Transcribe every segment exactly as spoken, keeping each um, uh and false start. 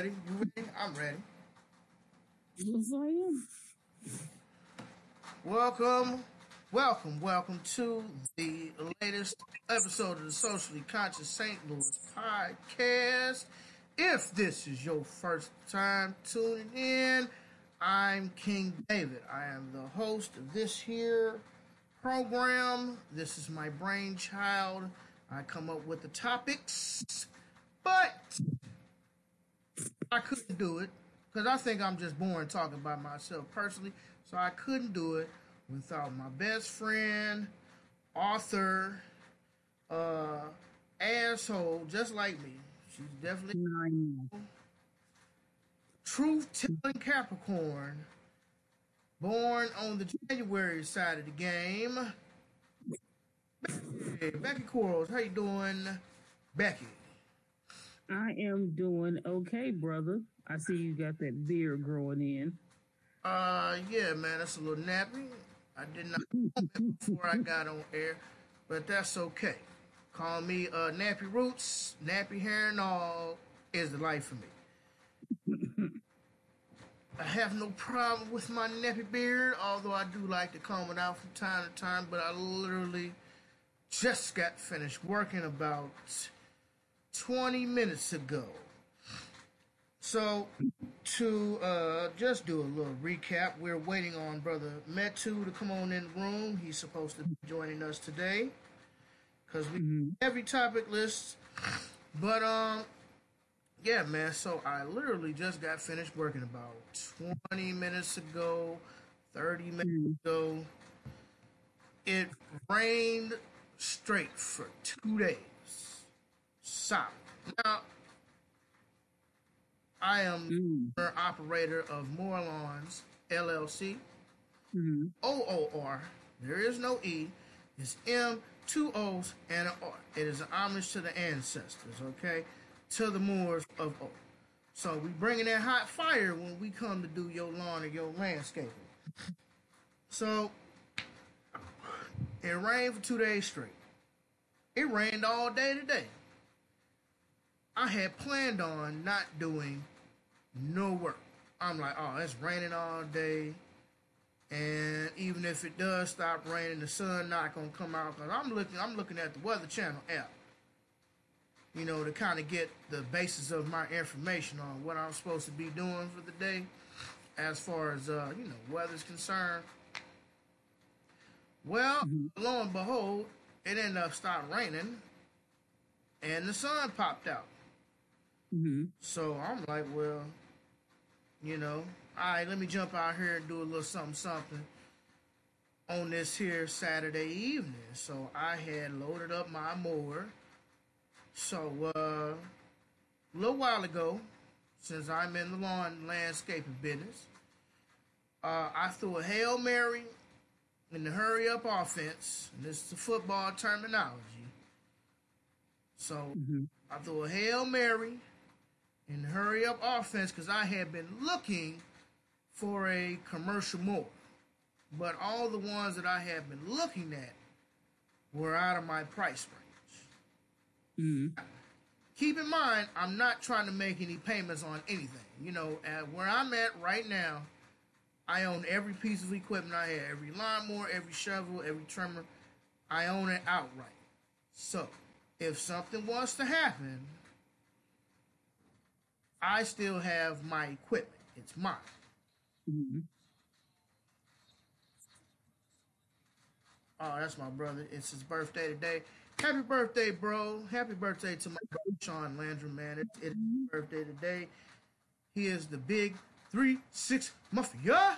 ready? You ready? I'm ready. Yes, I am. Welcome, welcome, welcome to the latest episode of the Socially Conscious Saint Louis podcast. If this is your first time tuning in, I'm King David. I am the host of this here program. This is my brainchild. I come up with the topics, but I couldn't do it because I think I'm just boring talking about myself personally. So I couldn't do it without my best friend, author, uh, asshole, just like me. She's definitely Nine. truth-telling Capricorn, born on the January side of the game. Hey, Becky Quarles, how you doing, Becky? I am doing okay, brother. I see you got that beard growing in. Uh, yeah, man, that's a little nappy. I did not know it before I got on air, but that's okay. Call me uh, Nappy Roots, Nappy Hair and all is the life for me. I have no problem with my nappy beard, although I do like to comb it out from time to time, but I literally just got finished working about twenty minutes ago. So, to uh, just do a little recap, we're waiting on Brother Metu to come on in the room. He's supposed to be joining us today because we Mhm. have every topic list. But, um, yeah, man, so I literally just got finished working about twenty minutes ago, thirty minutes Mhm. ago. It rained straight for two days. Solid. Now, I am Mhm. the operator of Moore Lawns L L C. Mhm. O O R. There is no E. It's M, two O's, and an R. It is an homage to the ancestors, okay? To the Moors of O. So we bringing that hot fire when we come to do your lawn or your landscaping. So it rained for two days straight. It rained all day today. I had planned on not doing no work. I'm like, oh, it's raining all day. And even if it does stop raining, the sun not gonna come out because I'm looking. I'm looking at the Weather Channel app, you know, to kind of get the basis of my information on what I'm supposed to be doing for the day, as far as uh, you know, weather's concerned. Well, Mhm. lo and behold, it ended up stopped raining, and the sun popped out. Mhm. So I'm like, well, you know, all right, let me jump out here and do a little something, something on this here Saturday evening. So I had loaded up my mower. So uh, a little while ago, since I'm in the lawn landscaping business, uh, I threw a Hail Mary in the hurry up offense. And this is the football terminology. So Mhm. I threw a Hail Mary in the hurry up offense because I had been looking for a commercial mower. But all the ones that I had been looking at were out of my price range. Mhm. Keep in mind, I'm not trying to make any payments on anything. You know, at where I'm at right now, I own every piece of equipment I have. Every lawnmower, every shovel, every trimmer. I own it outright. So, if something was to happen, I still have my equipment. It's mine. Mhm. Oh, that's my brother. It's his birthday today. Happy birthday, bro. Happy birthday to my brother Sean Landrum, man. It, it is his birthday today. He is the big three six Mafia.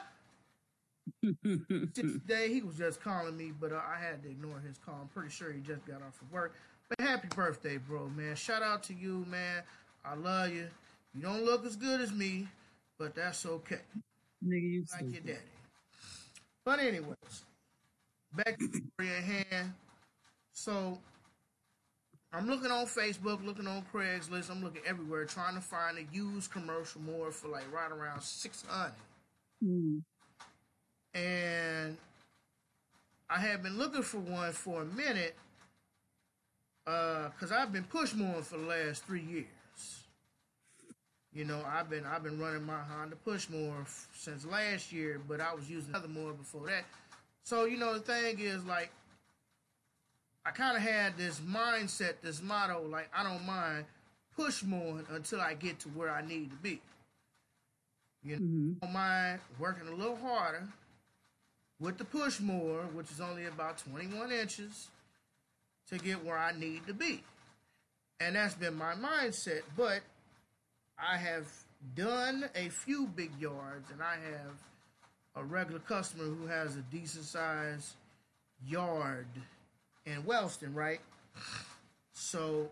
Today he was just calling me, but uh, I had to ignore his call. I'm pretty sure he just got off of work. But happy birthday, bro, man. Shout out to you, man. I love you. You don't look as good as me, but that's okay. Nigga, you Like your stupid. daddy. But anyways, back to the story at hand. So I'm looking on Facebook, looking on Craigslist. I'm looking everywhere, trying to find a used commercial mower for like right around six hundred. Mhm. And I had been looking for one for a minute, uh, cause I've been push mowing for the last three years. You know, I've been I've been running my Honda Pushmore f- since last year, but I was using another mower before that. So you know, the thing is, like, I kind of had this mindset, this motto, like, I don't mind push more until I get to where I need to be. You know, Mm-hmm. I don't mind working a little harder with the push more, which is only about twenty-one inches, to get where I need to be. And that's been my mindset. But I have done a few big yards, and I have a regular customer who has a decent sized yard in Wellston, right? So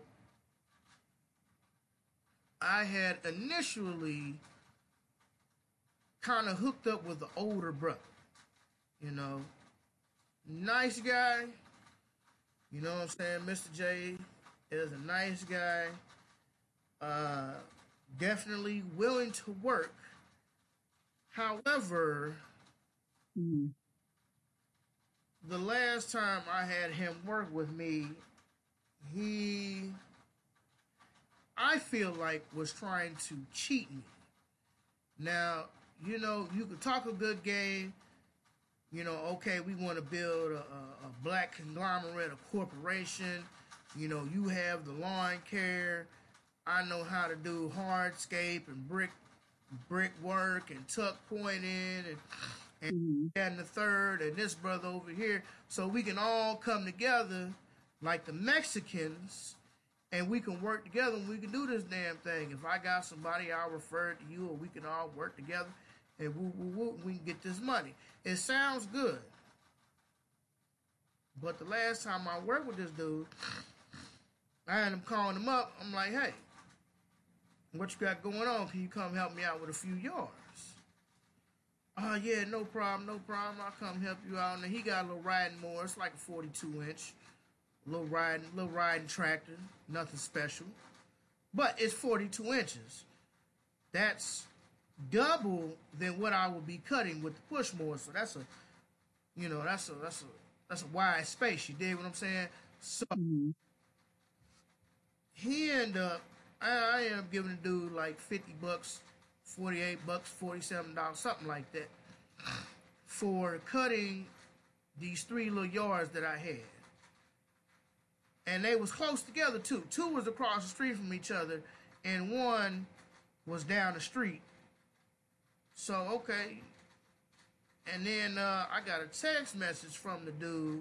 I had initially kind of hooked up with the older brother. You know, nice guy. You know what I'm saying? Mister J is a nice guy. Uh, definitely willing to work. However, Mm-hmm. the last time I had him work with me, he, I feel like, was trying to cheat me. Now, you know, you could talk a good game. You know, okay, we want to build a, a, a black conglomerate, a corporation. You know, you have the lawn care. I know how to do hardscape and brick brick work and tuck pointing and and, Mm-hmm. and the third and this brother over here. So we can all come together like the Mexicans and we can work together and we can do this damn thing. If I got somebody, I'll refer it to you, or we can all work together and woo, woo, woo, we can get this money. It sounds good. But the last time I worked with this dude, I had him calling him up. I'm like, hey, what you got going on? Can you come help me out with a few yards? Oh, uh, yeah, no problem, no problem. I'll come help you out. And he got a little riding mower. It's like a forty-two inch. Little riding, little riding tractor. Nothing special. But it's forty-two inches. That's double than what I would be cutting with the push mower. So that's a, you know, that's a, that's a, that's a wide space. You dig what I'm saying? So Mm-hmm. he ended up, I, I ended up giving the dude like fifty bucks, forty-eight bucks, forty-seven dollars, something like that, for cutting these three little yards that I had. And they was close together too. Two was across the street from each other, and one was down the street. So, okay. And then uh, I got a text message from the dude.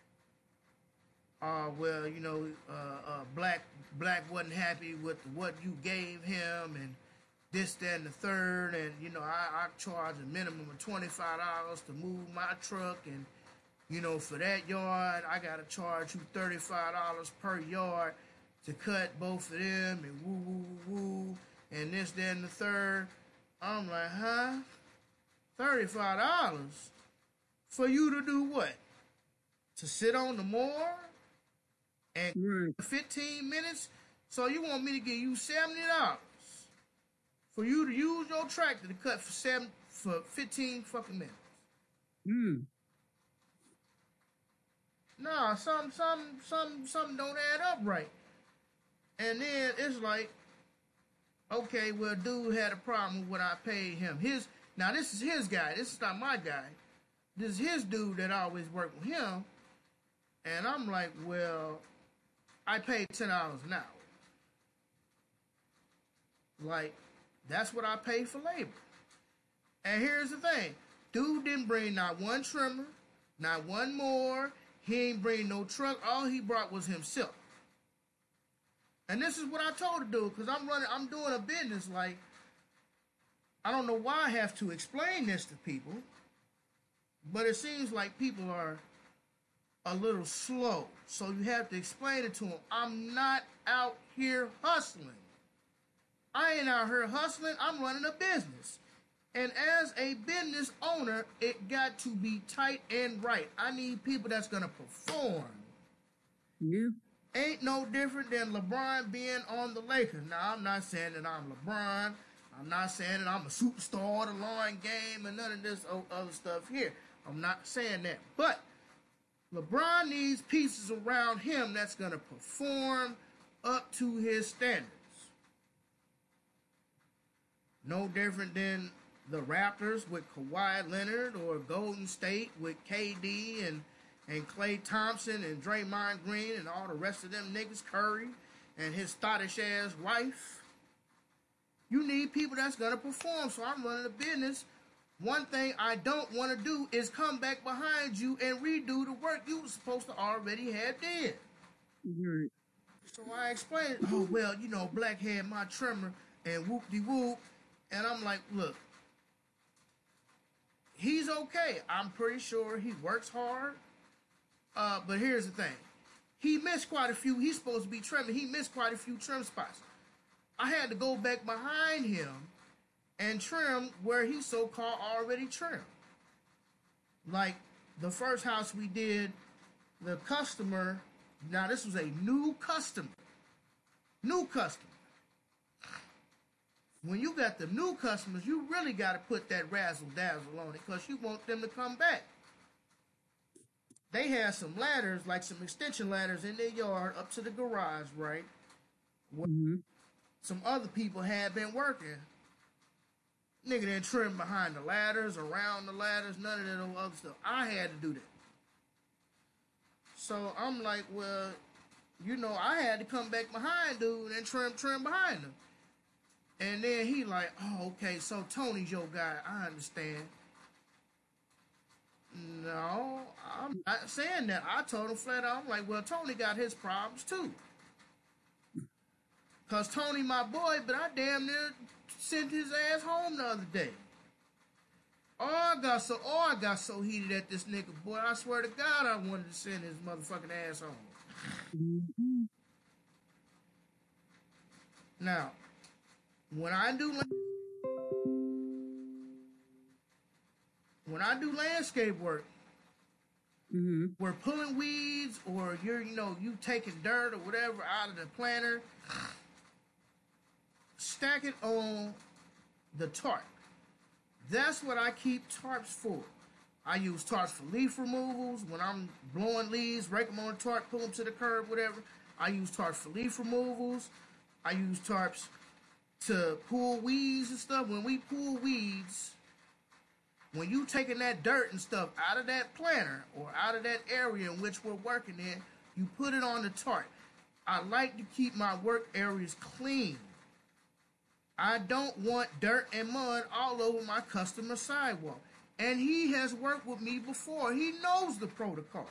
Uh, well, you know, uh, uh, Black Black wasn't happy with what you gave him, and this, that, and the third. And, you know, I, I charge a minimum of twenty-five dollars to move my truck. And, you know, for that yard, I got to charge you thirty-five dollars per yard to cut both of them, and woo, woo, woo, woo, and this, that, and the third. I'm like, huh? thirty-five dollars for you to do what? To sit on the mower and Right. fifteen minutes? So you want me to give you seventy dollars for you to use your tractor to cut for seven for fifteen fucking minutes? Mm. Nah, some some some something don't add up right. And then it's like, okay, well, dude had a problem with what I paid him. His now this is his guy. This is not my guy. This is his dude that always worked with him. And I'm like, well, I paid ten dollars an hour. Like, that's what I pay for labor. And here's the thing. Dude didn't bring not one trimmer, not one more. He ain't bring no truck. All he brought was himself. And this is what I told the dude, because I'm running, I'm doing a business. Like, I don't know why I have to explain this to people, but it seems like people are a little slow. So you have to explain it to them. I'm not out here hustling. I ain't out here hustling. I'm running a business. And as a business owner, it got to be tight and right. I need people that's going to perform. Yeah. Ain't no different than LeBron being on the Lakers. Now, I'm not saying that I'm LeBron. I'm not saying that I'm a superstar of the line game and none of this other stuff here. I'm not saying that. But LeBron needs pieces around him that's going to perform up to his standards. No different than the Raptors with Kawhi Leonard or Golden State with K D and and Klay Thompson and Draymond Green and all the rest of them niggas, Curry and his thottish ass wife. You need people that's gonna perform. So I'm running a business. One thing I don't want to do is come back behind you and redo the work you were supposed to already have did. Right. So I explained, oh well, you know, Black had my trimmer and whoop de whoop, and I'm like, look, he's okay. I'm pretty sure he works hard. Uh, but here's the thing. He missed quite a few. He's supposed to be trimming. He missed quite a few trim spots. I had to go back behind him and trim where he so-called already trimmed. Like the first house we did, the customer, now this was a new customer. New customer. When you got the new customers, you really got to put that razzle dazzle on it because you want them to come back. They had some ladders, like some extension ladders in their yard up to the garage, right? Mm-hmm. Some other people had been working. Nigga didn't trim behind the ladders, around the ladders, none of that other stuff. I had to do that. So I'm like, well, you know, I had to come back behind dude and trim, trim behind him. And then he like, oh, okay, so Tony's your guy. I understand. No, I'm not saying that. I told him flat out, I'm like, well, Tony got his problems too. Because Tony my boy, but I damn near sent his ass home the other day. Oh, I got so, oh, I got so heated at this nigga, boy. I swear to God, I wanted to send his motherfucking ass home. Mm-hmm. Now, when I do, when I do landscape work, Mm-hmm. we're pulling weeds, or you're, you know, you taking dirt or whatever out of the planter, stack it on the tarp. That's what I keep tarps for. I use tarps for leaf removals. When I'm blowing leaves, rake them on the tarp, pull them to the curb, whatever. I use tarps for leaf removals. I use tarps to pull weeds and stuff. When we pull weeds, when you taking that dirt and stuff out of that planter or out of that area in which we're working in, you put it on the tarp. I like to keep my work areas clean. I don't want dirt and mud all over my customer sidewalk. And he has worked with me before. He knows the protocol.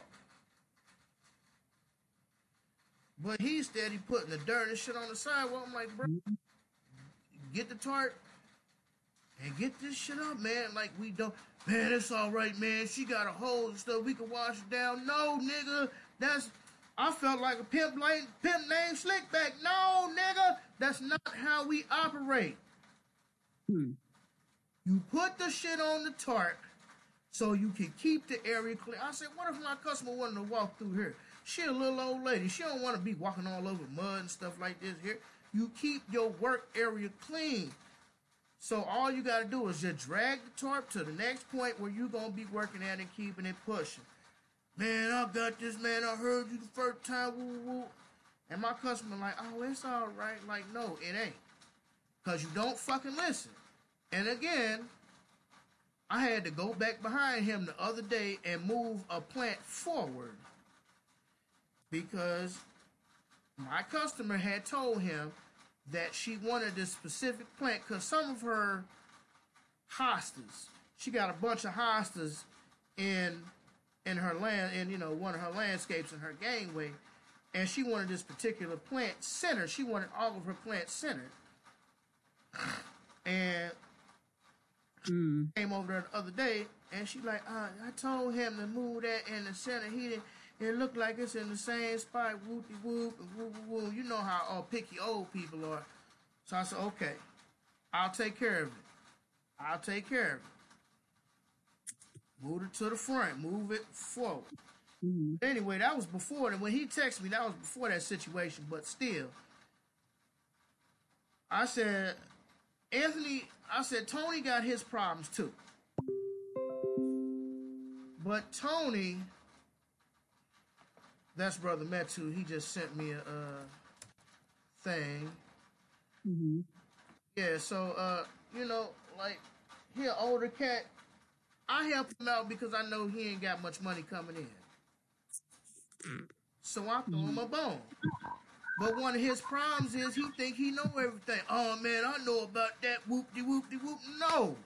But he's steady putting the dirt and shit on the sidewalk. I'm like, bro, get the tarp and get this shit up, man. Like, we don't, man, it's all right, man. She got a hole and stuff. We can wash it down. No, nigga, that's, I felt like a pimp, like, pimp named Slickback. No, nigga, that's not how we operate. Hmm. You put the shit on the tarp so you can keep the area clear. I said, what if my customer wanted to walk through here? She a little old lady. She don't want to be walking all over mud and stuff like this here. You keep your work area clean. So all you got to do is just drag the tarp to the next point where you're going to be working at and keeping it pushing. Man, I got this, man. I heard you the first time. Woo, woo. And my customer like, oh, it's all right. Like, no, it ain't. Because you don't fucking listen. And again, I had to go back behind him the other day and move a plant forward. Because my customer had told him that she wanted this specific plant because some of her hostas, she got a bunch of hostas in in her land, in, you know, one of her landscapes in her gangway, and she wanted this particular plant centered. She wanted all of her plants centered. And Mm. came over there the other day, and she like, uh, I told him to move that in the center. He didn't. It looked like it's in the same spot. Whoopty whoop and whoop whoop whoop. You know how all picky old people are. So I said, okay, I'll take care of it. I'll take care of it. Move it to the front. Move it forward. Mm. Anyway, that was before. And when he texted me, that was before that situation. But still, I said, Anthony, I said, Tony got his problems too. But Tony, that's Brother Metu, he just sent me a uh, thing. Mm-hmm. Yeah, so uh, you know, like he an older cat. I help him out because I know he ain't got much money coming in. So I throw him Mhm. a bone. But one of his problems is he think he know everything. Oh man, I know about that whoop de whoop de whoop. No.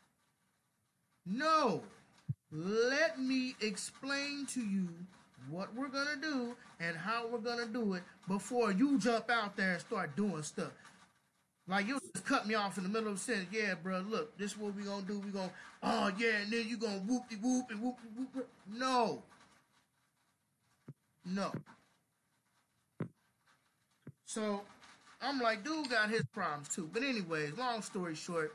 No. Let me explain to you what we're gonna do and how we're gonna do it before you jump out there and start doing stuff. Like you just cut me off in the middle of the sentence. Yeah, bro, look, this is what we gonna do. We gonna, oh yeah, and then you gonna whoop de whoop and whoop de whoop. No. No. So I'm like, dude got his problems too. But anyways, long story short,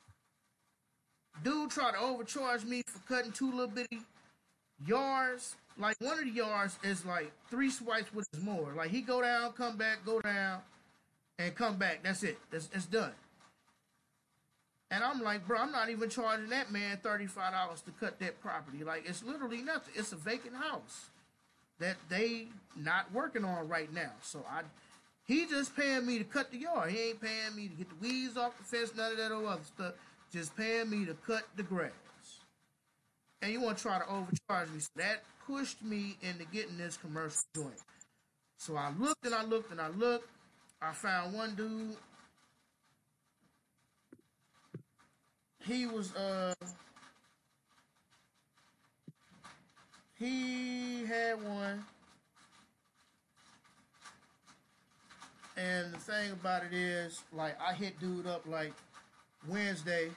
dude tried to overcharge me for cutting two little bitty yards. Like one of the yards is like three swipes with his mower. Like he go down, come back, go down, and come back. That's it. That's it's done. And I'm like, bro, I'm not even charging that man thirty-five dollars to cut that property. Like it's literally nothing. It's a vacant house that they not working on right now. So I he just paying me to cut the yard. He ain't paying me to get the weeds off the fence, none of that other stuff. Just paying me to cut the grass. And you want to try to overcharge me. So that pushed me into getting this commercial joint. So I looked and I looked and I looked. I found one dude. He was uh he had one. And the thing about it is, like I hit dude up like Wednesday.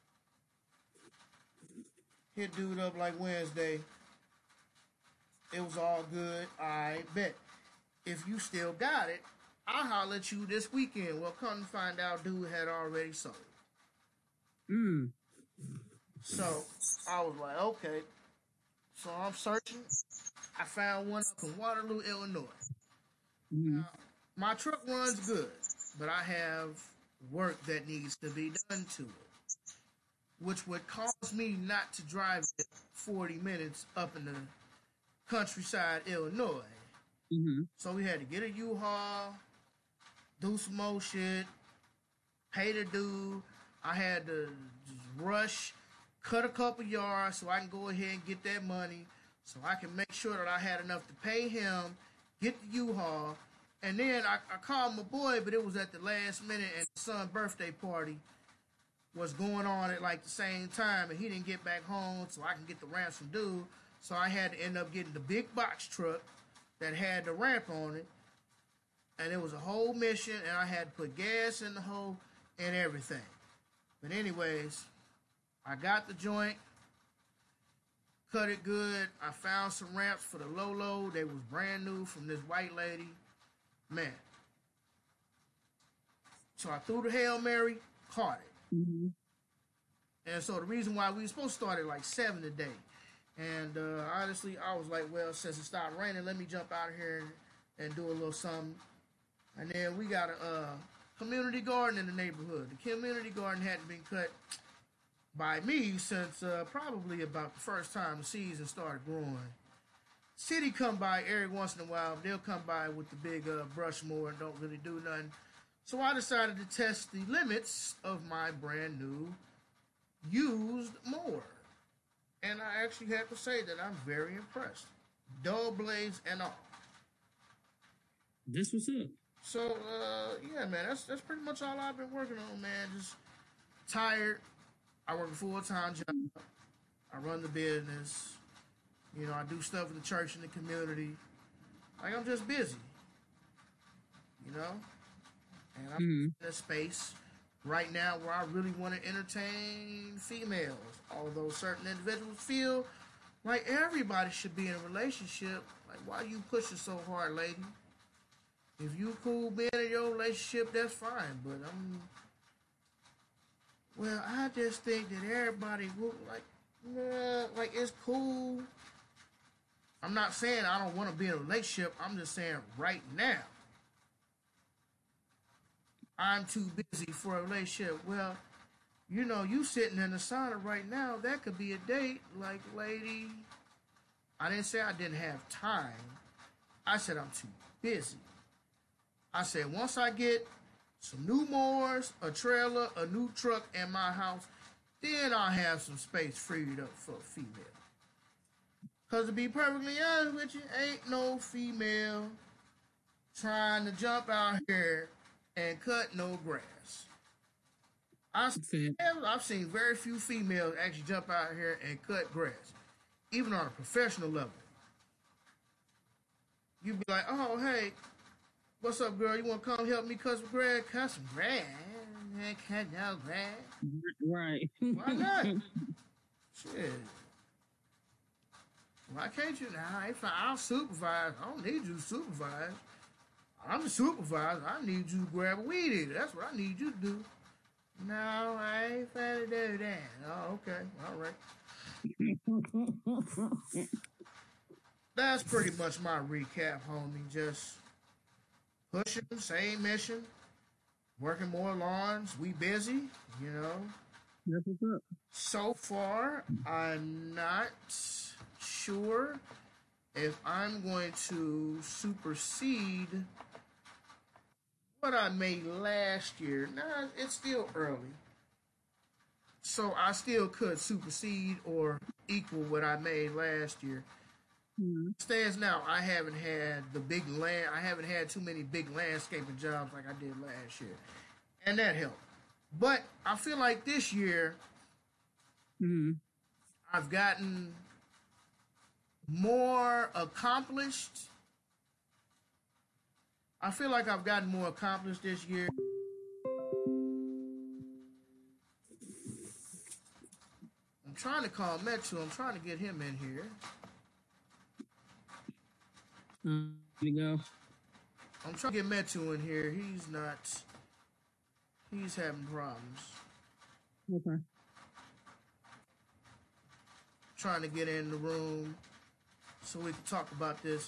Hit dude up like Wednesday. It was all good. I bet. If you still got it, I'll holler at you this weekend. Well, come to find out, dude had already sold. Mm. So I was like, okay. So I'm searching. I found one up in Waterloo, Illinois. Mhm. Now, my truck runs good, but I have work that needs to be done to it, which would cause me not to drive it forty minutes up in the countryside, Illinois. Mhm. So we had to get a U-Haul, do some more shit, pay the dude. I had to just rush, cut a couple yards so I can go ahead and get that money so I can make sure that I had enough to pay him, get the U-Haul. And then I, I called my boy, but it was at the last minute and his son's birthday party was going on at like the same time and he didn't get back home so I can get the ramps from dude. So I had to end up getting the big box truck that had the ramp on it. And it was a whole mission and I had to put gas in the hole and everything. But anyways, I got the joint, cut it good. I found some ramps for the Lolo. They was brand new from this white lady. Man. So I threw the Hail Mary, caught it. Mhm. And so the reason why we were supposed to start at like seven today. And uh, honestly, I was like, well, since it stopped raining, let me jump out of here and, and do a little something. And then we got a uh, community garden in the neighborhood. The community garden hadn't been cut by me since uh, probably about the first time the season started growing. City come by every once in a while. They'll come by with the big uh, brush mower and don't really do nothing. So I decided to test the limits of my brand new used mower. And I actually have to say that I'm very impressed. Dull blades and all. This was it. So uh, yeah, man, that's that's pretty much all I've been working on, man. Just tired. I work a full time job. I run the business. You know, I do stuff with the church and the community. Like I'm just busy. You know? And I'm Mhm. in a space right now where I really want to entertain females. Although certain individuals feel like everybody should be in a relationship. Like why you pushing so hard, lady? If you cool being in your relationship, that's fine. But I'm well, I just think that everybody would like nah, like it's cool. I'm not saying I don't want to be in a relationship. I'm just saying right now I'm too busy for a relationship. Well, you know, you sitting in the sauna right now, that could be a date. Like, lady, I didn't say I didn't have time. I said I'm too busy. I said once I get some new mowers, a trailer, a new truck, and my house. Then I'll have some space freed up for a female. Cause to be perfectly honest with you, ain't no female trying to jump out here and cut no grass. I I've seen very few females actually jump out here and cut grass, even on a professional level. You'd be like, "Oh, hey, what's up, girl? You want to come help me cut some grass? Cut some grass? Cut no grass? Right? Why not? Shit. Why can't you now? If I'll supervise, I don't need you to supervise. I'm the supervisor. I need you to grab a weed eater. That's what I need you to do." No, I ain't finna do that. Oh, okay. All right. That's pretty much my recap, homie. Just pushing, same mission, working more lawns. We busy, you know. That's what's up. So far, I'm not sure if I'm going to supersede what I made last year. Nah, it's still early. So I still could supersede or equal what I made last year. Mm-hmm. Stands now, I haven't had the big land, I haven't had too many big landscaping jobs like I did last year. And that helped. But I feel like this year, mm-hmm. I've gotten more accomplished. I feel like I've gotten more accomplished this year. I'm trying to call Metu. I'm trying to get him in here. There you go. I'm trying to get Metu in here. He's not. He's having problems. Okay. Trying to get in the room so we can talk about this.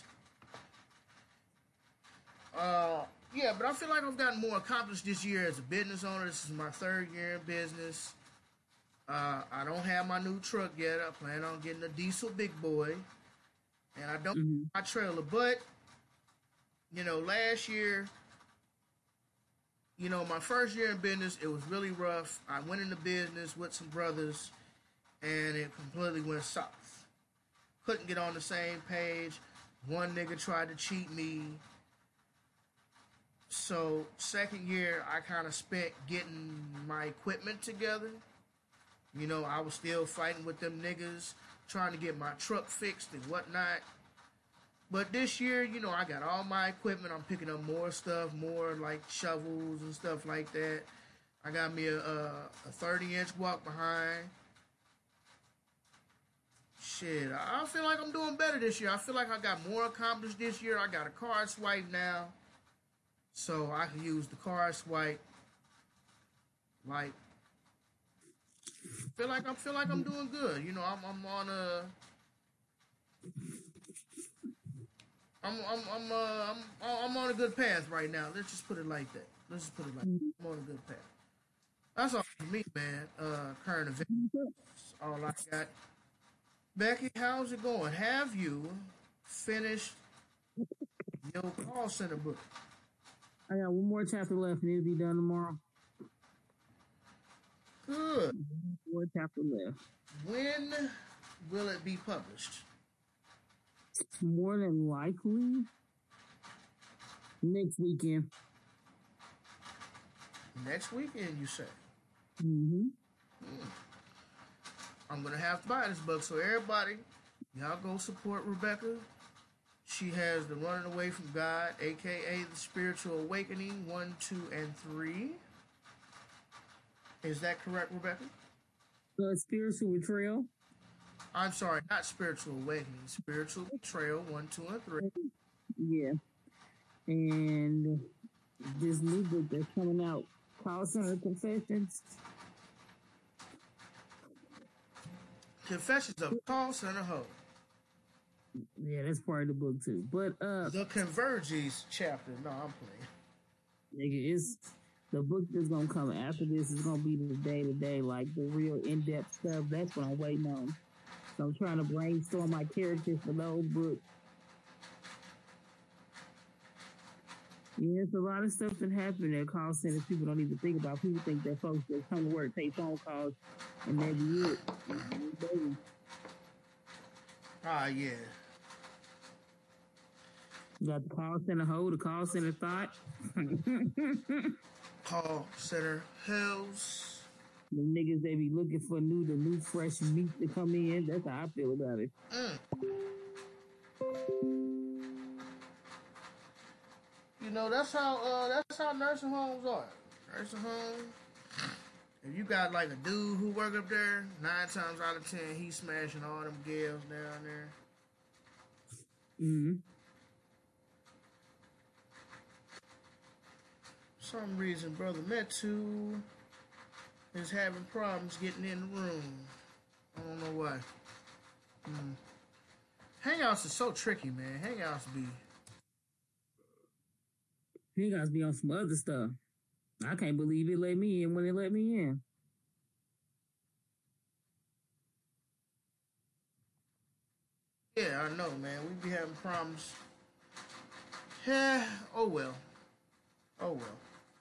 Uh, yeah, but I feel like I've gotten more accomplished this year as a business owner. This is my third year in business. Uh, I don't have my new truck yet. I plan on getting a diesel big boy. And I don't mm-hmm. have my trailer. But, you know, last year, you know, my first year in business, it was really rough. I went into business with some brothers, and it completely went south. Couldn't get on the same page. One nigga tried to cheat me. So, second year, I kind of spent getting my equipment together. You know, I was still fighting with them niggas, trying to get my truck fixed and whatnot. But this year, you know, I got all my equipment. I'm picking up more stuff, more like shovels and stuff like that. I got me a, a, a thirty inch walk behind. Shit, I feel like I'm doing better this year. I feel like I got more accomplished this year. I got a card swipe now. So I can use the card swipe. Like, feel like I feel like I'm doing good. You know, I'm I'm on a I'm I'm I'm uh I'm I'm on a good path right now. Let's just put it like that. Let's just put it like that. I'm on a good path. That's all for me, man. Uh, current events. That's all I got. Becky, how's it going? Have you finished your call center book? I got one more chapter left, and it'll be done tomorrow. Good. One more chapter left. When will it be published? More than likely next weekend. Next weekend, you say? Mm-hmm. Mm. I'm gonna have to buy this book, so everybody, y'all go support Rebecca. She has the Running Away from God, aka the Spiritual Awakening, one, two, and three. Is that correct, Rebecca? The Spiritual Betrayal. I'm sorry, not Spiritual Awakening. Spiritual Betrayal, one, two, and three. Yeah. And this new book that's coming out, Call Center Confessions. Confessions of Call Center Hoe. Yeah, that's part of the book too. But uh the Converges chapter. No, I'm playing. Nigga, it's the book that's gonna come after this is gonna be the day to day, like the real in depth stuff. That's what I'm waiting on. So I'm trying to brainstorm my characters for those books. Yeah, it's a lot of stuff that happen at call centers people don't even think about. People think that folks that come to work take phone calls and that be it. Baby, Ah, yeah. you got the call center hold, the call center thought. The Call center hills. niggas they be looking for new, the new fresh meat to come in. That's how I feel about it. Mm. You know, that's how uh, that's how nursing homes are. Nursing home. If you got like a dude who work up there, nine times out of ten, he's smashing all them gals down there. Mm-hmm. For some reason, brother Metu is having problems getting in the room. I don't know why. Hmm. Hangouts is so tricky, man. Hangouts be. He got to be on some other stuff. I can't believe it let me in when it let me in. Yeah, I know, man. We be having problems. Yeah. Oh well. Oh well.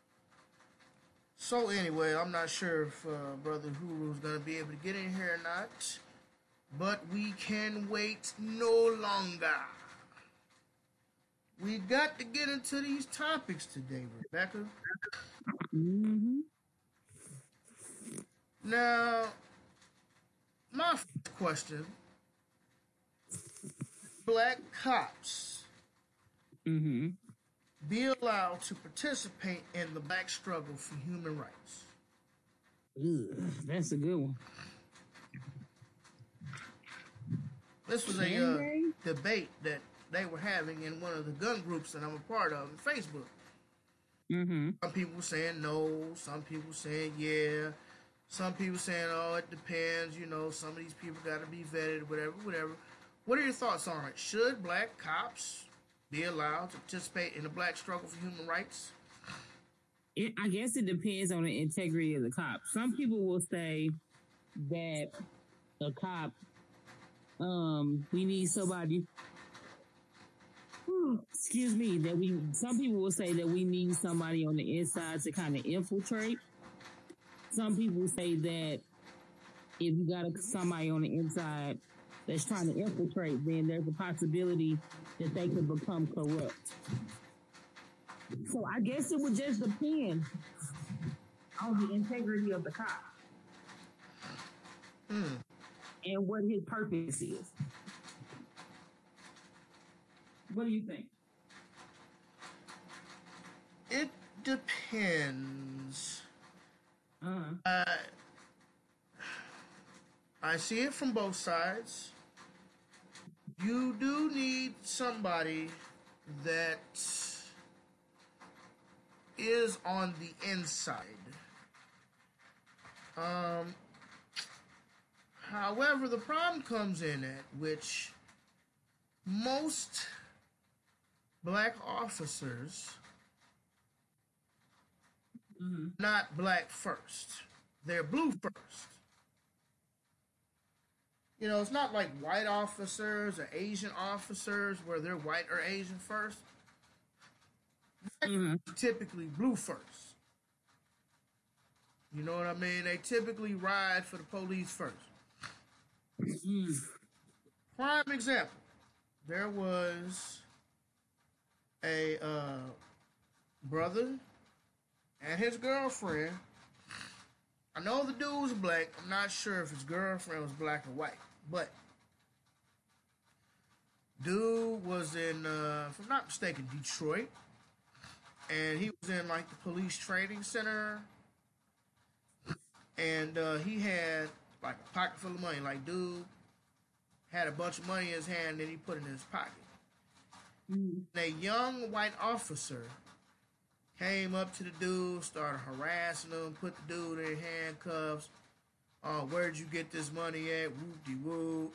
So anyway, I'm not sure if uh, Brother Huru's gonna be able to get in here or not, but we can wait no longer. We got to get into these topics today, Rebecca. Mm-hmm. Now, my first question: Black cops Mm-hmm. be allowed to participate in the black struggle for human rights? Ugh, that's a good one. This was a Can uh, they? debate that they were having in one of the gun groups that I'm a part of on Facebook. Mm-hmm. Some people saying no, some people saying yeah, some people saying, oh, it depends, you know, some of these people got to be vetted, whatever, whatever. What are your thoughts on it? Should black cops be allowed to participate in the black struggle for human rights? It, I guess it depends on the integrity of the cop. Some people will say that a cop, um, we need somebody. Excuse me. That we. Some people will say that we need somebody on the inside to kind of infiltrate. Some people say that if you got a, somebody on the inside that's trying to infiltrate, then there's a possibility that they could become corrupt. So I guess it would just depend on the integrity of the cop Hmm. and what his purpose is. What do you think? It depends. Uh-huh. Uh, I see it from both sides. You do need somebody that is on the inside. Um, however, the problem comes in at which most black officers Mm-hmm. not black first. They're blue first. You know, it's not like white officers or Asian officers where they're white or Asian first. Mm-hmm. Typically blue first. You know what I mean? They typically ride for the police first. Mm-hmm. Prime example. There was a uh, brother and his girlfriend. I know the dude was black. I'm not sure if his girlfriend was black or white. But dude was in, uh, if I'm not mistaken, Detroit. And he was in like the police training center. And uh, he had like a pocket full of money. Like dude had a bunch of money in his hand and he put it in his pocket. Mm-hmm. And a young white officer came up to the dude, started harassing him, put the dude in handcuffs. Oh, where'd you get this money at? Whoop-de-whoop.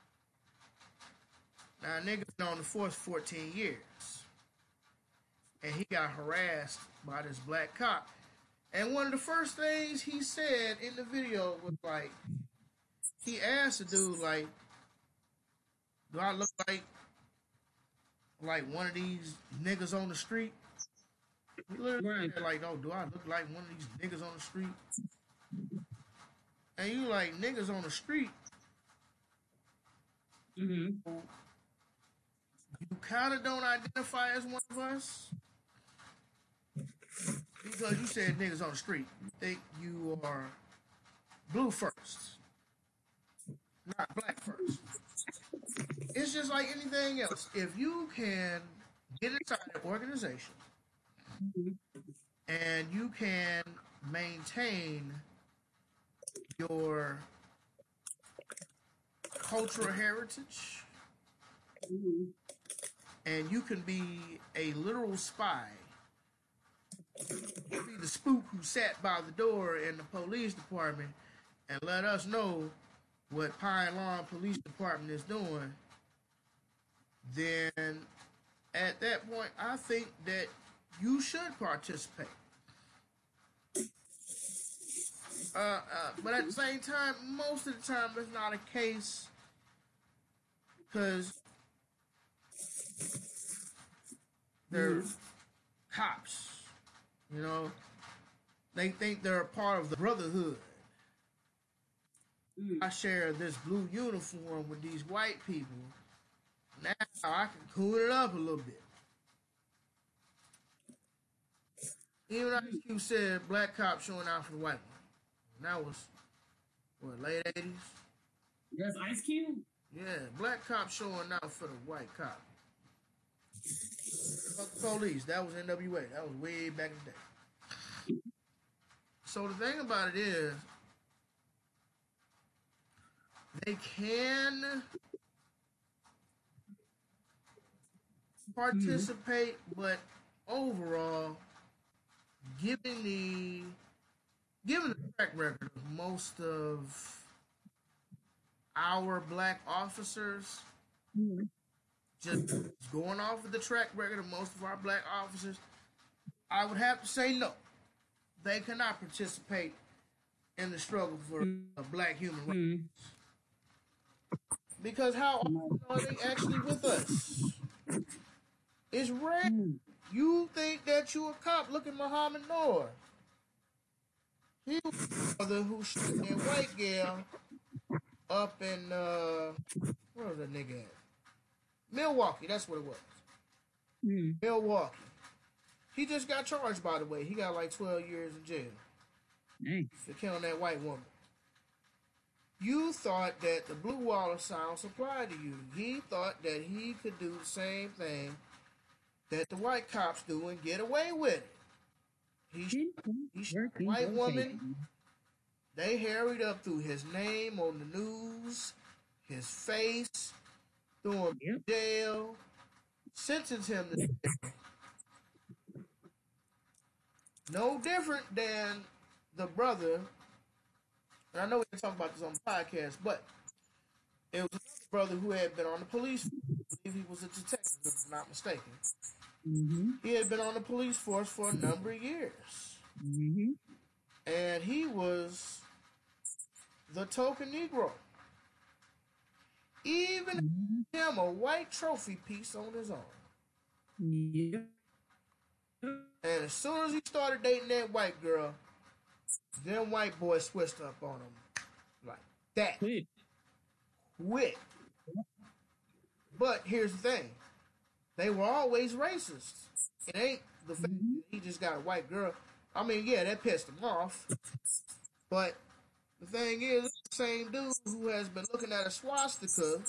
Now, nigga been on the force fourteen years. And he got harassed by this black cop. And one of the first things he said in the video was like, he asked the dude, like, do I look like, like one of these niggas on the street? He literally Right. said, like, "Oh, do I look like one of these niggas on the street?" And you like niggas on the street. Mm-hmm. You kind of don't identify as one of us because you said niggas on the street. You think you are blue first, not black first. It's just like anything else. If you can get inside an organization and you can maintain your cultural heritage Mm-hmm. and you can be a literal spy, be the spook who sat by the door in the police department and let us know what Pine Lawn Police Department is doing, then at that point, I think that you should participate. Uh, uh, but at the same time, most of the time, it's not a case because they're cops. You know, they think they're a part of the brotherhood. Mm-hmm. I share this blue uniform with these white people. Now I can cool it up a little bit. Even Ice Cube said black cop showing out for the white one. And that was, what, late eighties? That's Ice Cube? Yeah, black cop showing out for the white cop. Fuck the police. That was N W A. That was way back in the day. So the thing about it is, they can participate, mm-hmm. but overall, given the given the track record of most of our black officers, Mm-hmm. just going off of the track record of most of our black officers, I would have to say no. They cannot participate in the struggle for a black human rights. Mm-hmm. Because how often are they actually with us? It's rare. Mm-hmm. You think that you a cop? Look at Muhammad Noor. He was the brother who shot that white girl up in, uh, where was that nigga at? Milwaukee, that's what it was. Mm-hmm. Milwaukee. He just got charged, by the way. He got like twelve years in jail. Hey. For killing that white woman. You thought that the Blue Wall of Silence applied to you. He thought that he could do the same thing that the white cops do and get away with it. He, he shot a white woman. They harried up through his name on the news, his face, threw him Yep. in jail, sentenced him to death. No different than the brother, and I know we can talk about this on the podcast, but it was another brother who had been on the police force. I believe he was a detective, if I'm not mistaken. Mm-hmm. He had been on the police force for a number of years. Mm-hmm. And he was the token Negro. Even Mm-hmm. him, a white trophy piece on his own. Yeah. And as soon as he started dating that white girl, them white boys switched up on him like that. Quit. Quit. But here's the thing. They were always racist. It ain't the fact Mm-hmm. that he just got a white girl. I mean, yeah, that pissed him off. But the thing is, it's the same dude who has been looking at a swastika,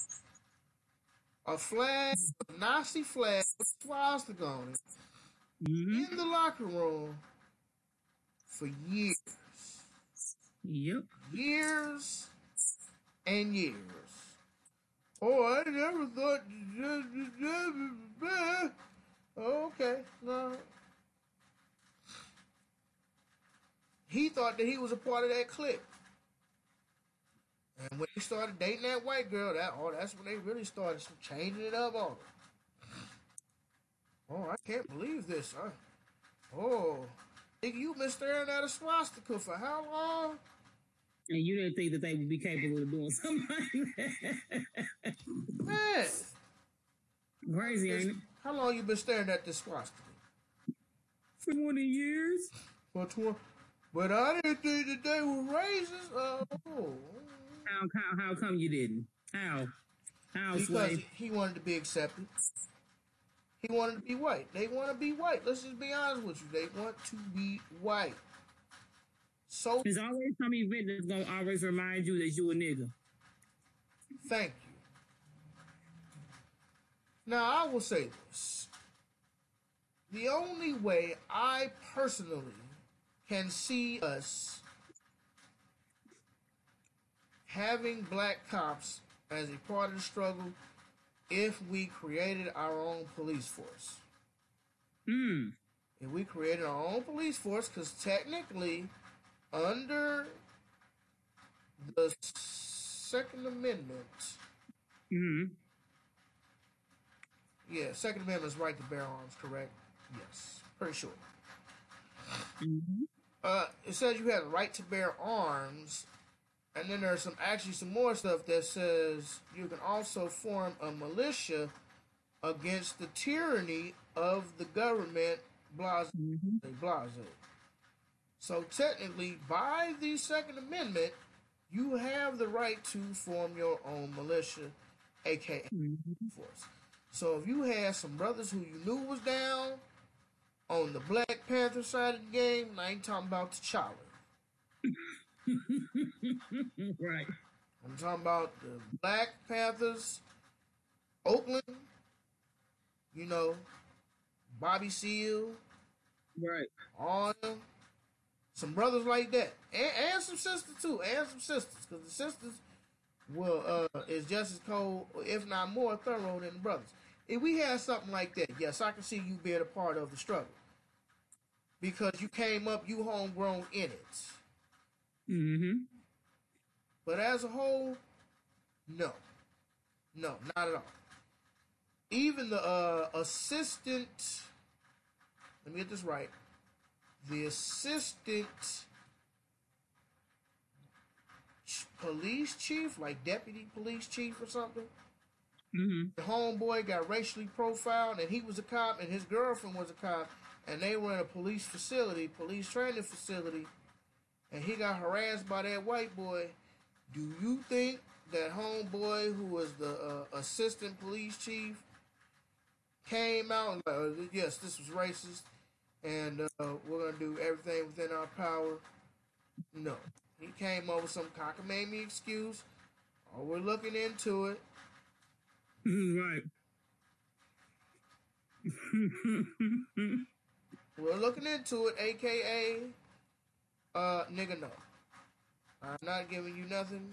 a flag, a Nazi flag with a swastika on it, Mm-hmm. in the locker room for years. Yep. Years and years. Oh, I never thought. Oh, okay, no. He thought that he was a part of that clique. And when he started dating that white girl, that oh, that's when they really started changing it up on him. Oh, I can't believe this. I, oh, nigga, you been staring at a swastika for how long? And you didn't think that they would be capable of doing something like that. Man. Crazy, ain't it? How long you been staring at this swastika? For twenty years. For twenty, but I didn't think that they were racist. Oh, How, how, how come you didn't? How? How, because Sway? he wanted to be accepted. He wanted to be white. They want to be white. Let's just be honest with you. They want to be white. So There's always some event that's gonna always remind you that you a nigga. thank you. Now I will say this. The only way I personally can see us having black cops as a part of the struggle if we created our own police force. Hmm. If we created our own police force, because technically, under the Second Amendment, Hmm. yeah, Second Amendment is right to bear arms, correct? Yes, pretty sure. Hmm. Uh, it says you have the right to bear arms, and then there's some actually some more stuff that says you can also form a militia against the tyranny of the government, blase, Hmm. blase. So technically, by the Second Amendment, you have the right to form your own militia, aka Hmm. force. So if you had some brothers who you knew was down on the Black Panther side of the game, I ain't talking about T'Challa. Right. I'm talking about the Black Panthers, Oakland, you know, Bobby Seale, Right. all them. Some brothers like that. And, and some sisters too. And some sisters. Because the sisters will uh is just as cold, if not more thorough than the brothers. If we had something like that, yes, I can see you being a part of the struggle. Because you came up, you homegrown in it. Hmm. But as a whole, no. No, not at all. Even the uh, assistant, let me get this right. The assistant police chief, like deputy police chief or something, Hmm. the homeboy got racially profiled, and he was a cop, and his girlfriend was a cop, and they were in a police facility, police training facility, and he got harassed by that white boy. Do you think that homeboy, who was the uh, assistant police chief, came out and like, oh, yes, this was racist, and uh, we're gonna do everything within our power? No, he came up with some cockamamie excuse. Oh, we're looking into it. Right. We're looking into it, aka, uh, nigga, no. I'm not giving you nothing.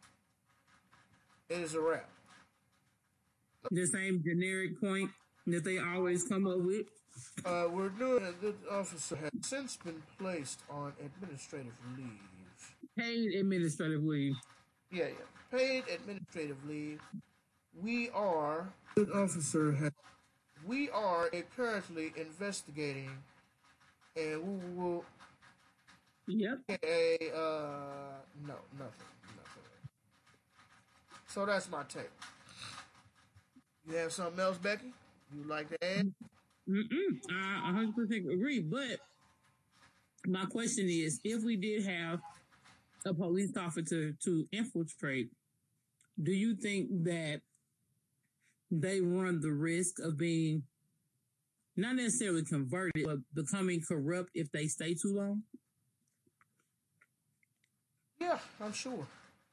It is a wrap. The same generic point that they always come up with. Uh, we're doing it. This officer has since been placed on administrative leave. Paid administrative leave. Yeah, yeah. Paid administrative leave. We are. This officer has. We are currently investigating, and we will. Yep. A uh, no, nothing, nothing. So that's my take. You have something else, Becky? You'd like to add? Mm-mm. I one hundred percent agree. But my question is, if we did have a police officer to infiltrate, do you think that they run the risk of being not necessarily converted, but becoming corrupt if they stay too long? Yeah, I'm sure.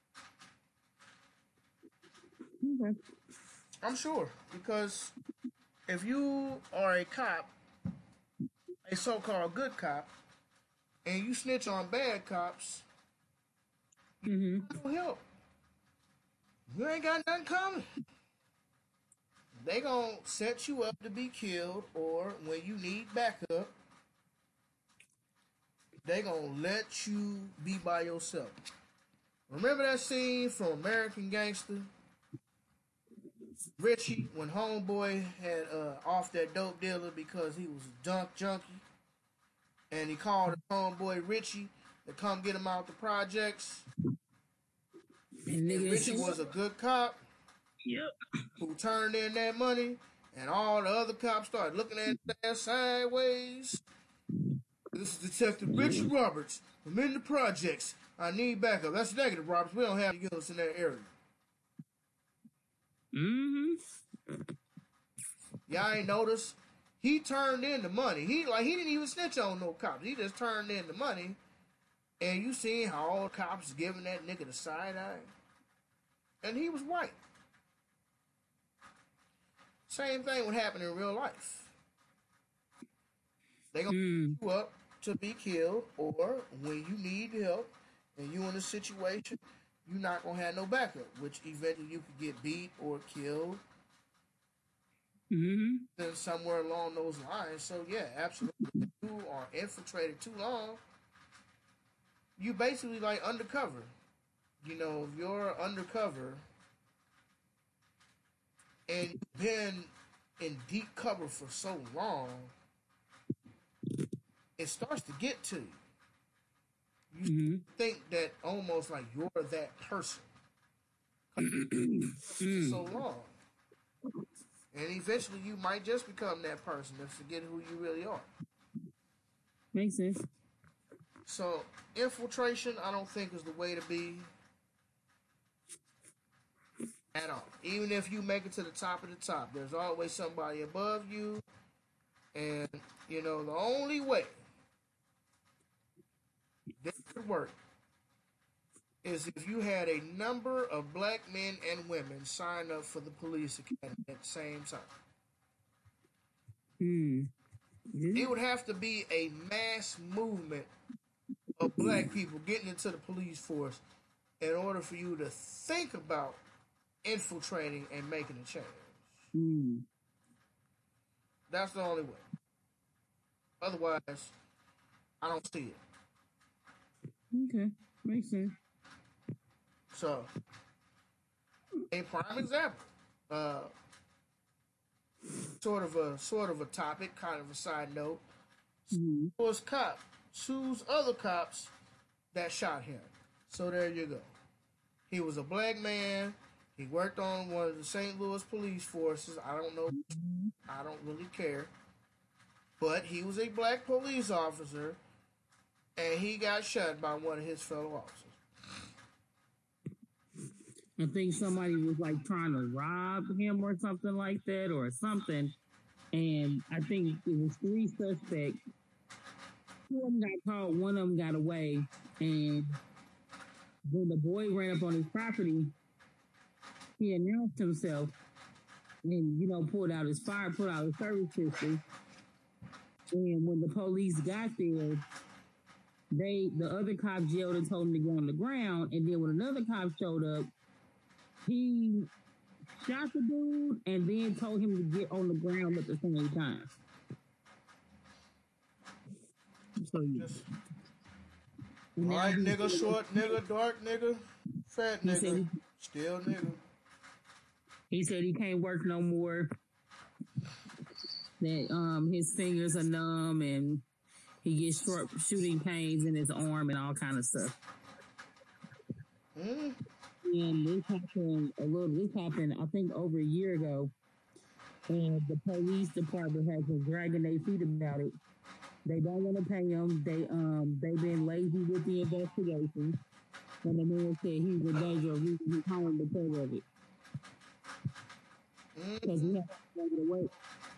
Okay. I'm sure. Because if you are a cop, a so-called good cop, and you snitch on bad cops, Mm-hmm. no help. You ain't got nothing coming. They gonna set you up to be killed, or when you need backup, they gonna let you be by yourself. Remember that scene from American Gangster? Richie, when homeboy had uh, off that dope dealer because he was a junk junkie, and he called his homeboy Richie to come get him out the projects. And And Richie was a good cop. Yep. Who turned in that money, and all the other cops started looking at that sideways. This is Detective Richard Roberts from In the Projects. I need backup. That's negative, Roberts. We don't have units in that area. Mm-hmm. Y'all ain't noticed? He turned in the money. He like he didn't even snitch on no cops. He just turned in the money. And you seen how all the cops giving that nigga the side eye? And he was white. Same thing would happen in real life. They gonna Mm. pick you up to be killed, or when you need help and you in a situation, you're not gonna have no backup, which eventually you could get beat or killed. Mm-hmm. Then somewhere along those lines. So yeah, absolutely. If you are infiltrated too long, you basically like undercover. You know, if you're undercover and you've been in deep cover for so long, it starts to get to you. You Mm-hmm. think that almost like you're that person for so long. And eventually you might just become that person and forget who you really are. Makes sense. So infiltration, I don't think is the way to be at all. Even if you make it to the top of the top, there's always somebody above you. And, you know, the only way this could work is if you had a number of black men and women sign up for the police academy at the same time. Mm. It would have to be a mass movement of black people getting into the police force in order for you to think about infiltrating and making a change. Mm. That's the only way. Otherwise, I don't see it. Okay. Makes sense. So, a prime example, uh, sort of a sort of a topic, kind of a side note. Mm-hmm. Was cop sues other cops that shot him. So there you go. He was a black man. He worked on one of the Saint Louis police forces. I don't know. I don't really care. But he was a black police officer, and he got shot by one of his fellow officers. I think somebody was like trying to rob him or something like that or something. And I think it was three suspects. Two of them got caught, one of them got away. And when the boy ran up on his property, he announced himself and, you know, pulled out his fire, pulled out his service pistol. And when the police got there, they the other cop yelled and told him to go on the ground. And then when another cop showed up, he shot the dude and then told him to get on the ground at the same time. So, yeah. White nigga, short nigga, dark nigga, fat nigga, he, still nigga. He said he can't work no more. That um his fingers are numb and he gets short shooting pains in his arm and all kind of stuff. Mm. And this happened a little. This happened, I think, over a year ago, and the police department has been dragging their feet about it. They don't want to pay him. They um they've been lazy with the investigation, and the man said he's in danger of losing his home because of it. Because he has to go to work.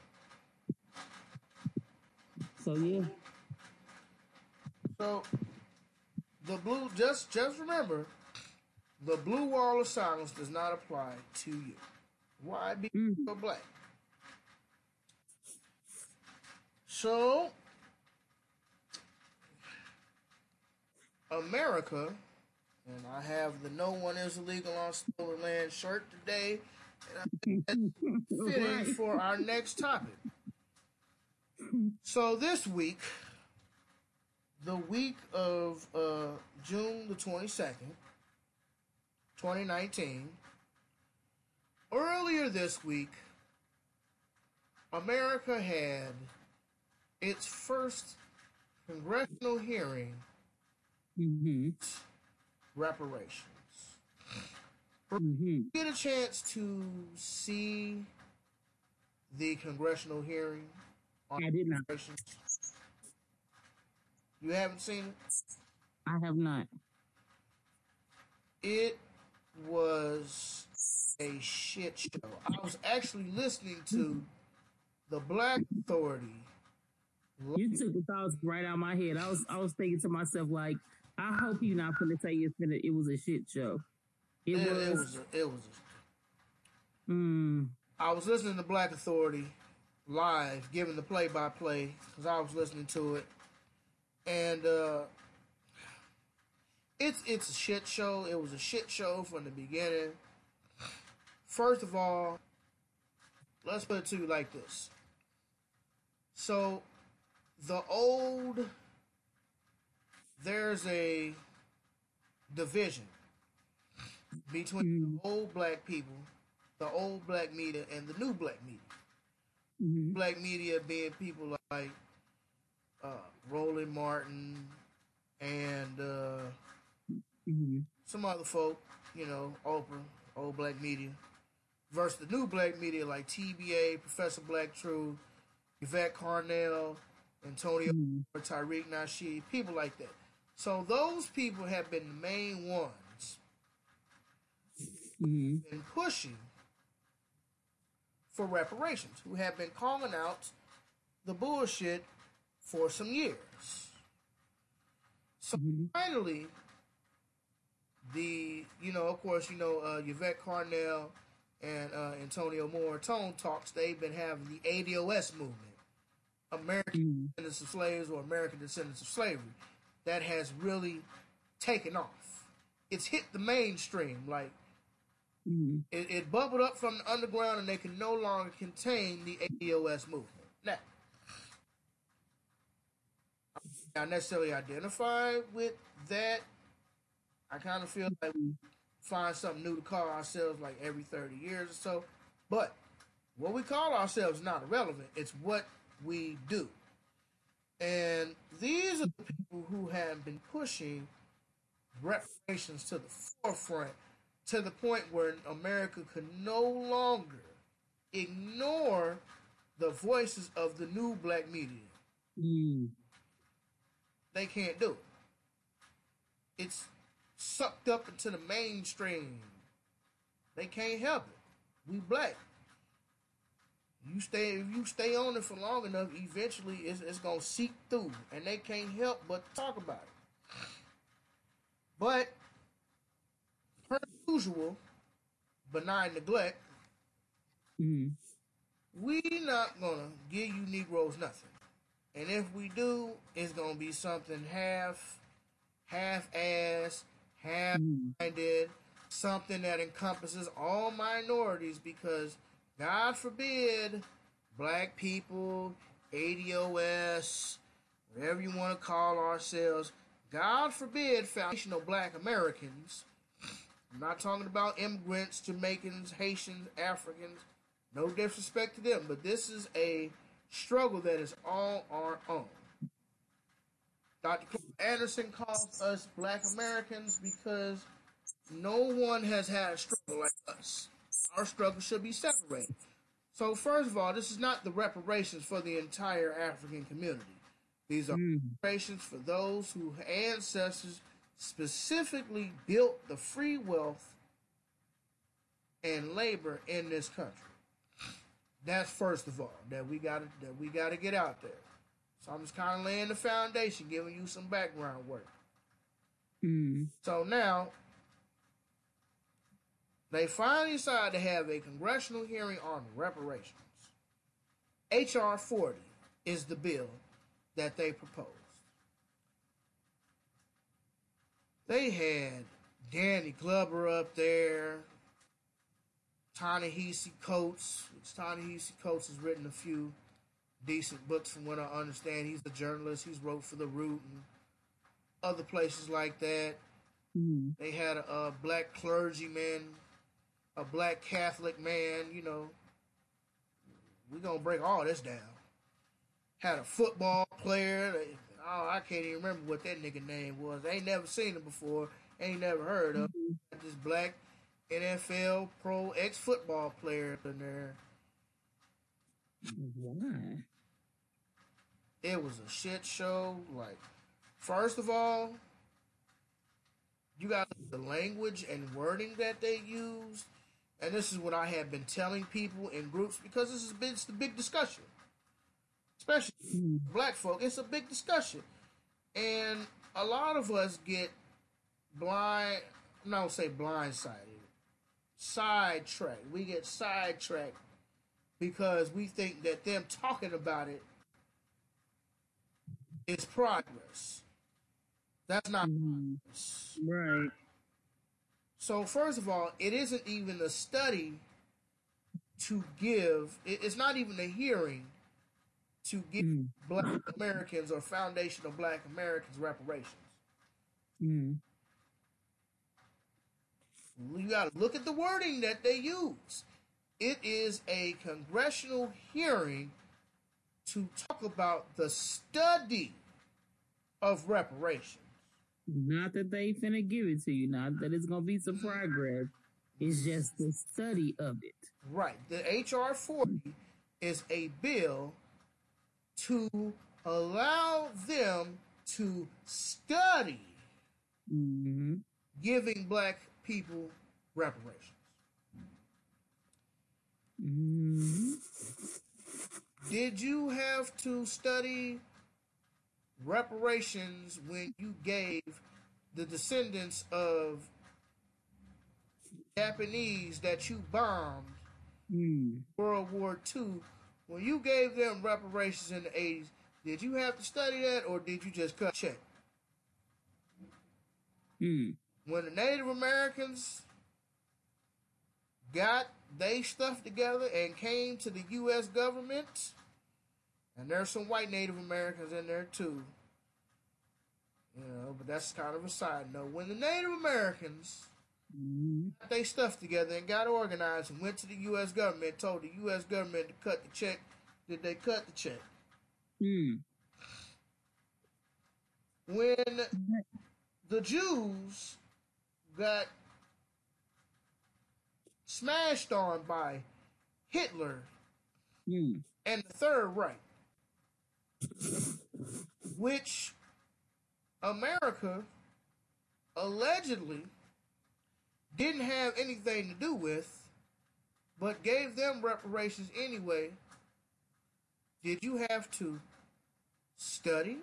So yeah. So the blue just just remember. The blue wall of silence does not apply to you. Why? Because mm. you're black. So, America, and I have the "No One Is Illegal on Stolen Land" shirt today, and I think that's fitting right. for our next topic. So this week, the week of uh, June the twenty-second, twenty nineteen, earlier this week, America had its first congressional hearing mm-hmm. reparations. Mm-hmm. Get a chance to see the congressional hearing on I did not. reparations? You haven't seen it? I have not. It was a shit show. I was actually listening to the Black Authority. You took the thoughts right out of my head. I was I was thinking to myself like, I hope you're not gonna say it's been a, it was a shit show. It, It, was. it was. A, it was. A, Mm, I was listening to Black Authority live, giving the play by play because I was listening to it, and uh, it's it's a shit show. It was a shit show from the beginning. First of all, let's put it to you like this. So, the old, there's a division between mm, the old black people, the old black media, and the new black media. mm, Black media being people like uh, Roland Martin and uh, mm, some other folk, you know, Oprah, old black media, versus the new black media like T B A, Professor Black Truth, Yvette Carnell, Antonio, mm, Tariq Nasheed, people like that. So those people have been the main ones mm, in pushing for reparations, who have been calling out the bullshit for some years. So mm, finally, the, you know, of course, you know, uh, Yvette Carnell and uh, Antonio Moore Tone Talks, they've been having the A D O S movement, American mm, Descendants of Slaves or American Descendants of Slavery, that has really taken off. It's hit the mainstream, like, mm. it, it bubbled up from the underground and they can no longer contain the A D O S movement. Now, not necessarily identify with that. I kind of feel like we find something new to call ourselves like every thirty years or so. But what we call ourselves is not irrelevant. It's what we do. And these are the people who have been pushing reparations to the forefront to the point where America could no longer ignore the voices of the new black media. Mm. They can't do it. It's sucked up into the mainstream. They can't help it. We black. You stay if you stay on it for long enough, eventually it's, it's gonna seep through, and they can't help but talk about it. But per usual, benign neglect, Mm. we not gonna give you Negroes nothing. And if we do, it's gonna be something half half ass, half minded, something that encompasses all minorities because God forbid black people, A D O S, whatever you want to call ourselves, God forbid foundational black Americans. I'm not talking about immigrants, Jamaicans, Haitians, Africans. No disrespect to them, but this is a struggle that is all our own. Doctor Clark Anderson calls us black Americans because no one has had a struggle like us. Our struggle should be separated. So first of all, this is not the reparations for the entire African community. These are Mm. reparations for those whose ancestors specifically built the free wealth and labor in this country. That's first of all that we got to that we got to get out there. So I'm just kind of laying the foundation, giving you some background work. Mm. So now they finally decided to have a congressional hearing on reparations. H R forty is the bill that they proposed. They had Danny Glover up there, Ta-Nehisi Coates, which Ta-Nehisi Coates has written a few decent books from what I understand. He's a journalist. He's wrote for The Root and other places like that. Mm. They had a, a black clergyman, a black Catholic man, you know. We're going to break all this down. Had a football player. Oh, I can't even remember what that nigga name was. I ain't never seen him before. Ain't never heard of him. This black N F L pro ex-football player in there. Why? It was a shit show. Like, First of all, you got the language and wording that they use, and this is what I have been telling people in groups because this is a big, it's a big discussion, especially Mm. black folk. It's a big discussion, and a lot of us get blind. I'm not gonna say blindsided, sidetracked. We get sidetracked because we think that them talking about it is progress. That's not Mm. progress. Right. So first of all, it isn't even a study to give. It's not even a hearing to give Mm. Black Americans or foundational Black Americans reparations. Mm. You got to look at the wording that they use. It is a congressional hearing to talk about the study of reparations. Not that they finna give it to you. Not that it's gonna be some progress. It's just the study of it. Right. The H R forty is a bill to allow them to study Mm-hmm. giving black people reparations. Mm-hmm. Did you have to study reparations when you gave the descendants of Japanese that you bombed Mm. World War Two? When you gave them reparations in the eighties, did you have to study that or did you just cut check? Mm. When the Native Americans got they stuff together and came to the U S government, and there's some white Native Americans in there too, you know, but that's kind of a side note. When the Native Americans Mm. got they stuff together and got organized and went to the U S government, told the U S government to cut the check, did they cut the check? Mm. When the Jews got smashed on by Hitler Mm. and the Third Reich, which America allegedly didn't have anything to do with, but gave them reparations anyway, did you have to study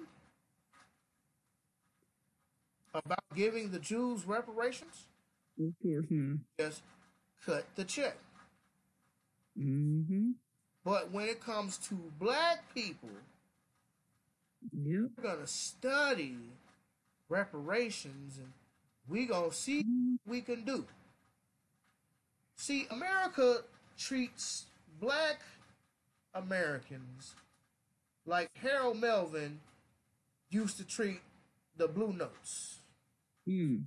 about giving the Jews reparations? Of course. Mm. Just cut the check. Mm-hmm. But when it comes to black people, Yep. we're gonna study reparations and we gonna see Mm. what we can do. See, America treats black Americans like Harold Melvin used to treat the Blue Notes. Mm.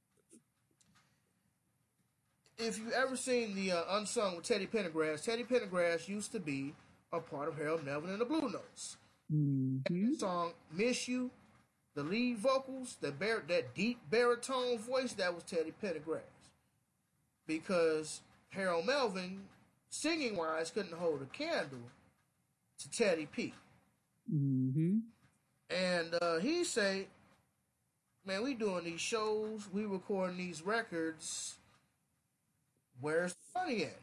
If you ever seen the uh, Unsung with Teddy Pendergrass, Teddy Pendergrass used to be a part of Harold Melvin and the Blue Notes. Mm-hmm. The song "Miss You," the lead vocals, that bar- that deep baritone voice, that was Teddy Pendergrass. Because Harold Melvin, singing wise, couldn't hold a candle to Teddy P. Mm-hmm. And uh, he say, "Man, we doing these shows, we recording these records. Where's the money at?"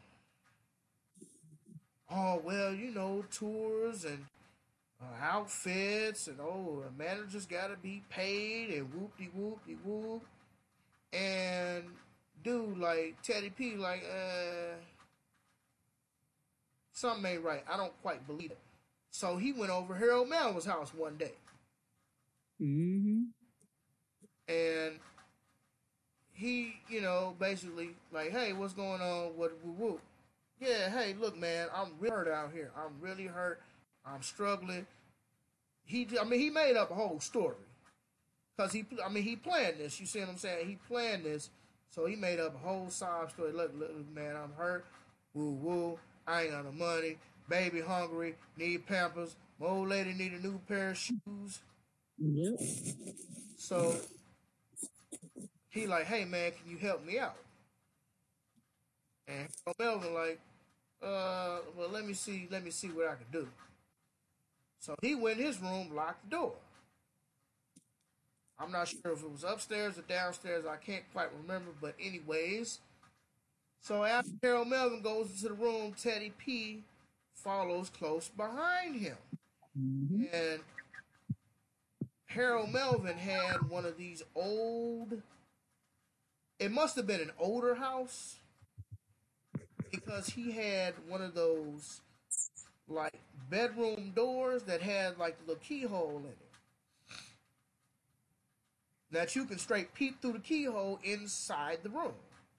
"Oh, well, you know, tours and uh, outfits, and oh, the managers gotta be paid, and whoop-de-whoop-de-whoop." And dude, like Teddy P, like, uh, something ain't right. I don't quite believe it. So he went over Harold Melvin's house one day, Mm-hmm. and he, you know, basically like, "Hey, what's going on? What whoop whoop? Yeah, hey, look, man, I'm really hurt out here. I'm really hurt. I'm struggling." He, I mean, he made up a whole story because he, I mean, he planned this. You see what I'm saying? He planned this, so he made up a whole sob story. Look, look, man, I'm hurt. Woo woo. I ain't got no money. Baby hungry. Need Pampers. My old lady need a new pair of shoes. Yep. So he like, "Hey, man, can you help me out?" And Melvin like, uh, well, let me see, let me see what I can do. So he went in his room, locked the door. I'm not sure if it was upstairs or downstairs. I can't quite remember. But anyways, so after Harold Melvin goes into the room, Teddy P follows close behind him. Mm-hmm. And Harold Melvin had one of these old, it must have been an older house because he had one of those like bedroom doors that had like the little keyhole in it that you can straight peep through the keyhole inside the room.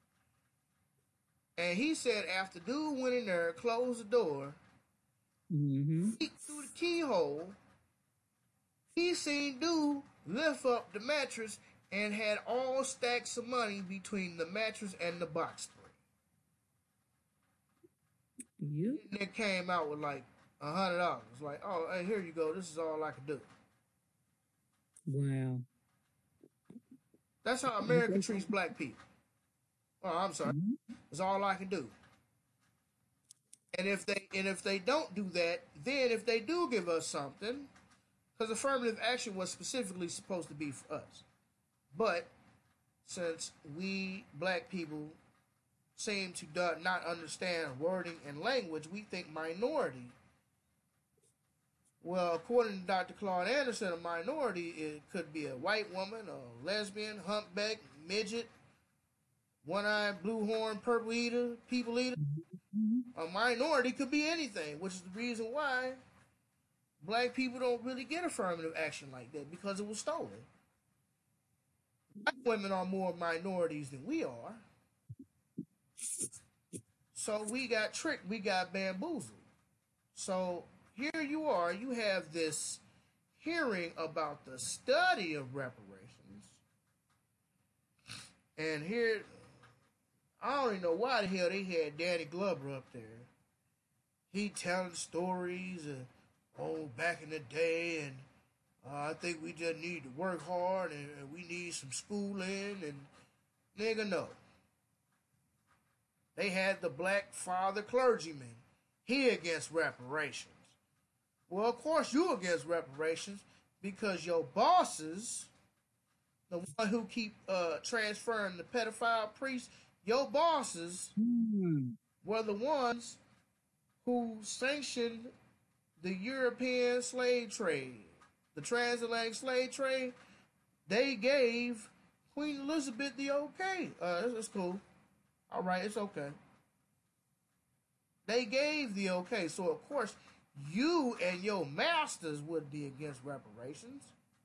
And he said after dude went in there, closed the door, Mm-hmm. peeked through the keyhole, he seen dude lift up the mattress and had all stacks of money between the mattress and the box spring. You? And it came out with like a hundred dollars. Like, oh, hey, here you go. This is all I can do. Wow. That's how America treats black people. Oh, I'm sorry. Mm-hmm. It's all I can do. And if they and if they don't do that, then if they do give us something, because affirmative action was specifically supposed to be for us, but since we black people seem to not understand wording and language, we think minority. Well, according to Doctor Claude Anderson, a minority it could be a white woman, a lesbian, humpback, midget, one-eyed, blue horn, purple eater, people eater. Mm-hmm. A minority could be anything, which is the reason why black people don't really get affirmative action like that, because it was stolen. Black women are more minorities than we are. So we got tricked, we got bamboozled. So here you are, you have this hearing about the study of reparations. And here, I don't even know why the hell they had Danny Glover up there. He telling stories of, oh, back in the day, and uh, I think we just need to work hard, and, and we need some schooling, and nigga, no. They had the black father clergyman. He against reparations. Well, of course you against reparations because your bosses, the one who keep uh, transferring the pedophile priests, your bosses Mm-hmm. were the ones who sanctioned the European slave trade, the transatlantic slave trade. They gave Queen Elizabeth the okay. Uh, it's cool. All right, it's okay. They gave the okay, so of course you and your masters would be against reparations.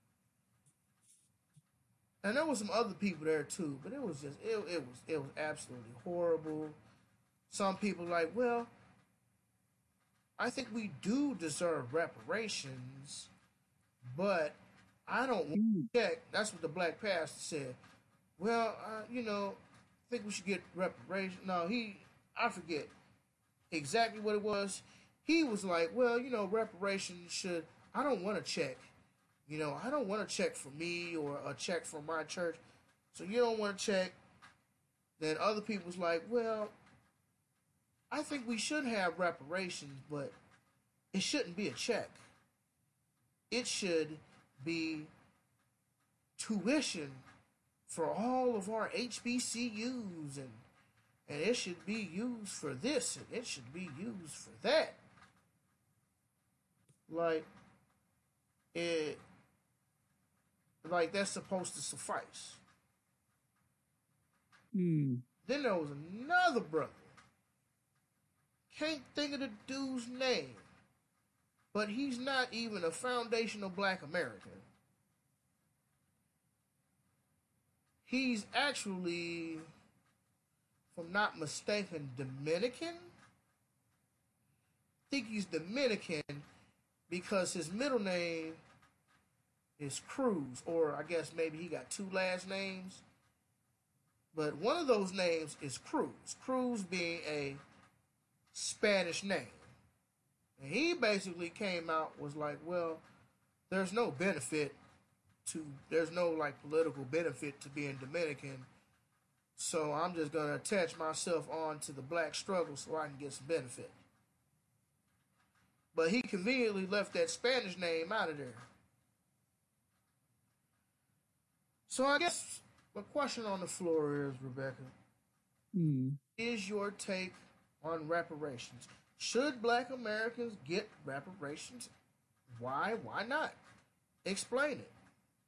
And there was some other people there too, but it was just it, it was it was absolutely horrible. Some people like, well, I think we do deserve reparations, but I don't want to check. That's what the black pastor said. Well, uh, you know, I think we should get reparations. No, he, I forget exactly what it was. He was like, well, you know, reparations should, I don't want to check. You know, I don't want to check for me or a check for my church. So you don't want to check. Then other people's like, well, I think we should have reparations, but it shouldn't be a check. It should be tuition for all of our H B C Us, and and it should be used for this, and it should be used for that. Like it, like that's supposed to suffice. Mm. Then there was another brother. Can't think of the dude's name, but he's not even a foundational black American. He's actually, if I'm not mistaken, Dominican. I think he's Dominican because his middle name is Cruz, or I guess maybe he got two last names. But one of those names is Cruz. Cruz being a Spanish name. And he basically came out, was like, well, there's no benefit to, there's no like political benefit to being Dominican. So I'm just going to attach myself on to the black struggle so I can get some benefit. But he conveniently left that Spanish name out of there. So I guess the question on the floor is, Rebecca, Hmm. is your take on reparations? Should Black Americans get reparations? Why? Why not? Explain it.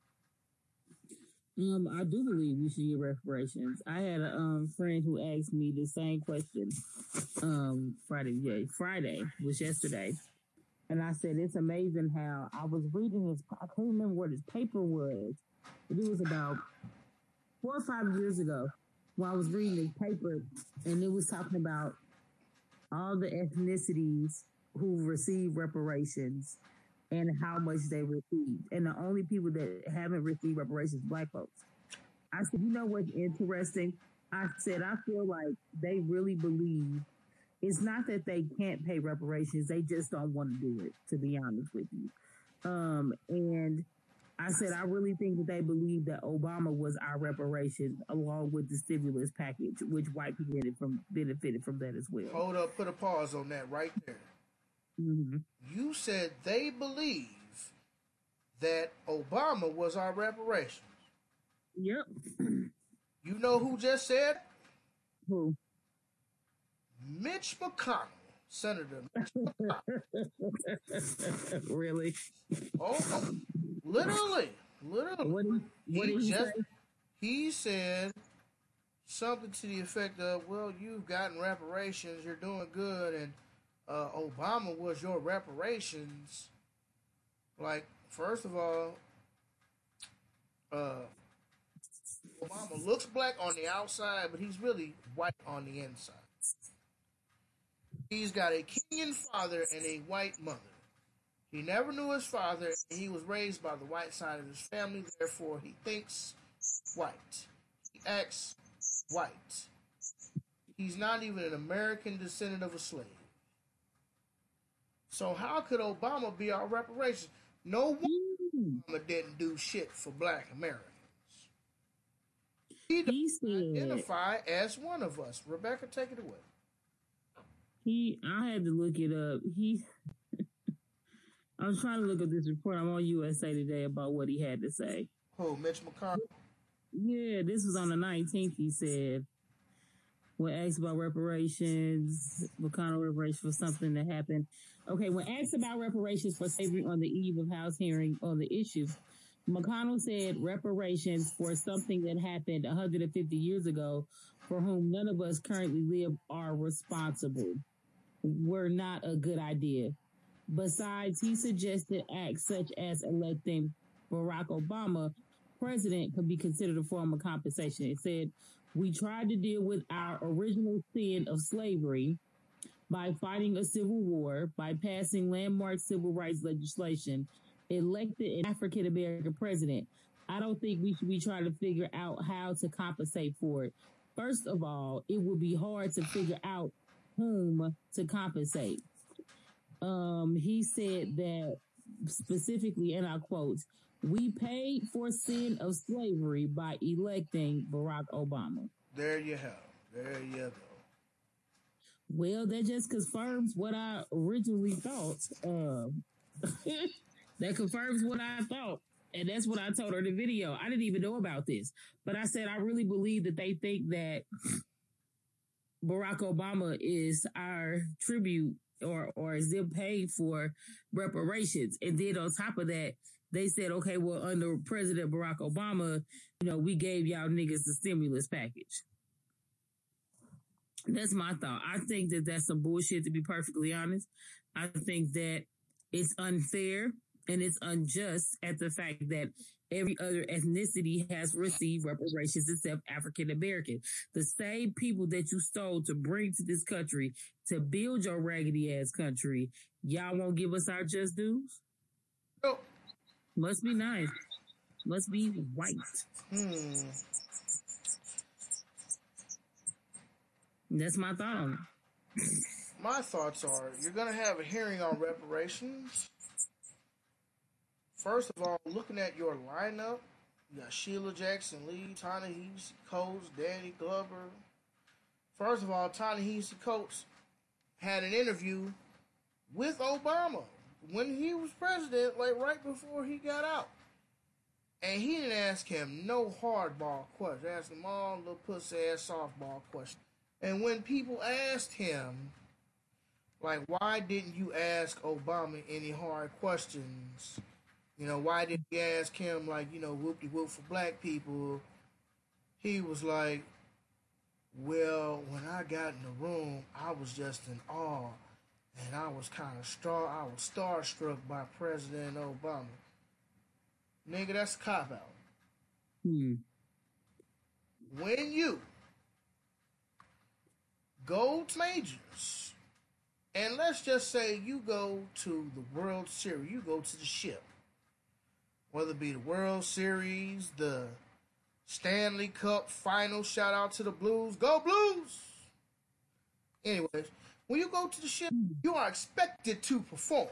Um, I do believe we should get reparations. I had a um friend who asked me the same question. Um, Friday, yeah, Friday was yesterday, and I said it's amazing how I was reading this. I can't remember what his paper was, but it was about four or five years ago when I was reading this paper, and it was talking about all the ethnicities who receive reparations and how much they received. And the only people that haven't received reparations, Black folks. I said, you know what's interesting? I said, I feel like they really believe it's not that they can't pay reparations, they just don't want to do it, to be honest with you. Um, and I said, I really think that they believe that Obama was our reparations along with the stimulus package, which white people benefited from, benefited from that as well. Hold up, put a pause on that right there. Mm-hmm. You said they believe that Obama was our reparations. Yep. You know who just said? Who? Mitch McConnell, Senator Mitch McConnell. Really? Oh, oh, literally, literally. What did, what he did he just say? he said something to the effect of, "Well, you've gotten reparations, you're doing good, and uh, Obama was your reparations." Like, first of all, uh, Obama looks black on the outside, but he's really white on the inside. He's got a Kenyan father and a white mother. He never knew his father, and he was raised by the white side of his family, therefore he thinks white. He acts white. He's not even an American descendant of a slave. So how could Obama be our reparations? No one Obama didn't do shit for Black Americans. He He doesn't said identify as one of us. Rebecca, take it away. he. I had to look it up. He. I was trying to look up this report. I'm on U S A Today about what he had to say. Who, Mitch McConnell? Yeah, this was on the nineteenth. He said, when asked about reparations, McConnell reparations for something that happened. Okay, when asked about reparations for slavery on the eve of House hearing on the issue, McConnell said reparations for something that happened one hundred fifty years ago, for whom none of us currently live are responsible, were not a good idea. Besides, he suggested acts such as electing Barack Obama president could be considered a form of compensation. It said, we tried to deal with our original sin of slavery by fighting a civil war, by passing landmark civil rights legislation, elected an African American president. I don't think we should be trying to figure out how to compensate for it. First of all, it would be hard to figure out whom to compensate. Um, he said that specifically, and I quote, we paid for sin of slavery by electing Barack Obama. There you have. There you go. Well, that just confirms what I originally thought. Um, that confirms what I thought. And that's what I told her in the video. I didn't even know about this. But I said, I really believe that they think that Barack Obama is our tribute or, or is them paying for reparations. And then on top of that, they said, okay, well, under President Barack Obama, you know, we gave y'all niggas the stimulus package. That's my thought. I think that that's some bullshit, to be perfectly honest. I think that it's unfair and it's unjust at the fact that every other ethnicity has received reparations except African American. The same people that you stole to bring to this country to build your raggedy ass country, y'all won't give us our just dues? Oh. Must be nice. Must be white. Hmm. That's my thought on it. My thoughts are, you're going to have a hearing on reparations. First of all, looking at your lineup, you got Sheila Jackson Lee, Ta-Nehisi Coates, Danny Glover. First of all, Ta-Nehisi Coates had an interview with Obama when he was president, like right before he got out. And he didn't ask him no hardball questions. Asked him all little pussy ass softball questions. And when people asked him, like, why didn't you ask Obama any hard questions? You know, why didn't you ask him, like, you know, whoop de whoop for black people? He was like, well, when I got in the room, I was just in awe. And I was kind of star, I was starstruck by President Obama. Nigga, that's a cop out. Hmm. When you go to majors, and let's just say you go to the World Series, you go to the ship, whether it be the World Series, the Stanley Cup final, shout out to the Blues, go Blues! Anyways, when you go to the ship, you are expected to perform.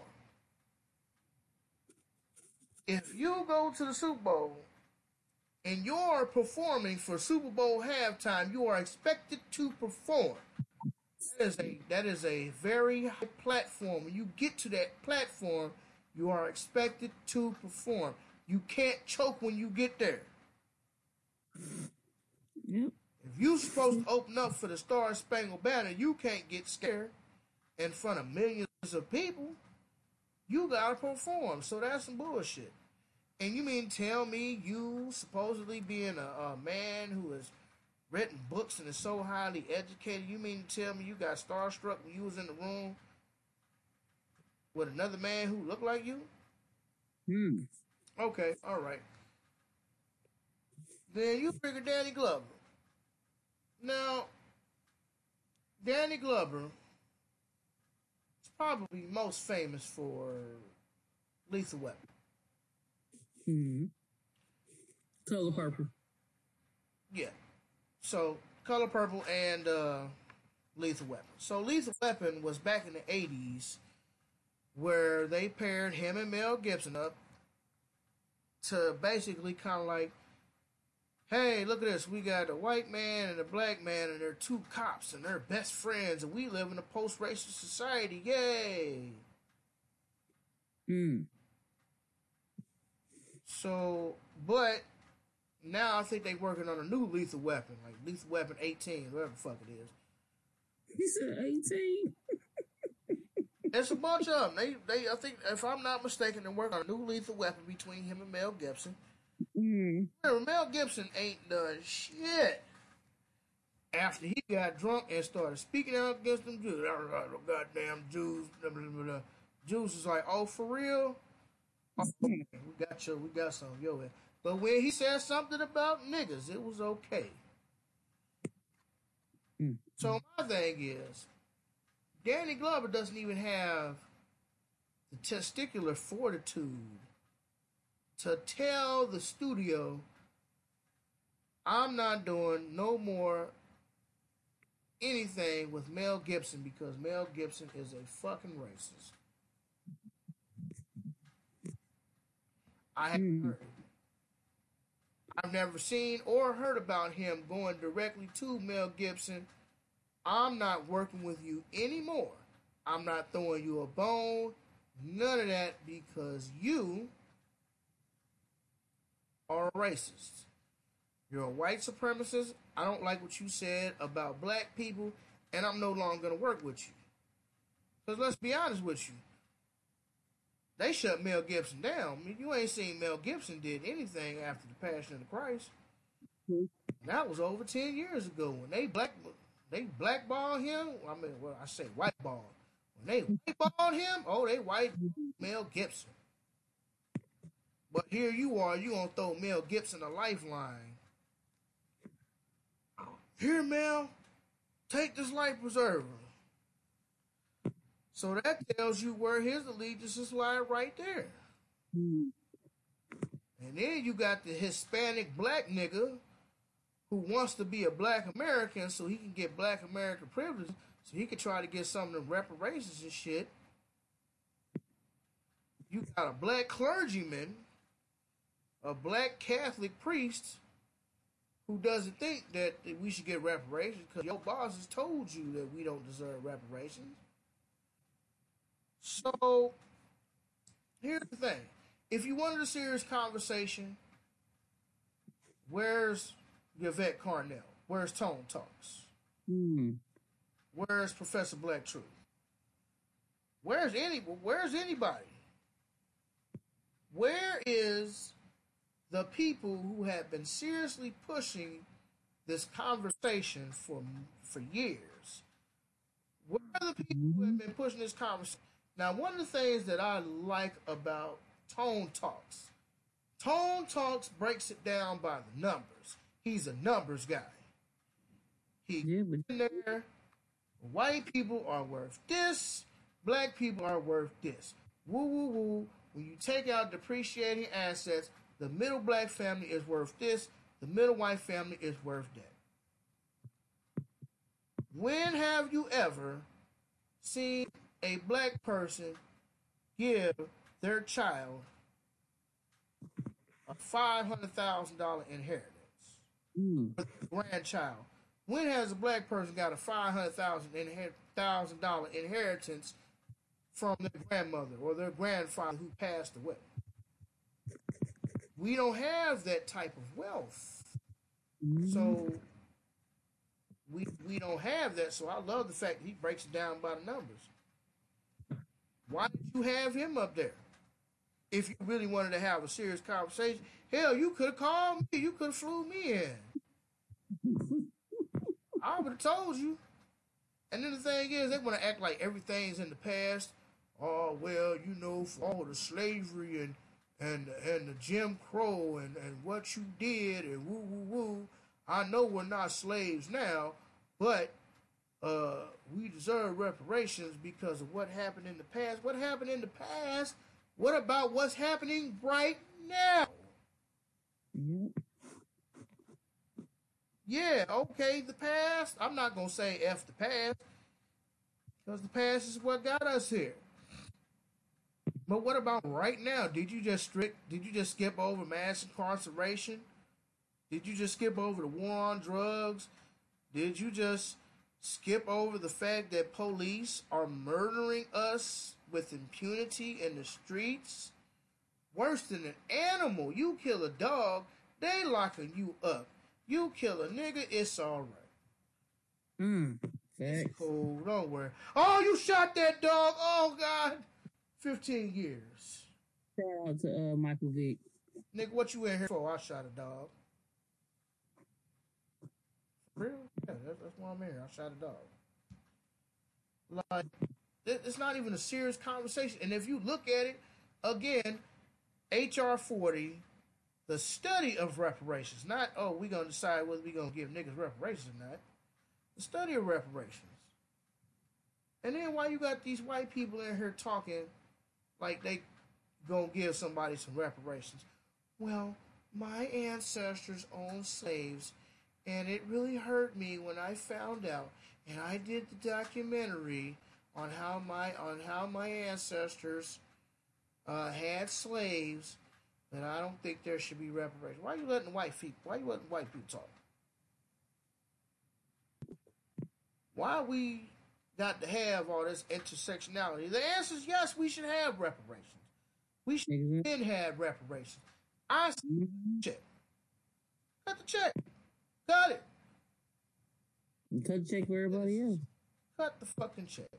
If you go to the Super Bowl and you're performing for Super Bowl halftime, you are expected to perform. That is a that is a very high platform. When you get to that platform, you are expected to perform. You can't choke when you get there. Yep. If you're supposed to open up for the Star Spangled Banner, you can't get scared in front of millions of people. You gotta perform. So that's some bullshit. And you mean tell me you supposedly being a, a man who has written books and is so highly educated, you mean to tell me you got starstruck when you was in the room with another man who looked like you? Hmm. Okay, all right. Then you figure Danny Glover. Now, Danny Glover is probably most famous for Lethal Weapon. Hmm. Color Purple. Yeah. So, Color Purple and uh, Lethal Weapon. So, Lethal Weapon was back in the eighties where they paired him and Mel Gibson up to basically kind of like, hey, look at this. We got a white man and a black man, and they're two cops, and they're best friends, and we live in a post-racist society. Yay! Hmm. So, but now I think they're working on a new Lethal Weapon, like Lethal Weapon eighteen, whatever the fuck it is. He said eighteen. It's a bunch of them. They, they, I think, if I'm not mistaken, they're working on a new Lethal Weapon between him and Mel Gibson. Hmm. Remember, Mel Gibson ain't done shit after he got drunk and started speaking out against them Jews. Goddamn Jews. Blah, blah, blah, blah. Jews is like, oh, for real? Oh, okay, we got you. We got some of your head. But when he said something about niggas, it was okay. Hmm. So my thing is, Danny Glover doesn't even have the testicular fortitude to tell the studio, I'm not doing no more anything with Mel Gibson because Mel Gibson is a fucking racist. I haven't Hmm. heard it. I've never seen or heard about him going directly to Mel Gibson. I'm not working with you anymore. I'm not throwing you a bone. None of that because you are a racist. You're a white supremacist. I don't like what you said about black people, and I'm no longer going to work with you. Because let's be honest with you. They shut Mel Gibson down. I mean, you ain't seen Mel Gibson did anything after the Passion of the Christ. Hmm. That was over ten years ago when they black they blackballed him. I mean, well, I say whiteball. When they whiteballed him, oh, they white Mel Gibson. But here you are, you gonna throw Mel Gibson a lifeline. Here, Mel, take this life preserver. So that tells you where his allegiances lie right there. Hmm. And then you got the Hispanic black nigga who wants to be a black American so he can get black American privilege, so he can try to get some of the reparations and shit. You got a black clergyman, a black Catholic priest who doesn't think that, that we should get reparations because your boss has told you that we don't deserve reparations. So, here's the thing. If you wanted a serious conversation, Where's Yvette Carnell? Where's Tone Talks? Mm. Where's Professor Black Truth? Where's any? Where's anybody? Where is the people who have been seriously pushing this conversation for for years? Where are the people who have been pushing this conversation? Now, one of the things that I like about Tone Talks, Tone Talks breaks it down by the numbers. He's a numbers guy. He Yeah, but in there. White people are worth this. Black people are worth this. Woo woo woo. When you take out depreciating assets, the middle black family is worth this. The middle white family is worth that. When have you ever seen a black person give their child a five hundred thousand dollars inheritance mm. for their grandchild? When has a black person got a five hundred thousand dollars inheritance from their grandmother or their grandfather who passed away? We don't have that type of wealth. Mm. So we we don't have that. So I love the fact that he breaks it down by the numbers. Why did you have him up there? If you really wanted to have a serious conversation, hell, you could have called me. You could have flew me in. I would have told you. And then the thing is, they want to act like everything's in the past. Oh, well, you know, for all the slavery and and and the Jim Crow and, and what you did and woo woo woo. I know we're not slaves now, but uh, we deserve reparations because of what happened in the past. What happened in the past? What about what's happening right now? Yep. Yeah, okay, the past. I'm not going to say F the past because the past is what got us here. But what about right now? Did you just strict, did you just skip over mass incarceration? Did you just skip over the war on drugs? Did you just skip over the fact that police are murdering us with impunity in the streets? Worse than an animal. You kill a dog, they locking you up. You kill a nigga, it's all right. Mm. It's cool, don't worry. Oh, you shot that dog. Oh, God. fifteen years. Shout out to uh, Michael Vick. Nigga, what you in here for? I shot a dog. For real? Yeah, that's, that's why I'm here. I shot a dog. Like, it's not even a serious conversation. And if you look at it, again, H R forty, the study of reparations, not, oh, we're going to decide whether we're going to give niggas reparations or not. The study of reparations. And then why you got these white people in here talking like they going to give somebody some reparations? Well, my ancestors owned slaves, and it really hurt me when I found out. And I did the documentary on how my on how my ancestors uh, had slaves. That I don't think there should be reparations. Why are you letting white people? Why are you letting white people talk? Why we got to have all this intersectionality? The answer is yes. We should have reparations. We should Mhm. then have reparations. I Mm-hmm. check. Cut the check. Cut it. Cut check for everybody else. Cut the fucking check.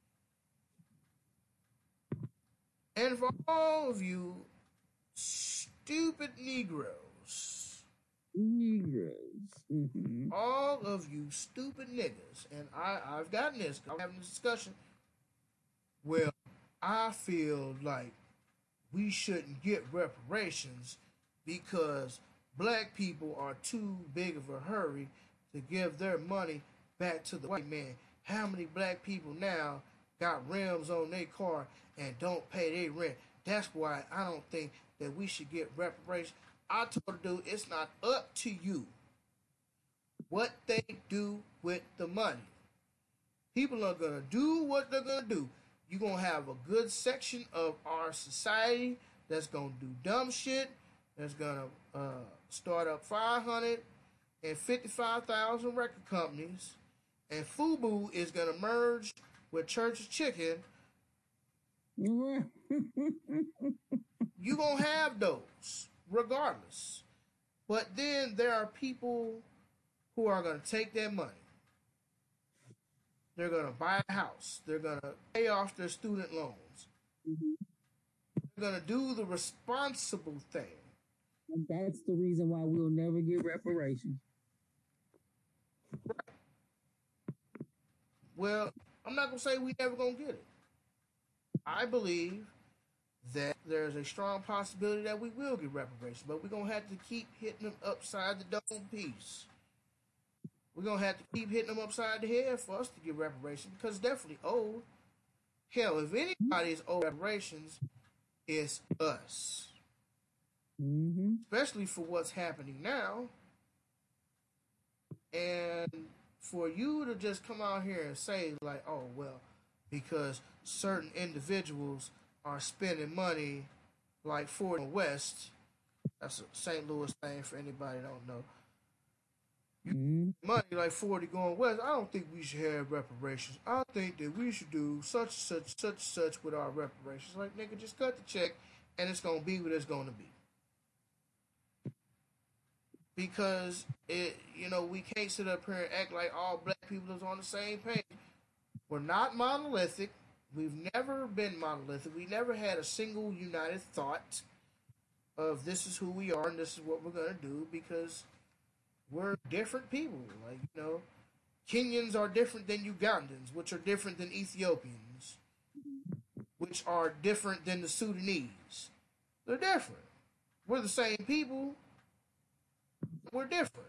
And for all of you stupid Negroes, Negroes. Mm-hmm. all of you stupid niggas, and I, I've gotten this, I'm having a discussion. Well, I feel like we shouldn't get reparations because black people are too big of a hurry to give their money back to the white man. How many black people now got rims on their car and don't pay their rent? That's why I don't think that we should get reparations. I told the dude, it's not up to you what they do with the money. People are going to do what they're going to do. You're going to have a good section of our society that's going to do dumb shit, that's going to uh, start up five hundred fifty-five thousand record companies, and FUBU is going to merge with Church's Chicken. You're going to have those, regardless. But then there are people who are going to take that money. They're going to buy a house. They're going to pay off their student loans. Mhm. They're going to do the responsible thing. And that's the reason why we'll never get reparations. Well, I'm not going to say we never going to get it. I believe that there's a strong possibility that we will get reparations, but we're going to have to keep hitting them upside the dome piece. We're going to have to keep hitting them upside the head for us to get reparations because it's definitely owed. Hell, if anybody is owed reparations, it's us. Mm-hmm. Especially for what's happening now. And for you to just come out here and say, like, oh, well, because certain individuals are spending money like Ford West, that's a Saint Louis thing for anybody that don't know. Mm-hmm. Money like forty going west, I don't think we should have reparations. I think that we should do such such such such with our reparations. Like, nigga, just cut the check and it's gonna be what it's gonna be. Because it you know, we can't sit up here and act like all black people is on the same page. We're not monolithic. We've never been monolithic. We never had a single united thought of this is who we are and this is what we're gonna do because we're different people. Like, you know, Kenyans are different than Ugandans, which are different than Ethiopians, which are different than the Sudanese. They're different. We're the same people. We're different.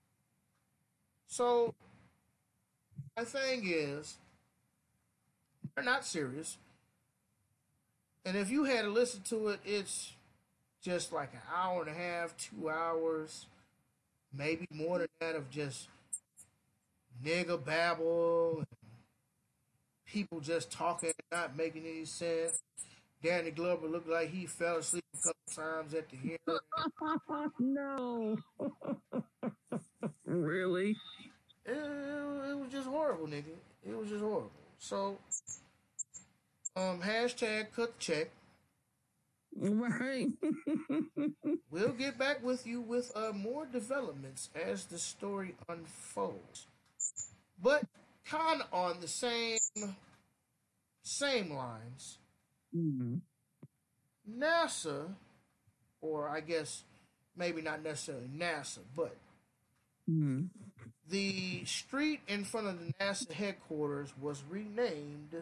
So, my thing is, they're not serious. And if you had to listen to it, it's just like an hour and a half, two hours, maybe more than that of just nigga babble, and people just talking, not making any sense. Danny Glover looked like he fell asleep a couple times at the hearing. No. Really? It, it, it was just horrible, nigga. It was just horrible. So, um, hashtag cut the check. Right. We'll get back with you with uh, more developments as the story unfolds. But kind of on the same same lines, Mm-hmm. NASA, or I guess maybe not necessarily NASA, but Mm-hmm. the street in front of the NASA headquarters was renamed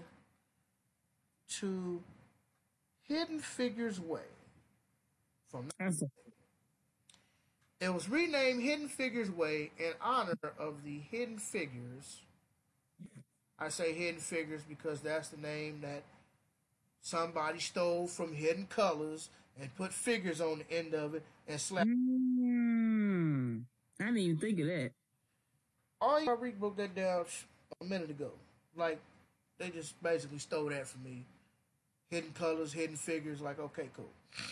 to Hidden Figures Way. From That's a, It was renamed Hidden Figures Way in honor of the Hidden Figures. I say Hidden Figures because that's the name that somebody stole from Hidden Colors and put figures on the end of it and slapped. mm, I didn't even think of that. All you Rick broke that down a minute ago. Like, they just basically stole that from me. Hidden Colors, Hidden Figures, like, okay, cool.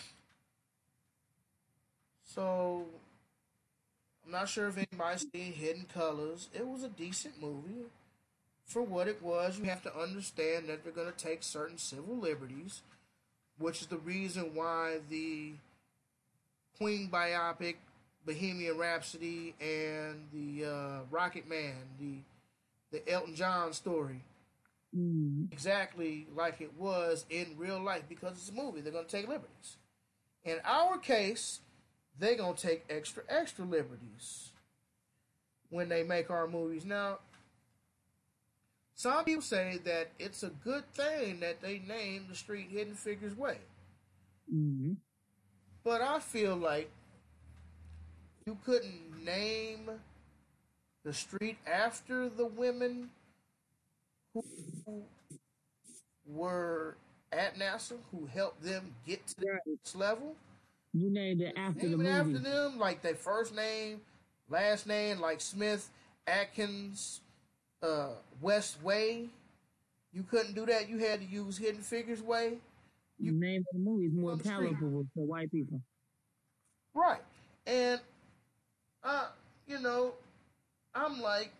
So, I'm not sure if anybody's seen Hidden Colors. It was a decent movie. For what it was, you have to understand that they're going to take certain civil liberties, which is the reason why the Queen biopic, Bohemian Rhapsody, and the uh, Rocket Man, the the Elton John story, Mm. exactly like it was in real life because it's a movie. They're going to take liberties. In our case, they're going to take extra, extra liberties when they make our movies. Now, some people say that it's a good thing that they named the street Hidden Figures Way. Mm. But I feel like you couldn't name the street after the women who were at NASA, who helped them get to Right. this level. You named it after the Name it movie. after them, like their first name, last name, like Smith, Atkins, uh, West Way. You couldn't do that. You had to use Hidden Figures Way. The name of the movie is more on the street. palatable for white people. Right. And, uh, you know, I'm like,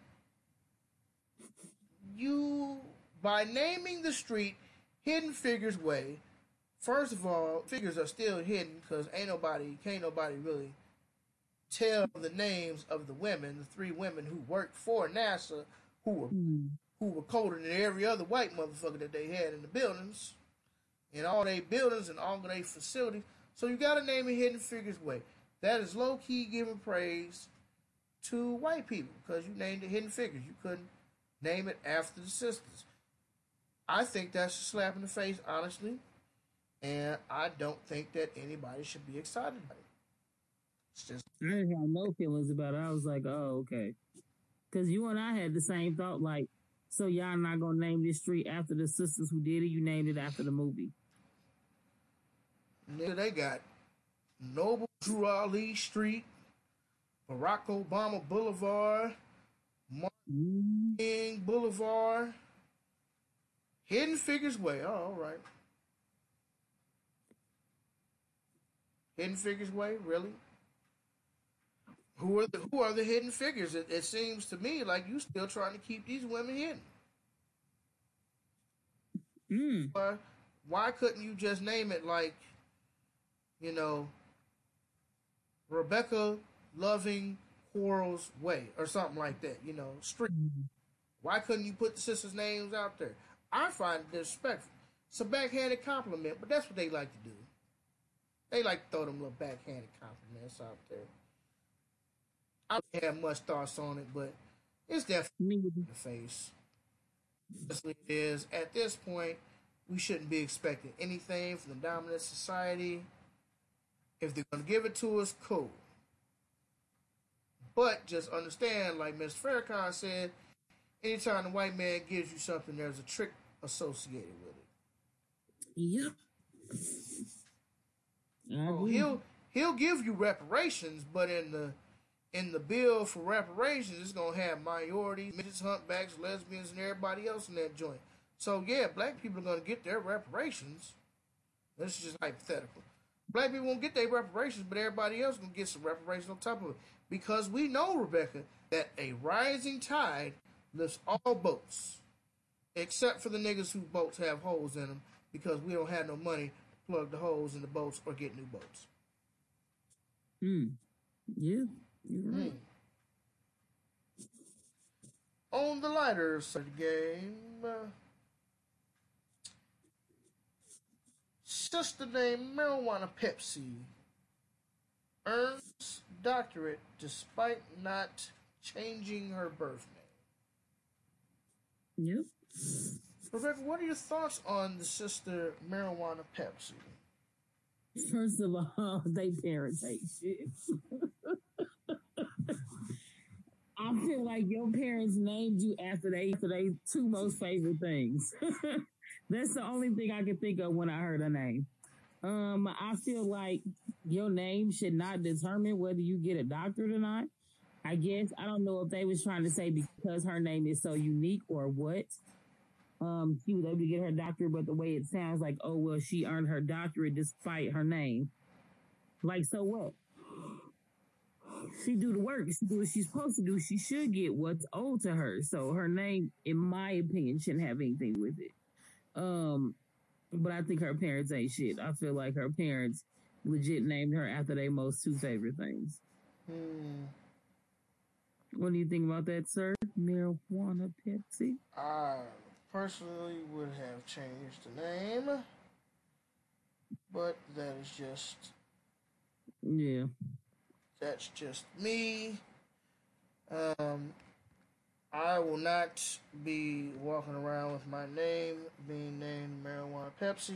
you, by naming the street Hidden Figures Way, first of all, figures are still hidden because ain't nobody, can't nobody really tell the names of the women, the three women who worked for NASA, who were Mm. who were colder than every other white motherfucker that they had in the buildings, in all their buildings and all of their facilities. So you got to name it Hidden Figures Way. That is low key giving praise to white people because you named it Hidden Figures. You couldn't name it after the sisters. I think that's a slap in the face, honestly, and I don't think that anybody should be excited about it. It's just I didn't have no feelings about it. I was like, oh, okay. Because you and I had the same thought, like, so y'all not going to name this street after the sisters who did it? You named it after the movie. nigga, they got Noble Drew Ali Street, Barack Obama Boulevard, Martin Mm. King Boulevard, Hidden Figures Way. Oh, all right. Hidden Figures Way, really? Who are the who are the hidden figures? It, it seems to me like you still trying to keep these women hidden. Mm. Why, why couldn't you just name it like, you know, Rebecca Loving Quarles Way or something like that? You know, street. Why couldn't you put the sisters' names out there? I find it disrespectful. It's a backhanded compliment, but that's what they like to do. They like to throw them little backhanded compliments out there. I don't have much thoughts on it, but it's definitely Me. in the face. Honestly, it is. At this point, we shouldn't be expecting anything from the dominant society. If they're going to give it to us, cool. But just understand, like Mister Farrakhan said, anytime the white man gives you something, there's a trick associated with it. Yep. I Oh, agree. he'll he'll give you reparations, but in the in the bill for reparations, it's gonna have minorities, midgets, humpbacks, lesbians, and everybody else in that joint. So yeah, black people are gonna get their reparations. This is just hypothetical. Black people won't get their reparations, but everybody else gonna get some reparations on top of it. Because we know, Rebecca, that a rising tide lifts all boats. Except for the niggas whose boats have holes in them, because we don't have no money to plug the holes in the boats or get new boats. Mm. Yeah, you're right. Mm. On the lighter side of the game, uh, sister named Marijuana Pepsi earns doctorate despite not changing her birth name. Yep. Rebecca, what are your thoughts on the sister Marijuana Pepsi? First of all, they parents hate shit. I feel like your parents named you after they after they two most favorite things. That's the only thing I can think of when I heard her name. Um, I feel like your name should not determine whether you get a doctorate or not. I guess I don't know if they was trying to say because her name is so unique or what. Um, she was able to get her doctorate, but the way it sounds like, oh well, she earned her doctorate despite her name. Like, so what? She do the work. She do what she's supposed to do. She should get what's owed to her. So her name, in my opinion, shouldn't have anything with it. Um, but I think her parents ain't shit. I feel like her parents legit named her after their most two favorite things. Hmm. What do you think about that, sir? Marijuana Pepsi? I personally would have changed the name, but that is just Yeah. that's just me. Um, I will not be walking around with my name being named Marijuana Pepsi.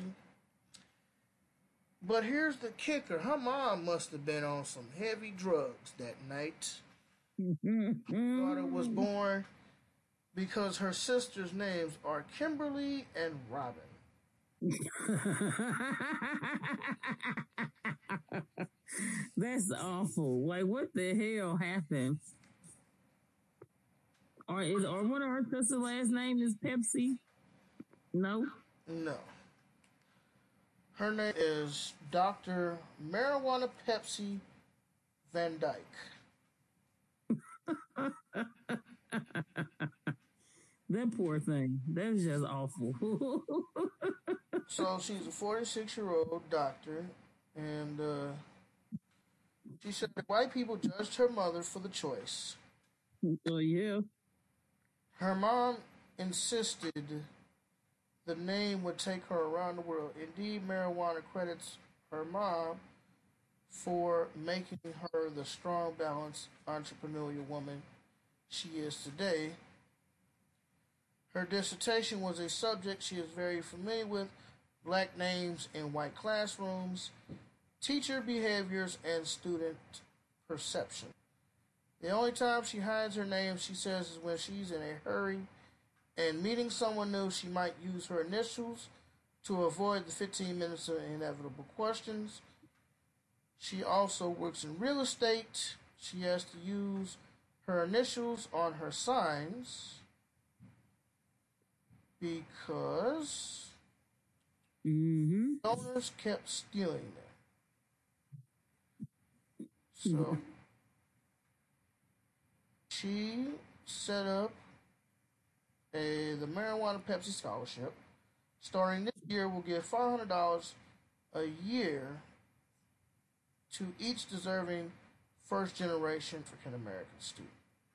But here's the kicker: her mom must have been on some heavy drugs that night. Daughter was born because her sisters' names are Kimberly and Robin. That's awful. Like, what the hell happened? Or is or one of her sister's last name is Pepsi? No. No. Her name is Doctor Marijuana Pepsi Van Dyke. That poor thing. That's just awful. So she's a forty-six year old doctor, and uh, She said that white people judged her mother for the choice. Oh yeah. Her mom insisted the name would take her around the world. Indeed, marijuana credits her mom for making her the strong, balanced, entrepreneurial woman she is today. Her dissertation was a subject she is very familiar with: black names in white classrooms, teacher behaviors, and student perception. The only time she hides her name, she says, is when she's in a hurry and meeting someone new. She might use her initials to avoid the fifteen minutes of inevitable questions. She also works in real estate. She has to use her initials on her signs because Mm-hmm. owners kept stealing them. So she set up a the Marijuana Pepsi Scholarship. Starting this year, will give five hundred dollars a year to each deserving first generation African American student.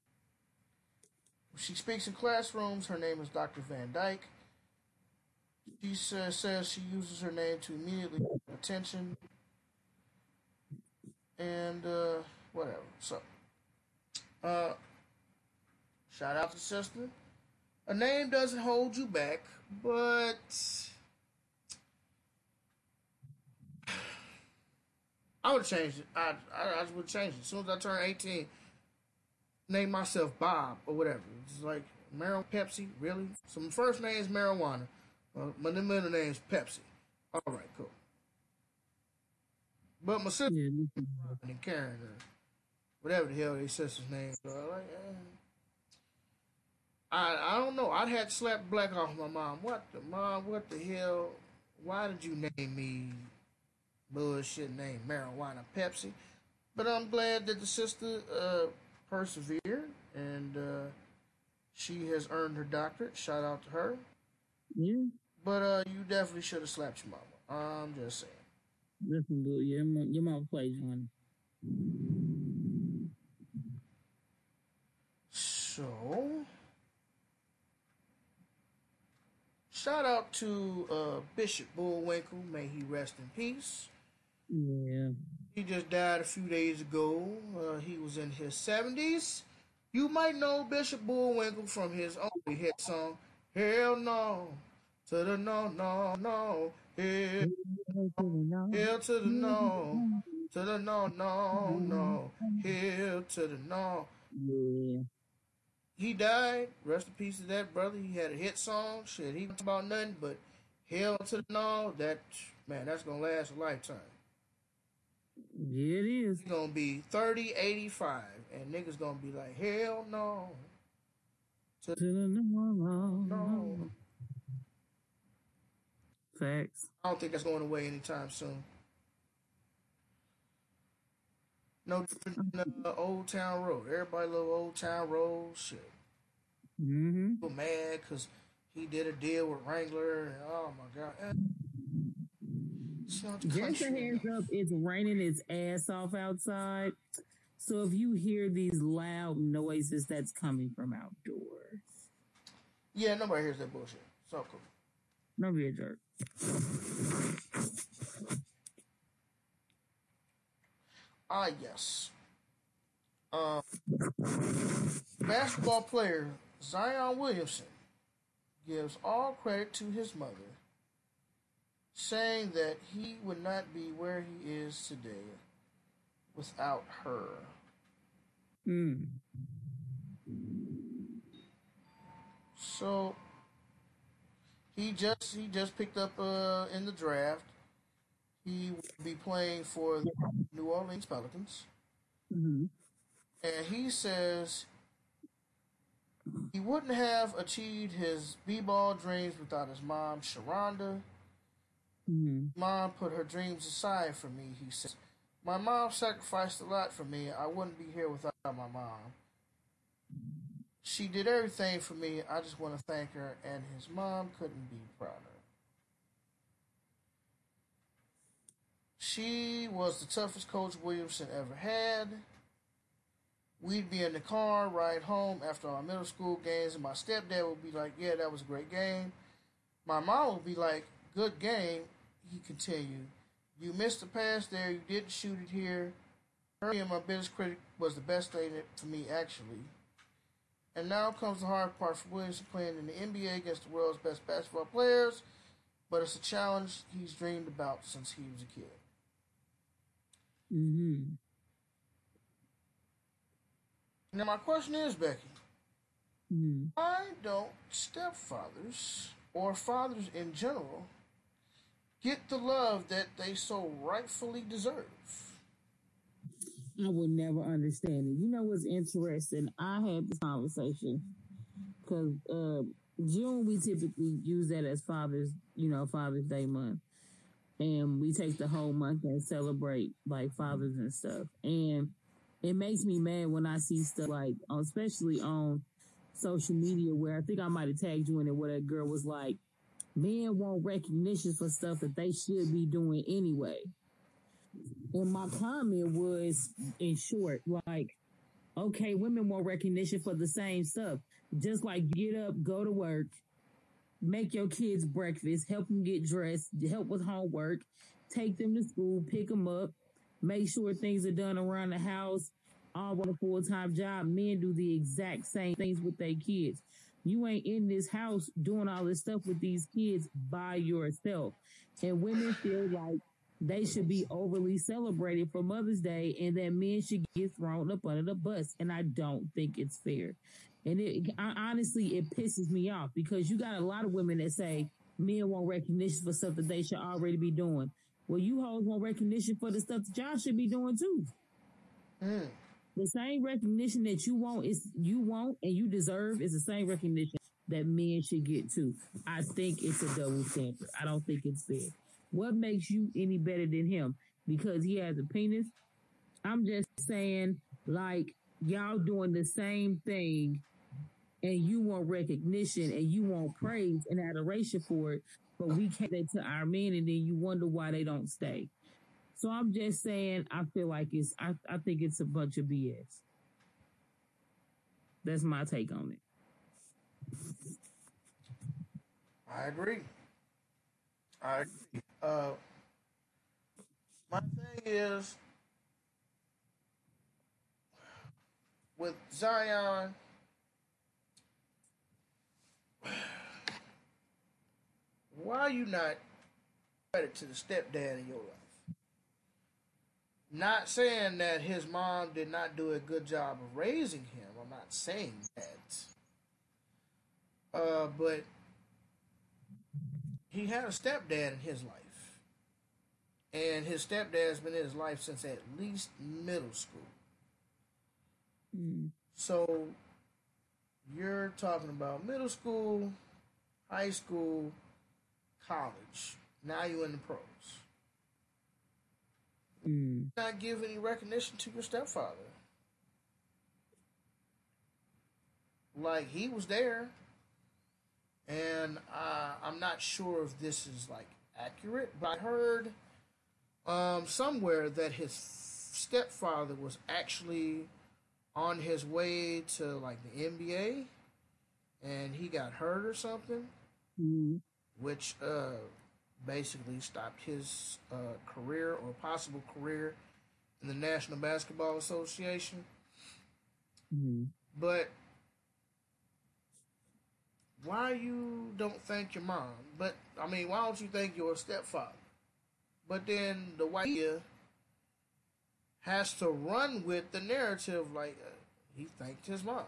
She speaks in classrooms. Her name is Doctor Van Dyke. She says, says she uses her name to immediately get attention and uh, whatever. So, uh, shout out to sister. A name doesn't hold you back, but I would change it. I, I, I would change it. As soon as I turn eighteen, name myself Bob or whatever. It's like marijuana, Pepsi, really? So my first name is marijuana. Uh, my middle name is Pepsi. All right, cool. But my sister Yeah. and Karen or whatever the hell their sister's name. So I like, eh. I I don't know. I'd had to slap the black off my mom. What the mom? What the hell? Why did you name me bullshit name marijuana Pepsi? But I'm glad that the sister uh, persevered and uh, she has earned her doctorate. Shout out to her. Yeah. But uh, you definitely should have slapped your mama. I'm just saying. Listen, boo, your mom, your mom plays one. So, shout out to uh, Bishop Bullwinkle. May he rest in peace. Yeah. He just died a few days ago. Uh, he was in his seventies. You might know Bishop Bullwinkle from his only hit song, Hell No, to the no, no, no, hell, hell to the no, to the no, no, no, hell to the no. Yeah. He died. Rest in peace to that brother. He had a hit song. Shit, he talked about nothing but hell to the no. That, man, that's going to last a lifetime. Yeah, it is. He's gonna be thirty, eighty-five, and niggas gonna be like, hell no. To To the no, no, no. Facts. I don't think that's going away anytime soon. No different than uh, Old Town Road. Everybody love Old Town Road. Shit. Mm-hmm. People mad because he did a deal with Wrangler. And, oh my God. Eh, it's not the Just a country heads enough. up, it's raining its ass off outside. So if you hear these loud noises, that's coming from outdoors. Yeah, nobody hears that bullshit. So cool. Don't be a jerk. Ah, yes. Um, basketball player Zion Williamson gives all credit to his mother, saying that he would not be where he is today without her. Mm. So he just he just picked up uh, in the draft. He will be playing for the New Orleans Pelicans, Mm-hmm. and he says he wouldn't have achieved his b-ball dreams without his mom, Sharonda. Mm-hmm. Mom put her dreams aside for me, he says. My mom sacrificed a lot for me. I wouldn't be here without my mom. She did everything for me. I just want to thank her, and his mom couldn't be prouder. She was the toughest coach Williamson ever had. We'd be in the car, ride home after our middle school games, and my stepdad would be like, "Yeah, that was a great game." My mom would be like, "Good game." He continued, "You missed the pass there. You didn't shoot it here." Her being my biggest critic was the best thing for me, actually. And now comes the hard part for Williamson, playing in the N B A against the world's best basketball players, but it's a challenge he's dreamed about since he was a kid. Mm-hmm. Now, my question is, Becky, Mm-hmm. why don't stepfathers or fathers in general get the love that they so rightfully deserve? I would never understand it. You know what's interesting? I had this conversation because uh, June we typically use that as Father's, you know, Father's Day month, and we take the whole month and celebrate like fathers and stuff. And it makes me mad when I see stuff like, especially on social media, where I think I might have tagged you in it, where that girl was like, "Men want recognition for stuff that they should be doing anyway." And my comment was, in short, like, okay, women want recognition for the same stuff. Just like get up, go to work, make your kids breakfast, help them get dressed, help with homework, take them to school, pick them up, make sure things are done around the house, all with a full-time job. Men do the exact same things with their kids. You ain't in this house doing all this stuff with these kids by yourself. And women feel like they should be overly celebrated for Mother's Day, and that men should get thrown up under the bus. And I don't think it's fair. And it, I, honestly, it pisses me off because you got a lot of women that say men want recognition for stuff that they should already be doing. Well, you hoes want recognition for the stuff that y'all should be doing too. Mm. The same recognition that you want is you want and you deserve is the same recognition that men should get too. I think it's a double standard. I don't think it's fair. What makes you any better than him? Because he has a penis? I'm just saying, like, y'all doing the same thing and you want recognition and you want praise and adoration for it, but we can't get to our men and then you wonder why they don't stay. So I'm just saying, I feel like it's, I, I think it's a bunch of B S. That's my take on it. I agree. I agree. Uh, my thing is, with Zion, why are you not credit to the stepdad in your life? Not saying that his mom did not do a good job of raising him. I'm not saying that. Uh, but he had a stepdad in his life. And his stepdad's been in his life since at least middle school. Mm. So you're talking about middle school, high school, college. Now you're in the pros. Mm. Not give any recognition to your stepfather. Like, he was there. And uh, I'm not sure if this is, like, accurate, but I heard um, somewhere that his stepfather was actually on his way to, like, the N B A, and he got hurt or something, Mm. which uh, basically stopped his uh, career or possible career in the National Basketball Association. Mm. But why you don't thank your mom? But, I mean, why don't you thank your stepfather? But then the white media has to run with the narrative like uh, he thanked his mom.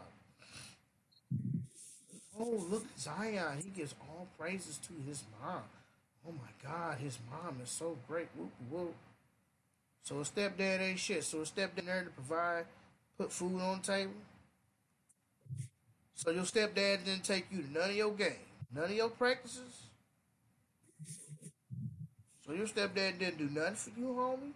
Oh, look, Zion, he gives all praises to his mom. Oh my God, his mom is so great. Whoop, whoop. So a stepdad ain't shit. So a stepdad there to provide, put food on the table. So your stepdad didn't take you to none of your games, none of your practices. So your stepdad didn't do nothing for you, homie.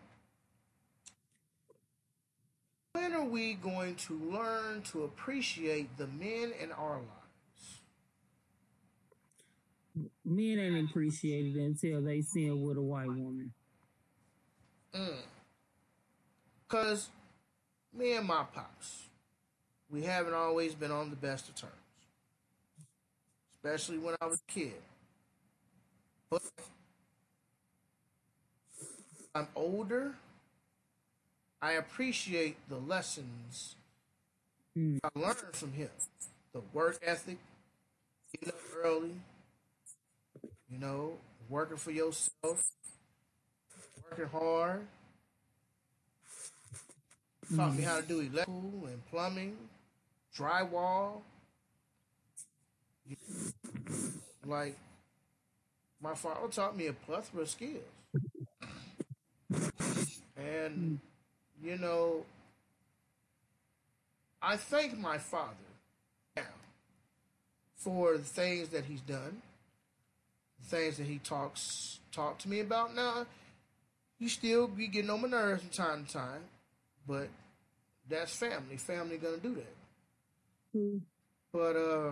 When are we going to learn to appreciate the men in our lives? Men ain't appreciated until they see it with a white woman. Mm. Cause me and my pops, we haven't always been on the best of terms, especially when I was a kid. But I'm older. I appreciate the lessons Mm. I learned from him. The work ethic, getting up early, you know, working for yourself, working hard. Taught me Mm. how to do electrical and plumbing, drywall. Like, my father taught me a plethora of skills. And, Mm. you know, I thank my father now for the things that he's done, the things that he talks talked to me about. Now, he still be getting on my nerves from time to time, but that's family. Family gonna do that. Mm. But uh,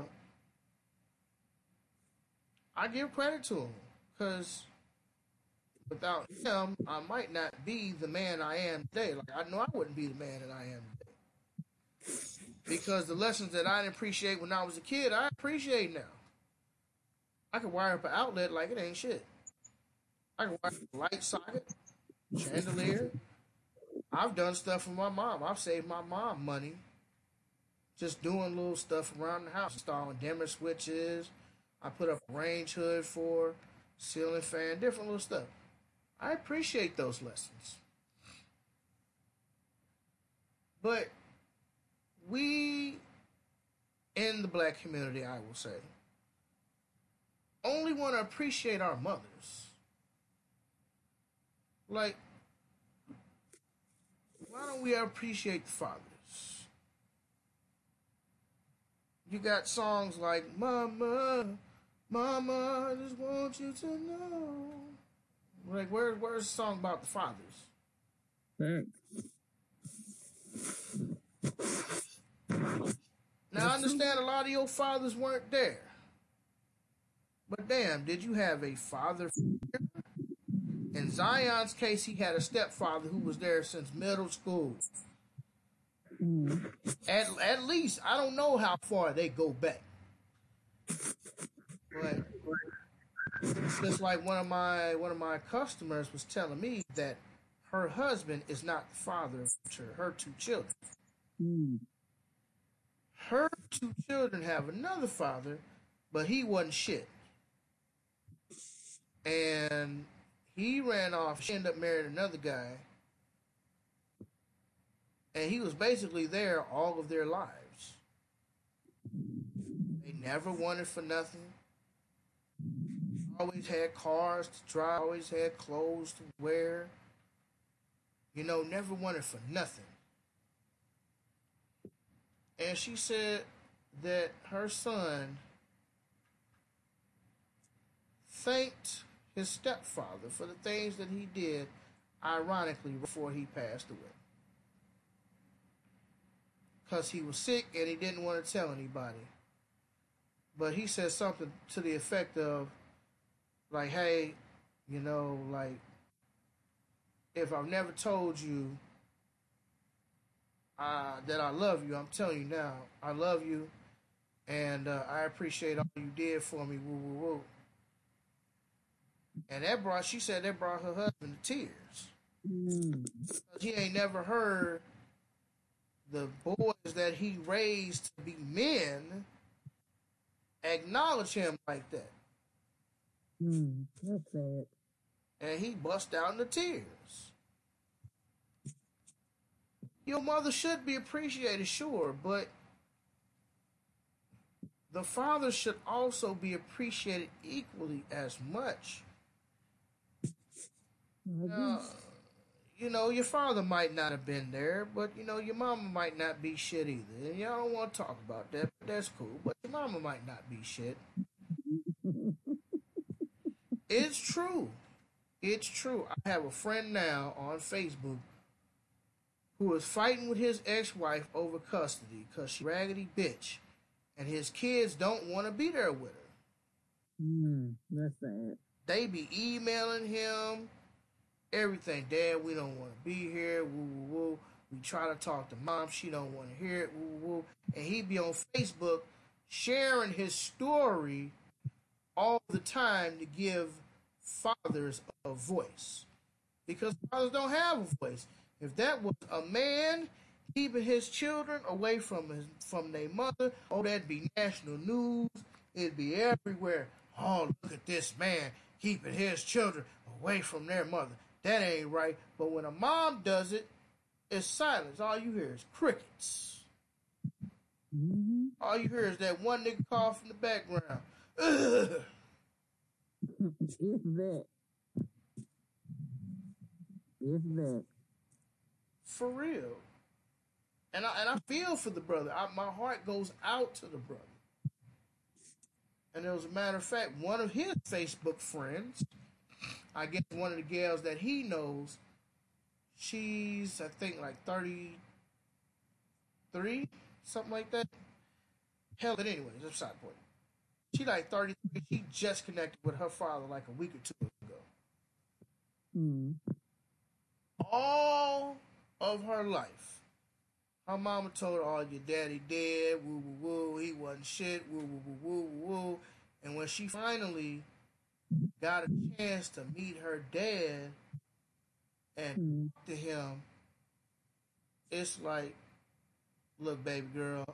I give credit to him because without him, I might not be the man I am today. Like I know I wouldn't be the man that I am today because the lessons that I didn't appreciate when I was a kid, I appreciate now. I can wire up an outlet like it ain't shit. I can wire up a light socket, chandelier. I've done stuff for my mom. I've saved my mom money just doing little stuff around the house, installing dimmer switches. I put up a range hood for ceiling fan, different little stuff. I appreciate those lessons. But we in the black community, I will say, only want to appreciate our mothers. Like, why don't we appreciate the fathers? You got songs like Mama, Mama, I just want you to know. Like, where, where's the song about the fathers? Right. Now, I That's true. understand a lot of your fathers weren't there. But damn, did you have a father figure? In Zion's case, he had a stepfather who was there since middle school. Mm. At, at least, I don't know how far they go back. But just like one of my one of my customers was telling me that her husband is not the father of her two children. Mm. Her two children have another father, but he wasn't shit. And he ran off. She ended up marrying another guy. And he was basically there all of their lives. They never wanted for nothing. Always had cars to drive, always had clothes to wear. You know, never wanted for nothing. And she said that her son thanked his stepfather for the things that he did, ironically, before he passed away. Because he was sick and he didn't want to tell anybody. But he said something to the effect of, like, hey, you know, like, if I've never told you uh, that I love you, I'm telling you now, I love you, and uh, I appreciate all you did for me, woo, woo, woo. And that brought, she said that brought her husband to tears. Mm. He ain't never heard the boys that he raised to be men acknowledge him like that. Mm. That's sad. And he bust out into tears. Your mother should be appreciated, sure, but the father should also be appreciated equally as much. I agree. Now, you know, your father might not have been there, but, you know, your mama might not be shit either. And y'all don't want to talk about that, but that's cool. But your mama might not be shit. It's true. It's true. I have a friend now on Facebook who is fighting with his ex-wife over custody because she raggedy bitch. And his kids don't want to be there with her. Mm. That's sad. They be emailing him everything. Dad, we don't want to be here. Woo woo woo. We try to talk to mom. She don't want to hear it. Woo woo woo. And he be on Facebook sharing his story all the time to give fathers a voice because fathers don't have a voice. If that was a man keeping his children away from his from their mother, oh, that'd be national news. It'd be everywhere. Oh, look at this man keeping his children away from their mother. That ain't right. But when a mom does it, it's silence. All you hear is crickets. Mm-hmm. All you hear is that one nigga cough in the background. Ugh. If that. If that. For real. And I and I feel for the brother. I, my heart goes out to the brother. And as a matter of fact, one of his Facebook friends, I guess one of the gals that he knows, she's I think like thirty-three, something like that. Hell, but anyways, that's beside the point. She like thirty-three. She just connected with her father like a week or two ago. Mm. All of her life, her mama told her, "Oh, your daddy dead. Woo woo woo. He wasn't shit. Woo woo woo woo woo." And when she finally got a chance to meet her dad and Mm. talk to him, it's like, "Look, baby girl,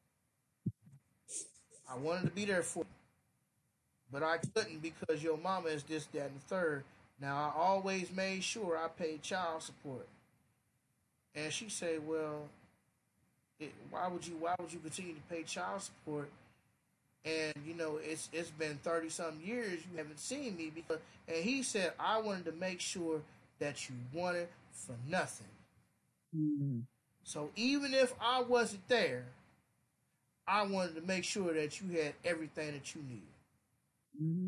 I wanted to be there for you, but I couldn't because your mama is this, that, and the third. Now, I always made sure I paid child support." And she said, "Well, it, why would you? Why would you continue to pay child support? And you know, it's it's been thirty some years you haven't seen me because." And he said, "I wanted to make sure that you wanted for nothing. Mm. So even if I wasn't there, I wanted to make sure that you had everything that you needed." Mm-hmm.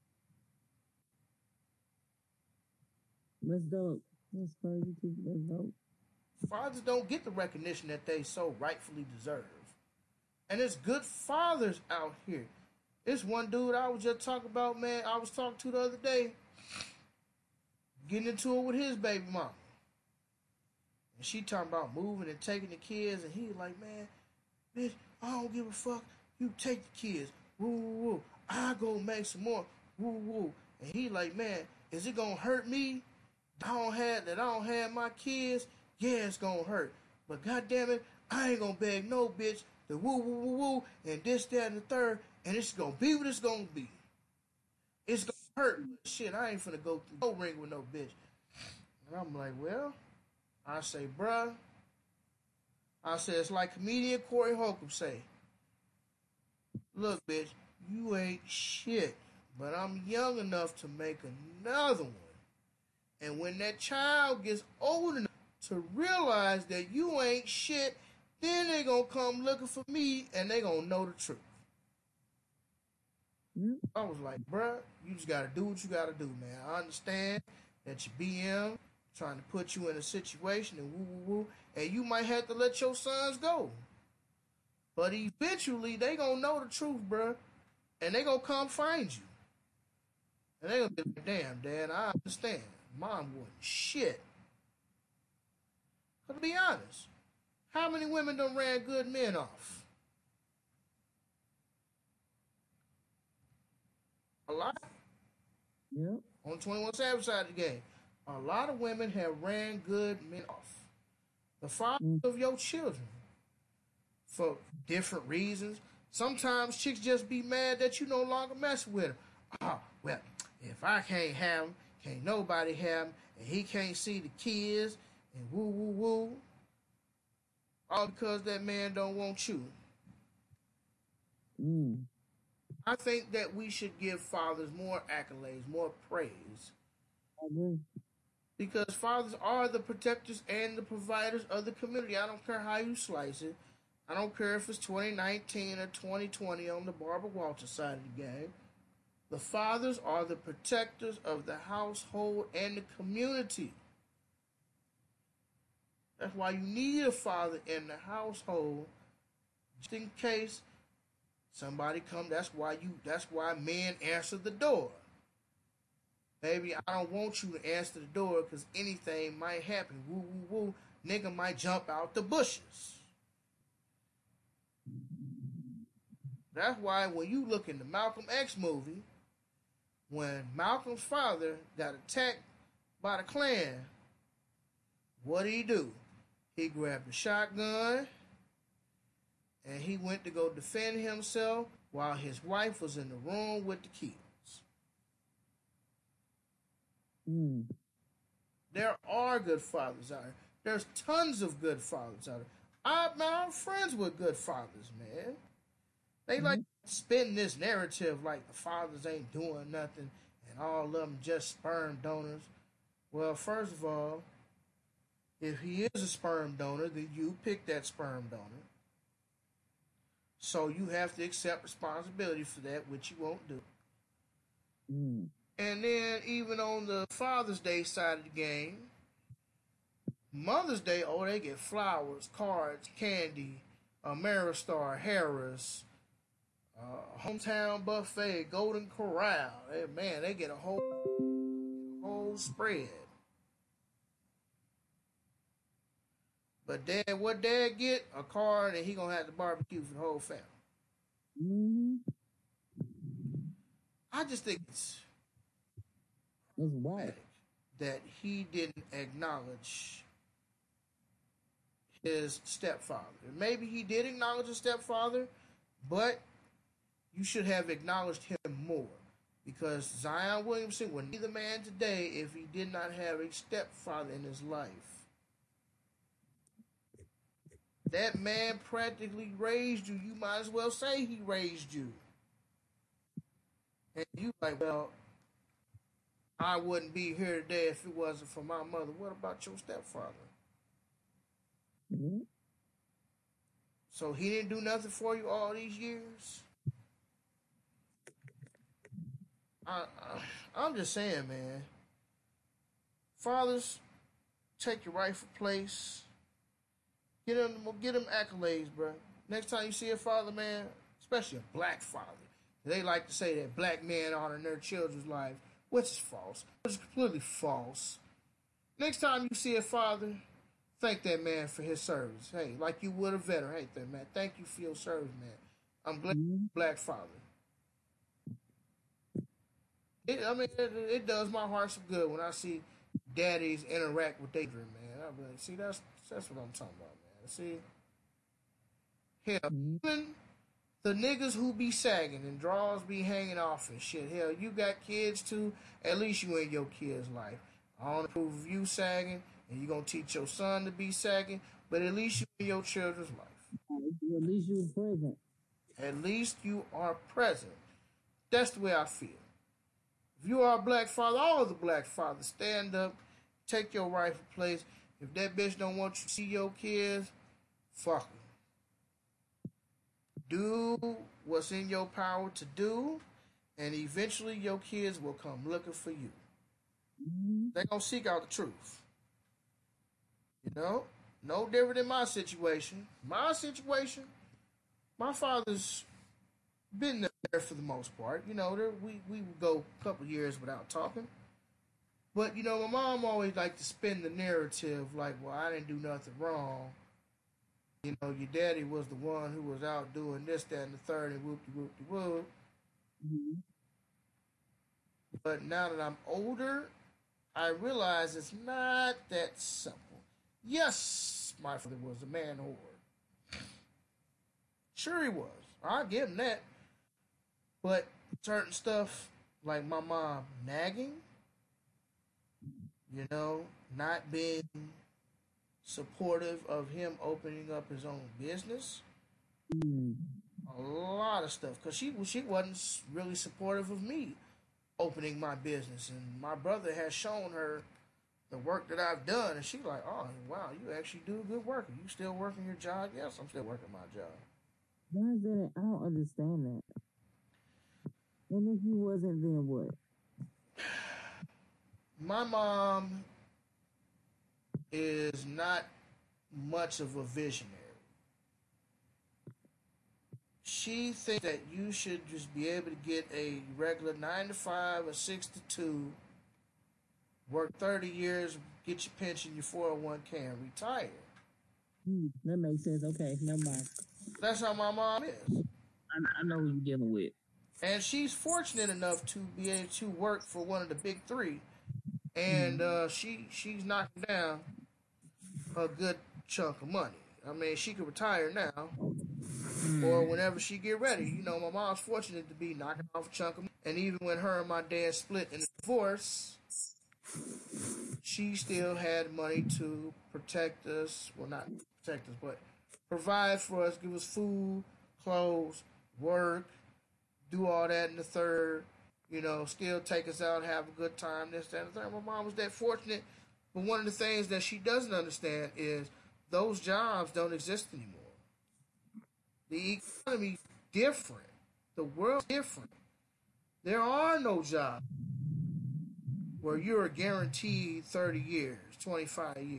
That's dope. That's crazy too. That's dope. Fathers don't get the recognition that they so rightfully deserve. And there's good fathers out here. It's one dude I was just talking about, man, I was talking to the other day, getting into it with his baby mama. And she talking about moving and taking the kids, and he like, "Man, bitch, I don't give a fuck. You take the kids. Woo, woo, woo. I go make some more. Woo, woo." And he like, "Man, is it gonna hurt me? I don't have that I don't have my kids. Yeah, it's gonna hurt. But goddamn it, I ain't gonna beg no bitch to woo woo woo woo and this, that, and the third, and it's gonna be what it's gonna be. It's gonna hurt, but shit, I ain't finna go through no ring with no bitch." And I'm like, well, I say, bruh, I say it's like comedian Corey Holcomb say, "Look, bitch, you ain't shit, but I'm young enough to make another one. And when that child gets old enough to realize that you ain't shit, then they gonna come looking for me and they gonna know the truth." Mm. I was like, bruh, you just gotta do what you gotta do, man. I understand that your B M trying to put you in a situation and woo woo woo, and you might have to let your sons go. But eventually they gonna know the truth, bruh, and they gonna come find you. And they gonna be like, "Damn, Dad, I understand. Mom wasn't shit." But to be honest, how many women done ran good men off? A lot. Yep. On twenty-one Savage side of the game, a lot of women have ran good men off. The fathers Mm. of your children, for different reasons. Sometimes chicks just be mad that you no longer mess with them. "Oh, well, if I can't have him, can't nobody have him, and he can't see the kids, and woo woo woo." All because that man don't want you. Mm. I think that we should give fathers more accolades, more praise, I agree. because fathers are the protectors and the providers of the community. I don't care how you slice it. I don't care if it's twenty nineteen or twenty twenty on the Barbara Walters side of the game. The fathers are the protectors of the household and the community. That's why you need a father in the household, just in case somebody come. That's why you. That's why men answer the door. Baby, I don't want you to answer the door because anything might happen. Woo, woo, woo. Nigga might jump out the bushes. That's why when you look in the Malcolm X movie, when Malcolm's father got attacked by the Klan, what did he do? He grabbed a shotgun and he went to go defend himself while his wife was in the room with the kids. Mm. There are good fathers out there. There's tons of good fathers out there. I, I'm friends with good fathers, man. They Mm-hmm. like spin this narrative like the fathers ain't doing nothing and all of them just sperm donors. Well, first of all, if he is a sperm donor, then you pick that sperm donor. So you have to accept responsibility for that, which you won't do. Mm. And then even on the Father's Day side of the game, Mother's Day, oh, they get flowers, cards, candy, Ameristar, Harris, uh, hometown buffet, Golden Corral. Hey, man, they get a whole whole spread. But dad, what dad get? A card, and he gonna have to barbecue for the whole family. Mm-hmm. I just think it's It's white. that he didn't acknowledge his stepfather. Maybe he did acknowledge his stepfather, but you should have acknowledged him more. Because Zion Williamson would be the man today if he did not have a stepfather in his life. That man practically raised you. You might as well say he raised you. And you like, well, I wouldn't be here today if it wasn't for my mother. What about your stepfather? Mm-hmm. So he didn't do nothing for you all these years? I, I, I'm just saying, man. Fathers, take your rightful place. Get them, get them accolades, bro. Next time you see a father, man, especially a black father, they like to say that black men honor their children's lives, which is false. Which is completely false. Next time you see a father, thank that man for his service. Hey, like you would a veteran. Hey, that man, thank you for your service, man. I'm glad Mm-hmm. you're a black father. It, I mean, it, it does my heart some good when I see daddies interact with their children, man. I'm like, see, that's that's what I'm talking about, man. See, hell, Mm-hmm. even the niggas who be sagging and draws be hanging off and shit. Hell, you got kids too. At least you in your kid's life. I don't approve of you sagging, and you gonna teach your son to be sagging, but at least you in your children's life. At least you were present. At least you are present. That's the way I feel. If you are a black father, all of the black fathers, stand up, take your rightful place. If that bitch don't want you to see your kids, fuck her. Do what's in your power to do, and eventually your kids will come looking for you. Mm-hmm. They're going to seek out the truth. You know? No different than my situation. My situation, my father's been there for the most part. You know, there, we, we would go a couple years without talking. But, you know, my mom always liked to spin the narrative like, well, I didn't do nothing wrong. You know, your daddy was the one who was out doing this, that, and the third, and whoop-de-whoop-de-whoop. Mm-hmm. But now that I'm older, I realize it's not that simple. Yes, my father was a man whore. Sure he was. I'll give him that. But certain stuff, like my mom nagging, you know, not being supportive of him opening up his own business, Mm-hmm. a lot of stuff. Because she, she wasn't really supportive of me opening my business. And my brother has shown her the work that I've done. And she's like, oh, wow, you actually do good work. Are you still working your job? Yes, I'm still working my job. Why is that? I don't understand that. And if you wasn't, then what? My mom is not much of a visionary. She thinks that you should just be able to get a regular nine to five or six to two work thirty years, get your pension, your four oh one k, and retire. Mm, that makes sense. Okay, never mind. That's how my mom is. I, I know who you're dealing with. And she's fortunate enough to be able to work for one of the big three. And Mm, uh, she she's knocking down a good chunk of money. I mean, she could retire now or mm, whenever she get ready. You know, my mom's fortunate to be knocking off a chunk of money. And even when her and my dad split in a divorce, she still had money to protect us. Well, not protect us, but provide for us, give us food, clothes, work, do all that in the third. You know, still take us out, have a good time, this, that, and the third. My mom was that fortunate. But one of the things that she doesn't understand is those jobs don't exist anymore. The economy's different. The world's different. There are no jobs where you're guaranteed thirty years, twenty-five years.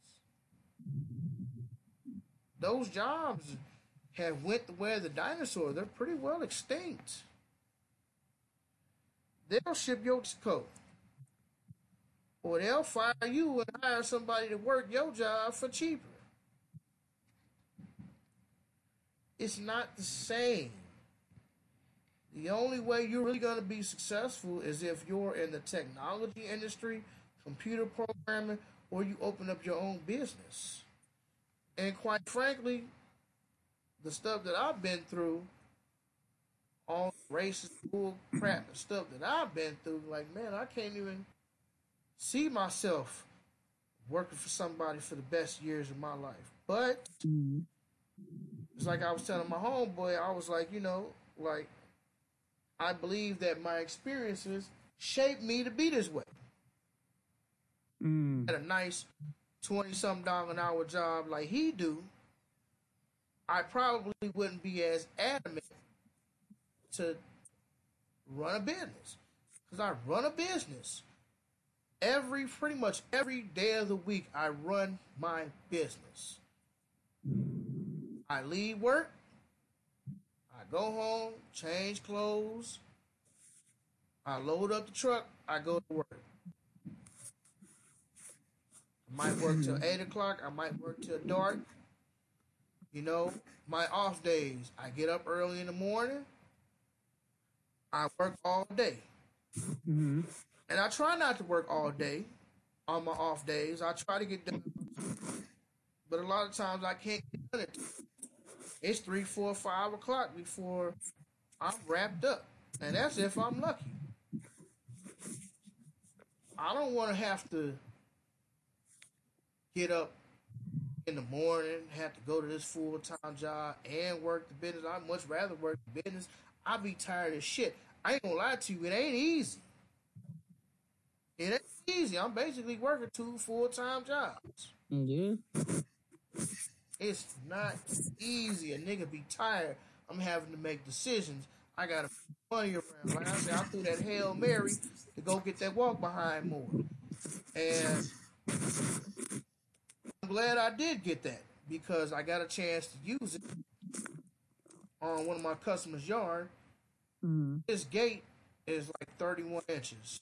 Those jobs have went the way of the dinosaur. They're pretty well extinct. They'll ship your coat. Or they'll fire you and hire somebody to work your job for cheaper. It's not the same. The only way you're really going to be successful is if you're in the technology industry, computer programming, or you open up your own business. And quite frankly, the stuff that I've been through, all racist bull crap and stuff that I've been through, like, man, I can't even see myself working for somebody for the best years of my life. But mm, it's like I was telling my homeboy, I was like, you know, like, I believe that my experiences shaped me to be this way. mm, At a nice twenty something dollar an hour job like he do, I probably wouldn't be as adamant to run a business. Because I run a business. Every, pretty much every day of the week, I run my business. I leave work, I go home, change clothes, I load up the truck, I go to work. I might work till eight o'clock, I might work till dark. You know, my off days, I get up early in the morning, I work all day. mm, And I try not to work all day on my off days. I try to get done, but a lot of times I can't get done it. It's three, four, five o'clock before I'm wrapped up. And that's if I'm lucky. I don't want to have to get up in the morning, have to go to this full time job and work the business. I'd much rather work the business. I be tired as shit. I ain't gonna lie to you, it ain't easy. It ain't easy. I'm basically working two full time jobs. yeah. It's not easy. A nigga be tired. I'm having to make decisions. I gotta put money around. Like I said, I threw that Hail Mary to go get that walk behind more. And I'm glad I did get that because I got a chance to use it on one of my customers' yard. Mm, This gate is like thirty-one inches.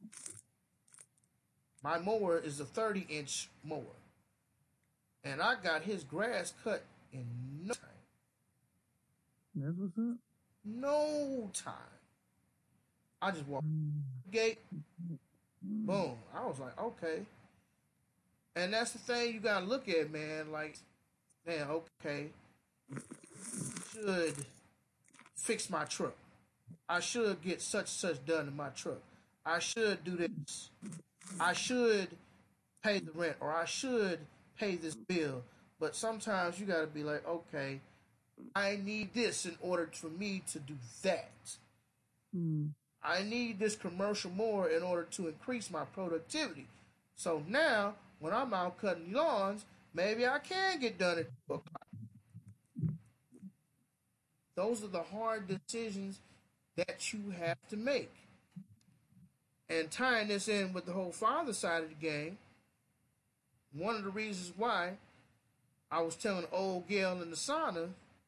My mower is a thirty inch mower. And I got his grass cut in no time. that's what's up. No time. I just walked Mm, the gate, boom. I was like, okay. And that's the thing you gotta look at, man. Like, man, okay. Should fix my truck. I should get such such done in my truck. I should do this. I should pay the rent or I should pay this bill. But sometimes you gotta be like, okay, I need this in order for me to do that. mm, I need this commercial more in order to increase my productivity. So now, when I'm out cutting lawns, maybe I can get done at two o'clock. Those are the hard decisions that you have to make. And tying this in with the whole father side of the game, one of the reasons why I was telling old Gail in the sauna,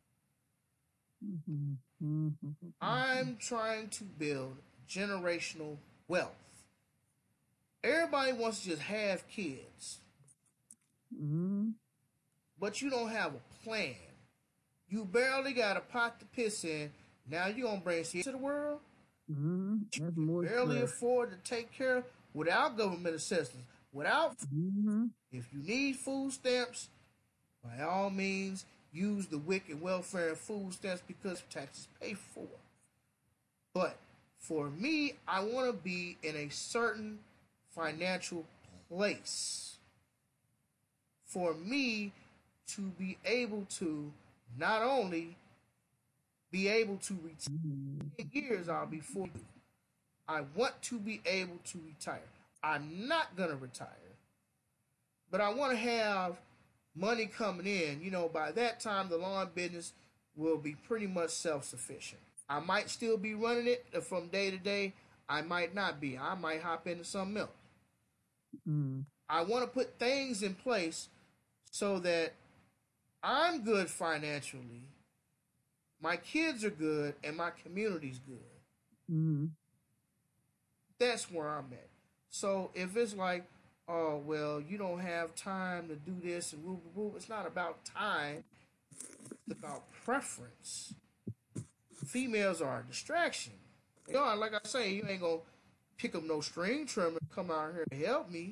mhm, mhm, I'm trying to build generational wealth. Everybody wants to just have kids, Mm-hmm. but you don't have a plan. You barely got a pot to piss in. Now you gonna bring kids to the world? Mm-hmm. That's You more barely stress. afford to take care of without government assistance. Without, Mm-hmm. if you need food stamps, by all means, use the W I C and welfare and food stamps because taxes pay for. But for me, I want to be in a certain financial place for me to be able to not only be able to retire in years I'll be forty. I want to be able to retire. I'm not gonna retire, but I want to have money coming in. You know, by that time the lawn business will be pretty much self-sufficient. I might still be running it from day to day. I might not be. I might hop into something else. Mm-hmm. I want to put things in place so that I'm good financially, my kids are good, and my community's good. Mm-hmm. That's where I'm at. So if it's like, oh, well, you don't have time to do this and woo, woo, woo, it's not about time. It's about preference. Females are a distraction. You know, like I say, you ain't gonna pick up no string trimmer and come out here and help me.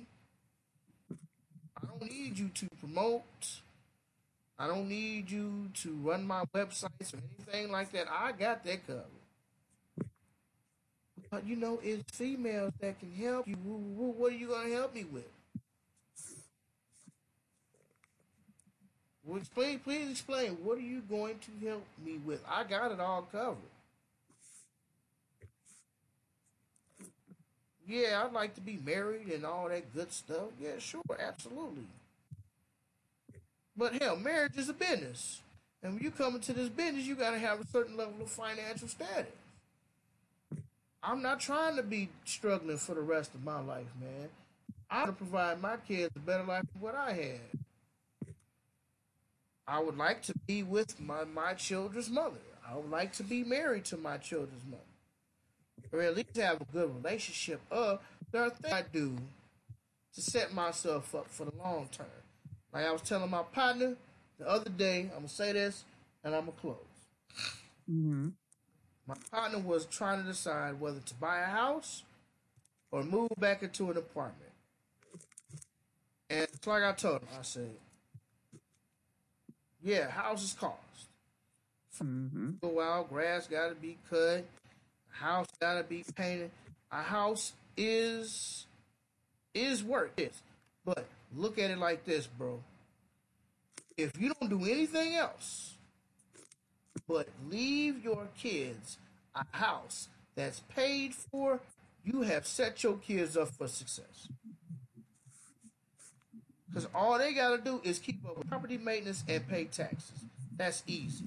I don't need you to promote. I don't need you to run my websites or anything like that. I got that covered. But you know, it's females that can help you. What are you gonna help me with? Well, explain, please explain. What are you going to help me with? I got it all covered. Yeah, I'd like to be married and all that good stuff. Yeah, sure, absolutely. But hell, marriage is a business. And when you come into this business, you got to have a certain level of financial status. I'm not trying to be struggling for the rest of my life, man. I want to provide my kids a better life than what I had. I would like to be with my, my children's mother. I would like to be married to my children's mother. Or at least have a good relationship. Uh, there are things I do to set myself up for the long term. Like I was telling my partner the other day, I'm going to say this and I'm going to close. Mm-hmm. My partner was trying to decide whether to buy a house or move back into an apartment. And it's like I told him, I said, yeah, houses cost. Mm-hmm. Go out, grass got to be cut, house got to be painted. A house is is work, yes. But look at it like this, bro. If you don't do anything else but leave your kids a house that's paid for, you have set your kids up for success. Because all they got to do is keep up with property maintenance and pay taxes. That's easy.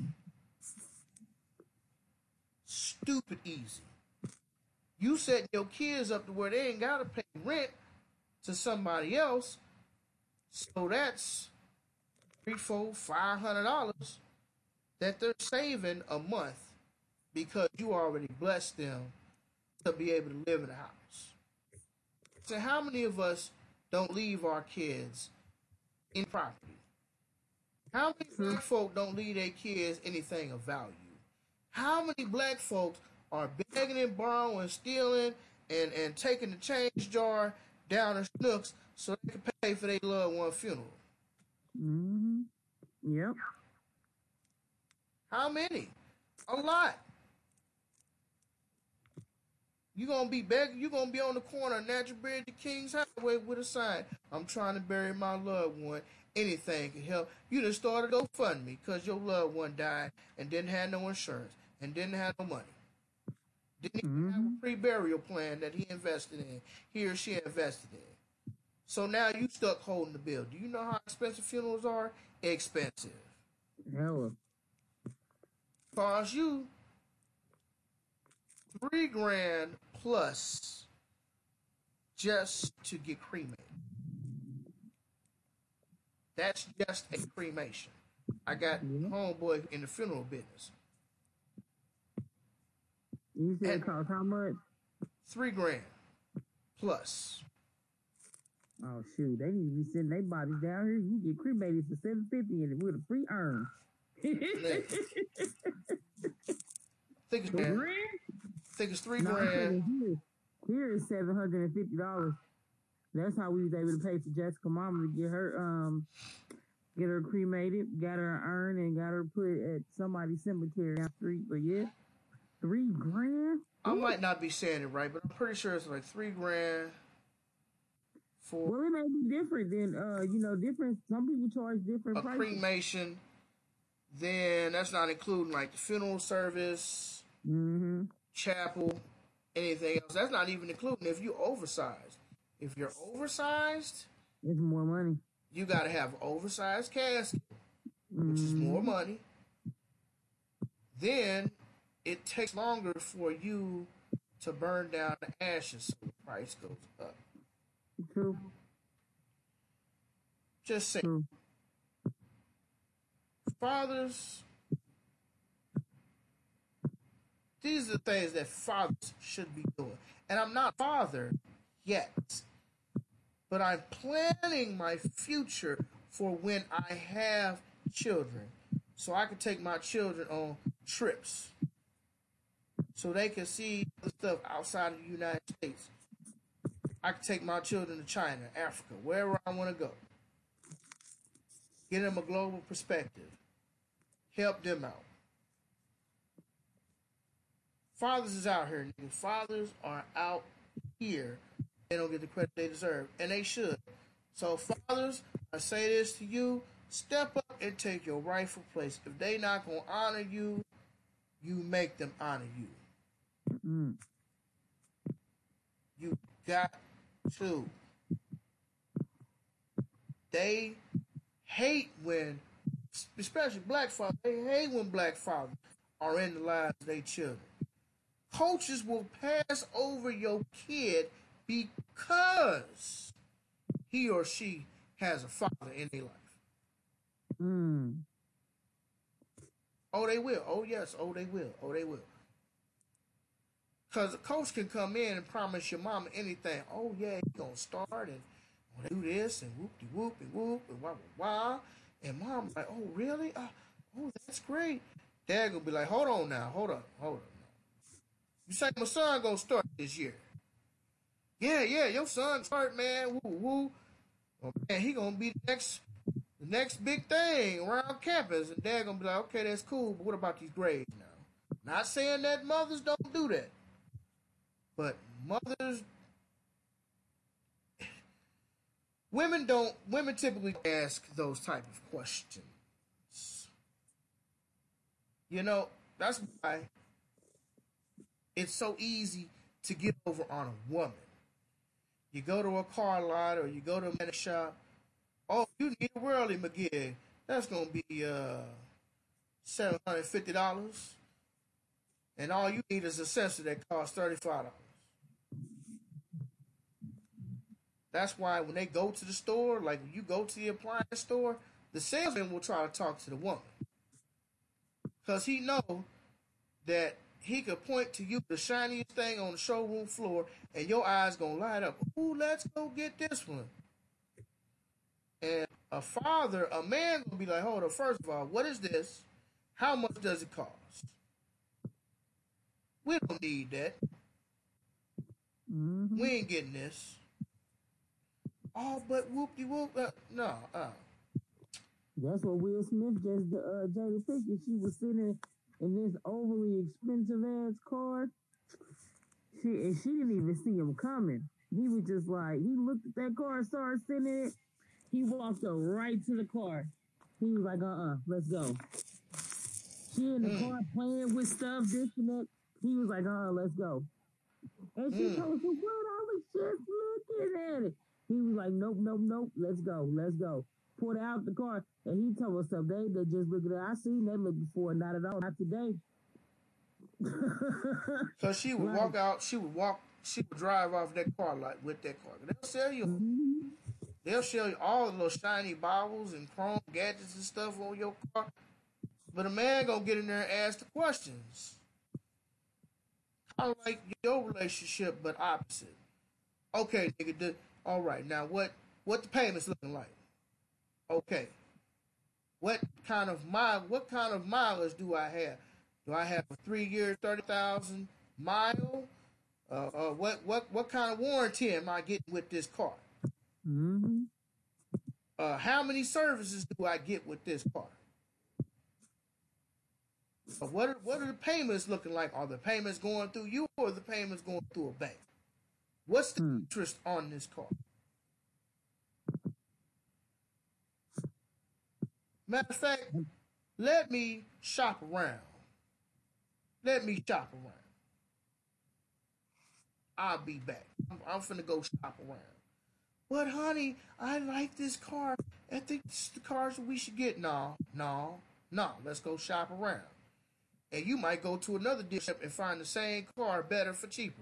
Stupid easy. You setting your kids up to where they ain't got to pay rent to somebody else. So that's three, four, five hundred dollars that they're saving a month because you already blessed them to be able to live in a house. So how many of us don't leave our kids in property? How many black folk don't leave their kids anything of value? How many black folks are begging and borrowing, stealing, and, and taking the change jar down the snooks so they can pay for their loved one funeral? Mm-hmm. Yep. How many? A lot. You gonna be begging, you gonna be on the corner of Natural Bridge to Kings Highway with a sign, I'm trying to bury my loved one. Anything can help. You done started GoFundMe because your loved one died and didn't have no insurance and didn't have no money. Didn't even Mm-hmm. have a pre-burial plan that he invested in, he or she invested in. So now you stuck holding the bill. Do you know how expensive funerals are? Expensive. Hella. Cost you three grand plus just to get cremated. That's just a cremation. I got Yeah. homeboy in the funeral business. You said And- it cost how much? Three grand plus. Oh shoot, they need to be sending their bodies down here. You get cremated for seven fifty and with a free urn. Man, think it's grand. Think it's three No, I'm grand. saying here, here is seven hundred and fifty dollars. That's how we was able to pay for Jessica mama to get her um get her cremated, got her an urn, and got her put at somebody's cemetery down the street. But yeah, three grand. I might not be saying it right, but I'm pretty sure it's like three grand for Well, it may be different than uh, you know, different. Some people charge different a prices. cremation. Then that's not including like the funeral service, Mm-hmm. chapel, anything else. That's not even including if you oversized. If you're oversized, It's more money. you got to have oversized casket, which is Mm-hmm. more money. Then it takes longer for you to burn down the ashes, so the price goes up. True. Just say, True. fathers, these are the things that fathers should be doing. And I'm not father yet, but I'm planning my future for when I have children, so I can take my children on trips, so they can see the stuff outside of the United States. I can take my children to China, Africa, wherever I want to go. Get them a global perspective. Help them out. Fathers is out here, nigga. Fathers are out here. They don't get the credit they deserve, and they should. So, fathers, I say this to you: step up and take your rightful place. If they not gonna honor you, you make them honor you. Mm. You got to. They hate when, especially black fathers, they hate when black fathers are in the lives of their children. Coaches will pass over your kid because he or she has a father in their life. Mm. Oh, they will. Oh, yes. Oh, they will. Oh, they will. Because a coach can come in and promise your mama anything. Oh, yeah, he's going to start and do this and whoop-de-whoop and whoop and wah-wah-wah. And mom's like, oh, really? Uh, oh, that's great. Dad going to be like, hold on now. Hold up. Hold up. You say my son going to start this year. Yeah, yeah, your son start, man. Woo, woo. Oh, man, he going to be the next, the next big thing around campus. And Dad going to be like, okay, that's cool, but what about these grades now? Not saying that mothers don't do that. But mothers, women don't, women typically ask those type of questions. You know, that's why it's so easy to get over on a woman. You go to a car lot or you go to a mechanic shop. Oh, you need a Whirly McGee. That's going to be uh, seven hundred fifty dollars. And all you need is a sensor that costs thirty-five dollars. That's why when they go to the store, like when you go to the appliance store, the salesman will try to talk to the woman. Because he know that he could point to you the shiniest thing on the showroom floor and your eyes going to light up. Ooh, let's go get this one. And a father, a man going to be like, hold on, first of all, what is this? How much does it cost? We don't need that. Mm-hmm. We ain't getting this. Oh, but whoop-de-whoop. Uh, no, uh. That's what Will Smith just, uh, Jada Pinkett, she was sitting in this overly expensive ass car. She, and she didn't even see him coming. He was just like, he looked at that car and started sitting in it. He walked her right to the car. He was like, uh-uh, let's go. She in the mm. car playing with stuff, this and that. He was like, uh-uh, let's go. And she mm. told him, what? I was just looking at it. He was like, nope, nope, nope, let's go, let's go. Pulled out the car, and he told us something. They, they just look at it. I seen that look before, not at all, not today. So she would like, walk out, she would walk, she would drive off that car lot with that car. They'll sell you, mm-hmm. they'll sell you all the little shiny baubles and chrome gadgets and stuff on your car. But a man gonna get in there and ask the questions. Kind of like your relationship, but opposite. Okay, nigga, all right, now what what the payments looking like? Okay. What kind of mile? What kind of mileage do I have? Do I have a three year, thirty thousand mile? Uh, uh, what what what kind of warranty am I getting with this car? Mm-hmm. Uh, how many services do I get with this car? Uh, what are, what are the payments looking like? Are the payments going through you or are the payments going through a bank? What's the Mm. interest on this car? Matter of fact, let me shop around. Let me shop around. I'll be back. I'm, I'm finna go shop around. But honey, I like this car. I think this is the cars that we should get. No, no, no. Let's go shop around. And you might go to another dealership and find the same car better for cheaper.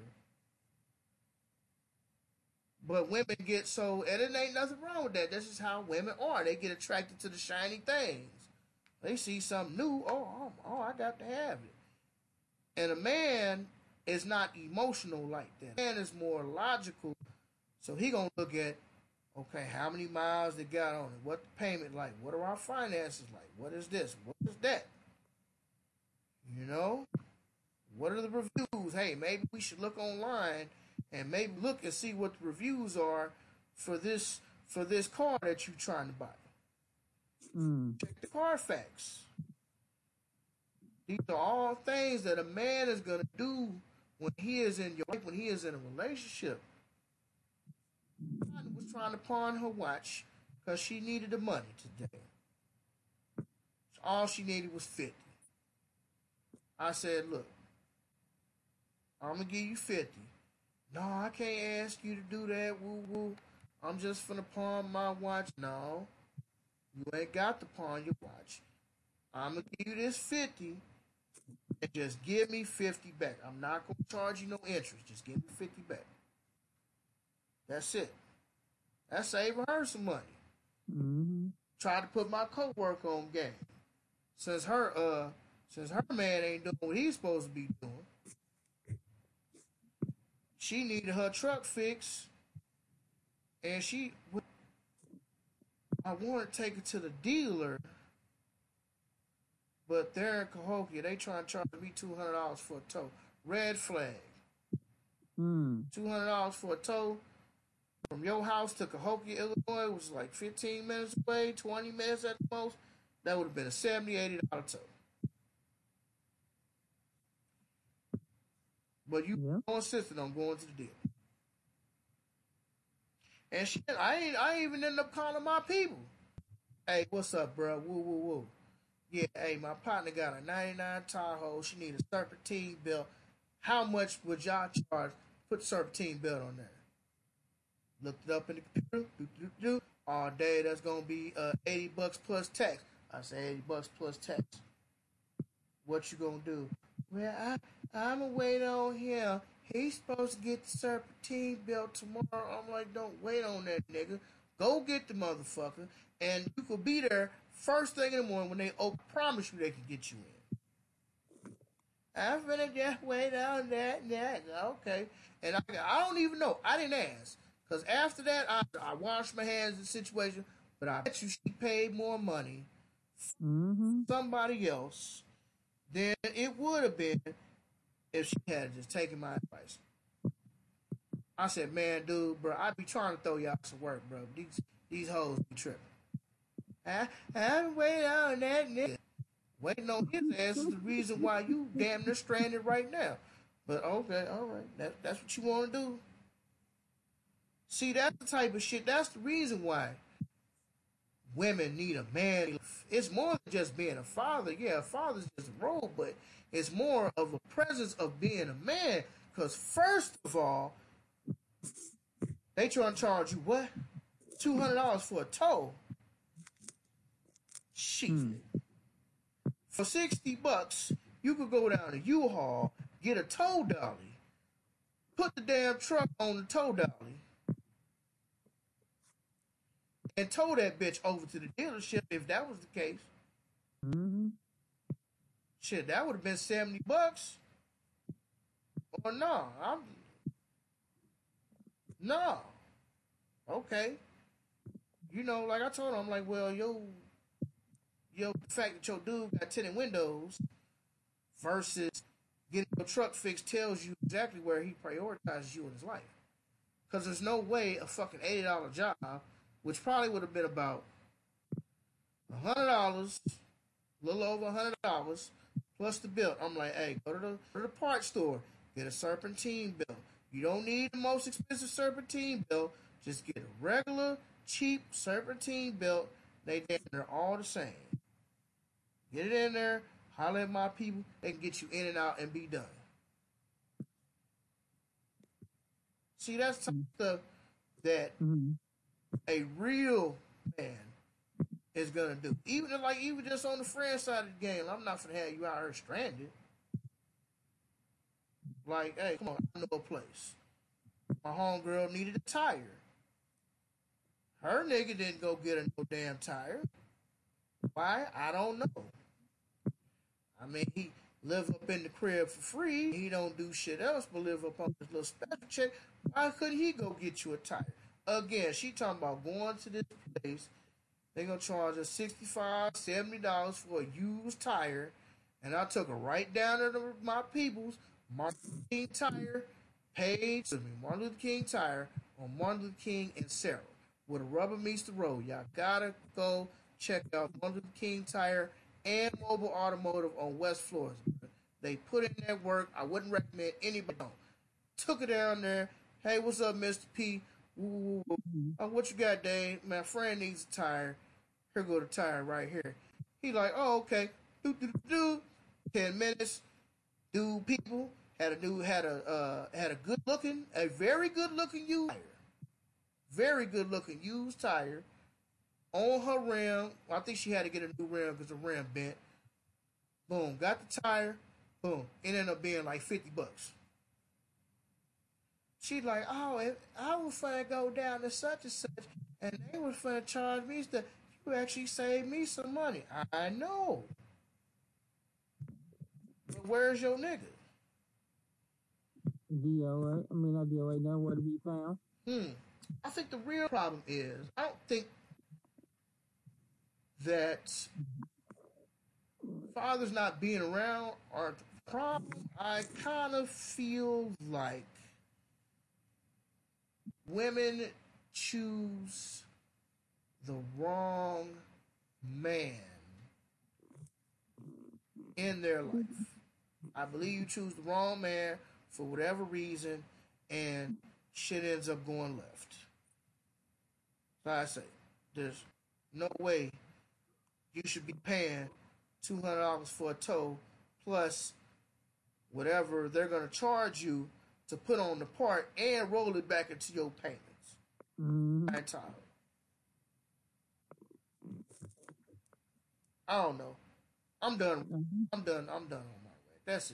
But women get so, and it ain't nothing wrong with that. This is how women are. They get attracted to the shiny things. They see something new. Oh, oh, oh I got to have it. And a man is not emotional like that. A man is more logical. So he gonna look at, okay, how many miles they got on it? What the payment like? What are our finances like? What is this? What is that? You know? What are the reviews? Hey, maybe we should look online and maybe look and see what the reviews are for this for this car that you're trying to buy. Mm. Check the Carfax. These are all things that a man is gonna do when he is in your life, when he is in a relationship. I was trying to pawn her watch because she needed the money today. So all she needed was fifty. I said, look, I'm gonna give you fifty. No, I can't ask you to do that. Woo woo. I'm just finna pawn my watch. No, you ain't got to pawn your watch. I'm gonna give you this fifty and just give me fifty back. I'm not gonna charge you no interest. Just give me fifty back. That's it. That's saving her some money. Mm-hmm. Try to put my coworker on game. Since her uh since her man ain't doing what he's supposed to be doing. She needed her truck fixed. And she I want to take it to the dealer. But they're in Cahokia. They trying to charge me two hundred dollars for a tow. Red flag. Mm. two hundred dollars for a tow from your house to Cahokia, Illinois, which is like fifteen minutes away, twenty minutes at the most. That would have been a seventy dollars, eighty dollars tow. But you Yeah. insisted on going to the dealer. And shit, I ain't, I ain't even ended up calling my people. Hey, what's up, bro? Woo, woo, woo. Yeah, hey, my partner got a ninety-nine Tahoe. She need a serpentine belt. How much would y'all charge? Put serpentine belt on there. Looked it up in the computer. Do, do, do. All day, that's going to be uh, eighty bucks plus tax. I say eighty bucks plus tax. What you going to do? Well, I, I'm going to wait on him. He's supposed to get the serpentine belt tomorrow. I'm like, don't wait on that nigga. Go get the motherfucker. And you could be there first thing in the morning when they open. Promise you they can get you in. I'm finna just wait on that and that. Okay. And I, I don't even know. I didn't ask. Because after that, I, I washed my hands in the situation. But I bet you she paid more money Mm-hmm. somebody else than it would have been if she had just taken my advice. I said, man, dude, bro, I be trying to throw y'all some work, bro. These these hoes be tripping. I, I'm waiting on that nigga. Waiting on his ass is the reason why you damn near stranded right now. But okay, all right, that, that's what you want to do. See, that's the type of shit. That's the reason why women need a man. It's more than just being a father. Yeah, a father's just a role, but it's more of a presence of being a man. Because first of all, they trying to charge you what? two hundred dollars for a tow. Shit. Mm. For sixty bucks, you could go down to U-Haul, get a tow dolly, put the damn truck on the tow dolly, and tow that bitch over to the dealership if that was the case. Mm-hmm. Shit, that would have been seventy bucks. Or no, I'm no. Okay. you know, like I told him, I'm like, well, yo, yo, the fact that your dude got tinted windows versus getting your truck fixed tells you exactly where he prioritizes you in his life. Because there's no way a fucking eighty dollar job, which probably would have been about one hundred dollars, a little over one hundred dollars plus the bill. I'm like, hey, go to the, go to the parts store, get a serpentine bill. You don't need the most expensive serpentine bill. Just get a regular, cheap serpentine belt. They they're all the same. Get it in there, holler at my people. They can get you in and out and be done. See, that's the stuff that mm-hmm. a real man is gonna do. Even like even just on the friend side of the game, I'm not gonna have you out here stranded. Like, hey, come on, I know a place. My homegirl needed a tire. Her nigga didn't go get her no damn tire. Why? I don't know. I mean, he live up in the crib for free. He don't do shit else but live up on this little special check. Why couldn't he go get you a tire? Again, she talking about going to this place. They gonna charge us sixty-five dollars, seventy dollars for a used tire. And I took her right down to the, my people's Martin Luther King Tire page, excuse me, Martin Luther King Tire on Martin Luther King and Sarah. Where the rubber meets the road. Y'all gotta go check out Martin Luther King Tire and Mobile Automotive on West Florida. They put in that work. I wouldn't recommend anybody don't. Took it down there. Hey, what's up, Mister P? Woo, woo, woo. Oh, what you got, Dave? My friend needs a tire. Here go the tire right here. He like, oh, okay. Do do do do. Ten minutes. Dude, people had a dude had a uh, had a good looking, a very good looking used tire. Very good looking used tire on her rim. I think she had to get a new rim because the rim bent. Boom, got the tire. Boom, it ended up being like fifty bucks. She like, oh, if I was finna go down to such and such, and they was finna charge me stuff. You actually saved me some money. I know. But where's your nigga? D O A. I mean, not D O A. Nowhere to be found. Hmm. I think the real problem is, I don't think that fathers not being around are the problem. I kind of feel like women choose the wrong man in their life. I believe you choose the wrong man for whatever reason, and shit ends up going left. So I say, there's no way you should be paying two hundred dollars for a tow plus whatever they're going to charge you to put on the part and roll it back into your payments. Mm-hmm. I'm tired. I don't know. I'm done. Mm-hmm. I'm done. I'm done on my way. That's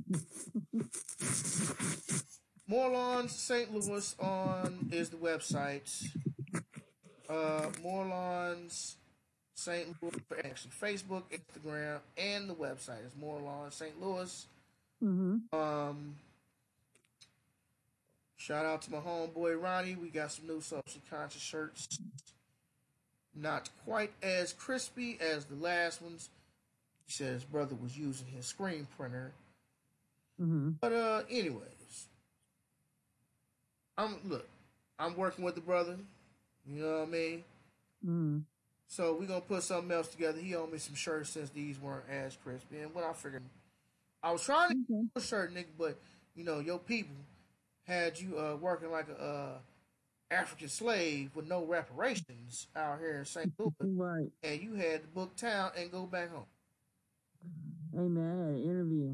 it. More Lawns Saint Louis on is the website. Uh, More Lawns Saint Louis, actually Facebook, Instagram, and the website is More Lawns Saint Louis. Mm-hmm. Um, shout out to my homeboy Ronnie. We got some new social conscious shirts. Not quite as crispy as the last ones. He said his brother was using his screen printer. Mm-hmm. But uh, anyways, I'm look. I'm working with the brother. You know what I mean? Mm-hmm. So we're gonna put something else together. He owed me some shirts since these weren't as crispy. And when I figured, I was trying to okay. get a shirt, nigga, but you know your people had you uh, working like a uh, African slave with no reparations out here in Saint Louis, right? And you had to book town and go back home. Hey man, I had an interview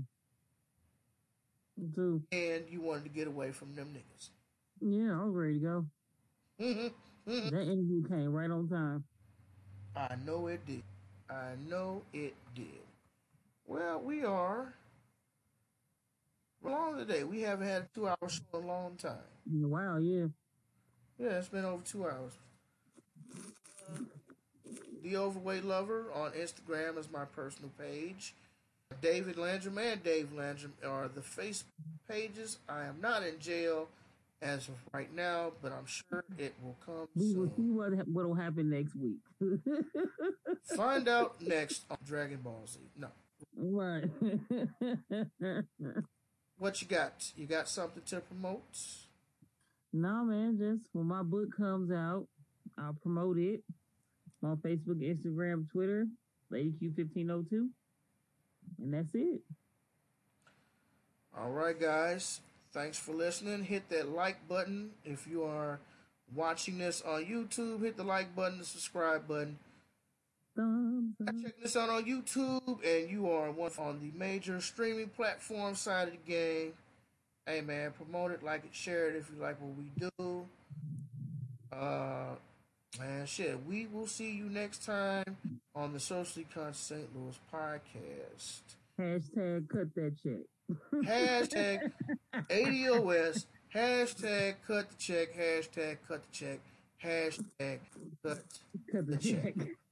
too, and you wanted to get away from them niggas. Yeah, I was ready to go. Mm-hmm. Mm-hmm. That interview came right on time. I know it did. I know it did. Well, we are long today. We haven't had a two-hour show in a long time. Wow, yeah. Yeah, it's been over two hours. The Overweight Lover on Instagram is my personal page. David Landrum and Dave Landrum are the Facebook pages. I am not in jail. as of right now, but I'm sure it will come We will see soon. what what'll happen next week. Find out next on Dragon Ball Z. No. Right. What you got? You got something to promote? No, man, just when my book comes out, I'll promote it on Facebook, Instagram, Twitter, Lady Q fifteen oh two. And that's it. All right, guys. Thanks for listening. Hit that like button. If you are watching this on YouTube, hit the like button, the subscribe button. Thumbs up. Checking this out on YouTube, and you are one on the major streaming platform side of the game. Hey, man, promote it, like it, share it if you like what we do. Uh, man, shit, we will see you next time on the Socially Conscious Saint Louis podcast. Hashtag cut that check. Hashtag A D O S. Hashtag cut the check. Hashtag cut the check. Hashtag cut Cut the the check. check.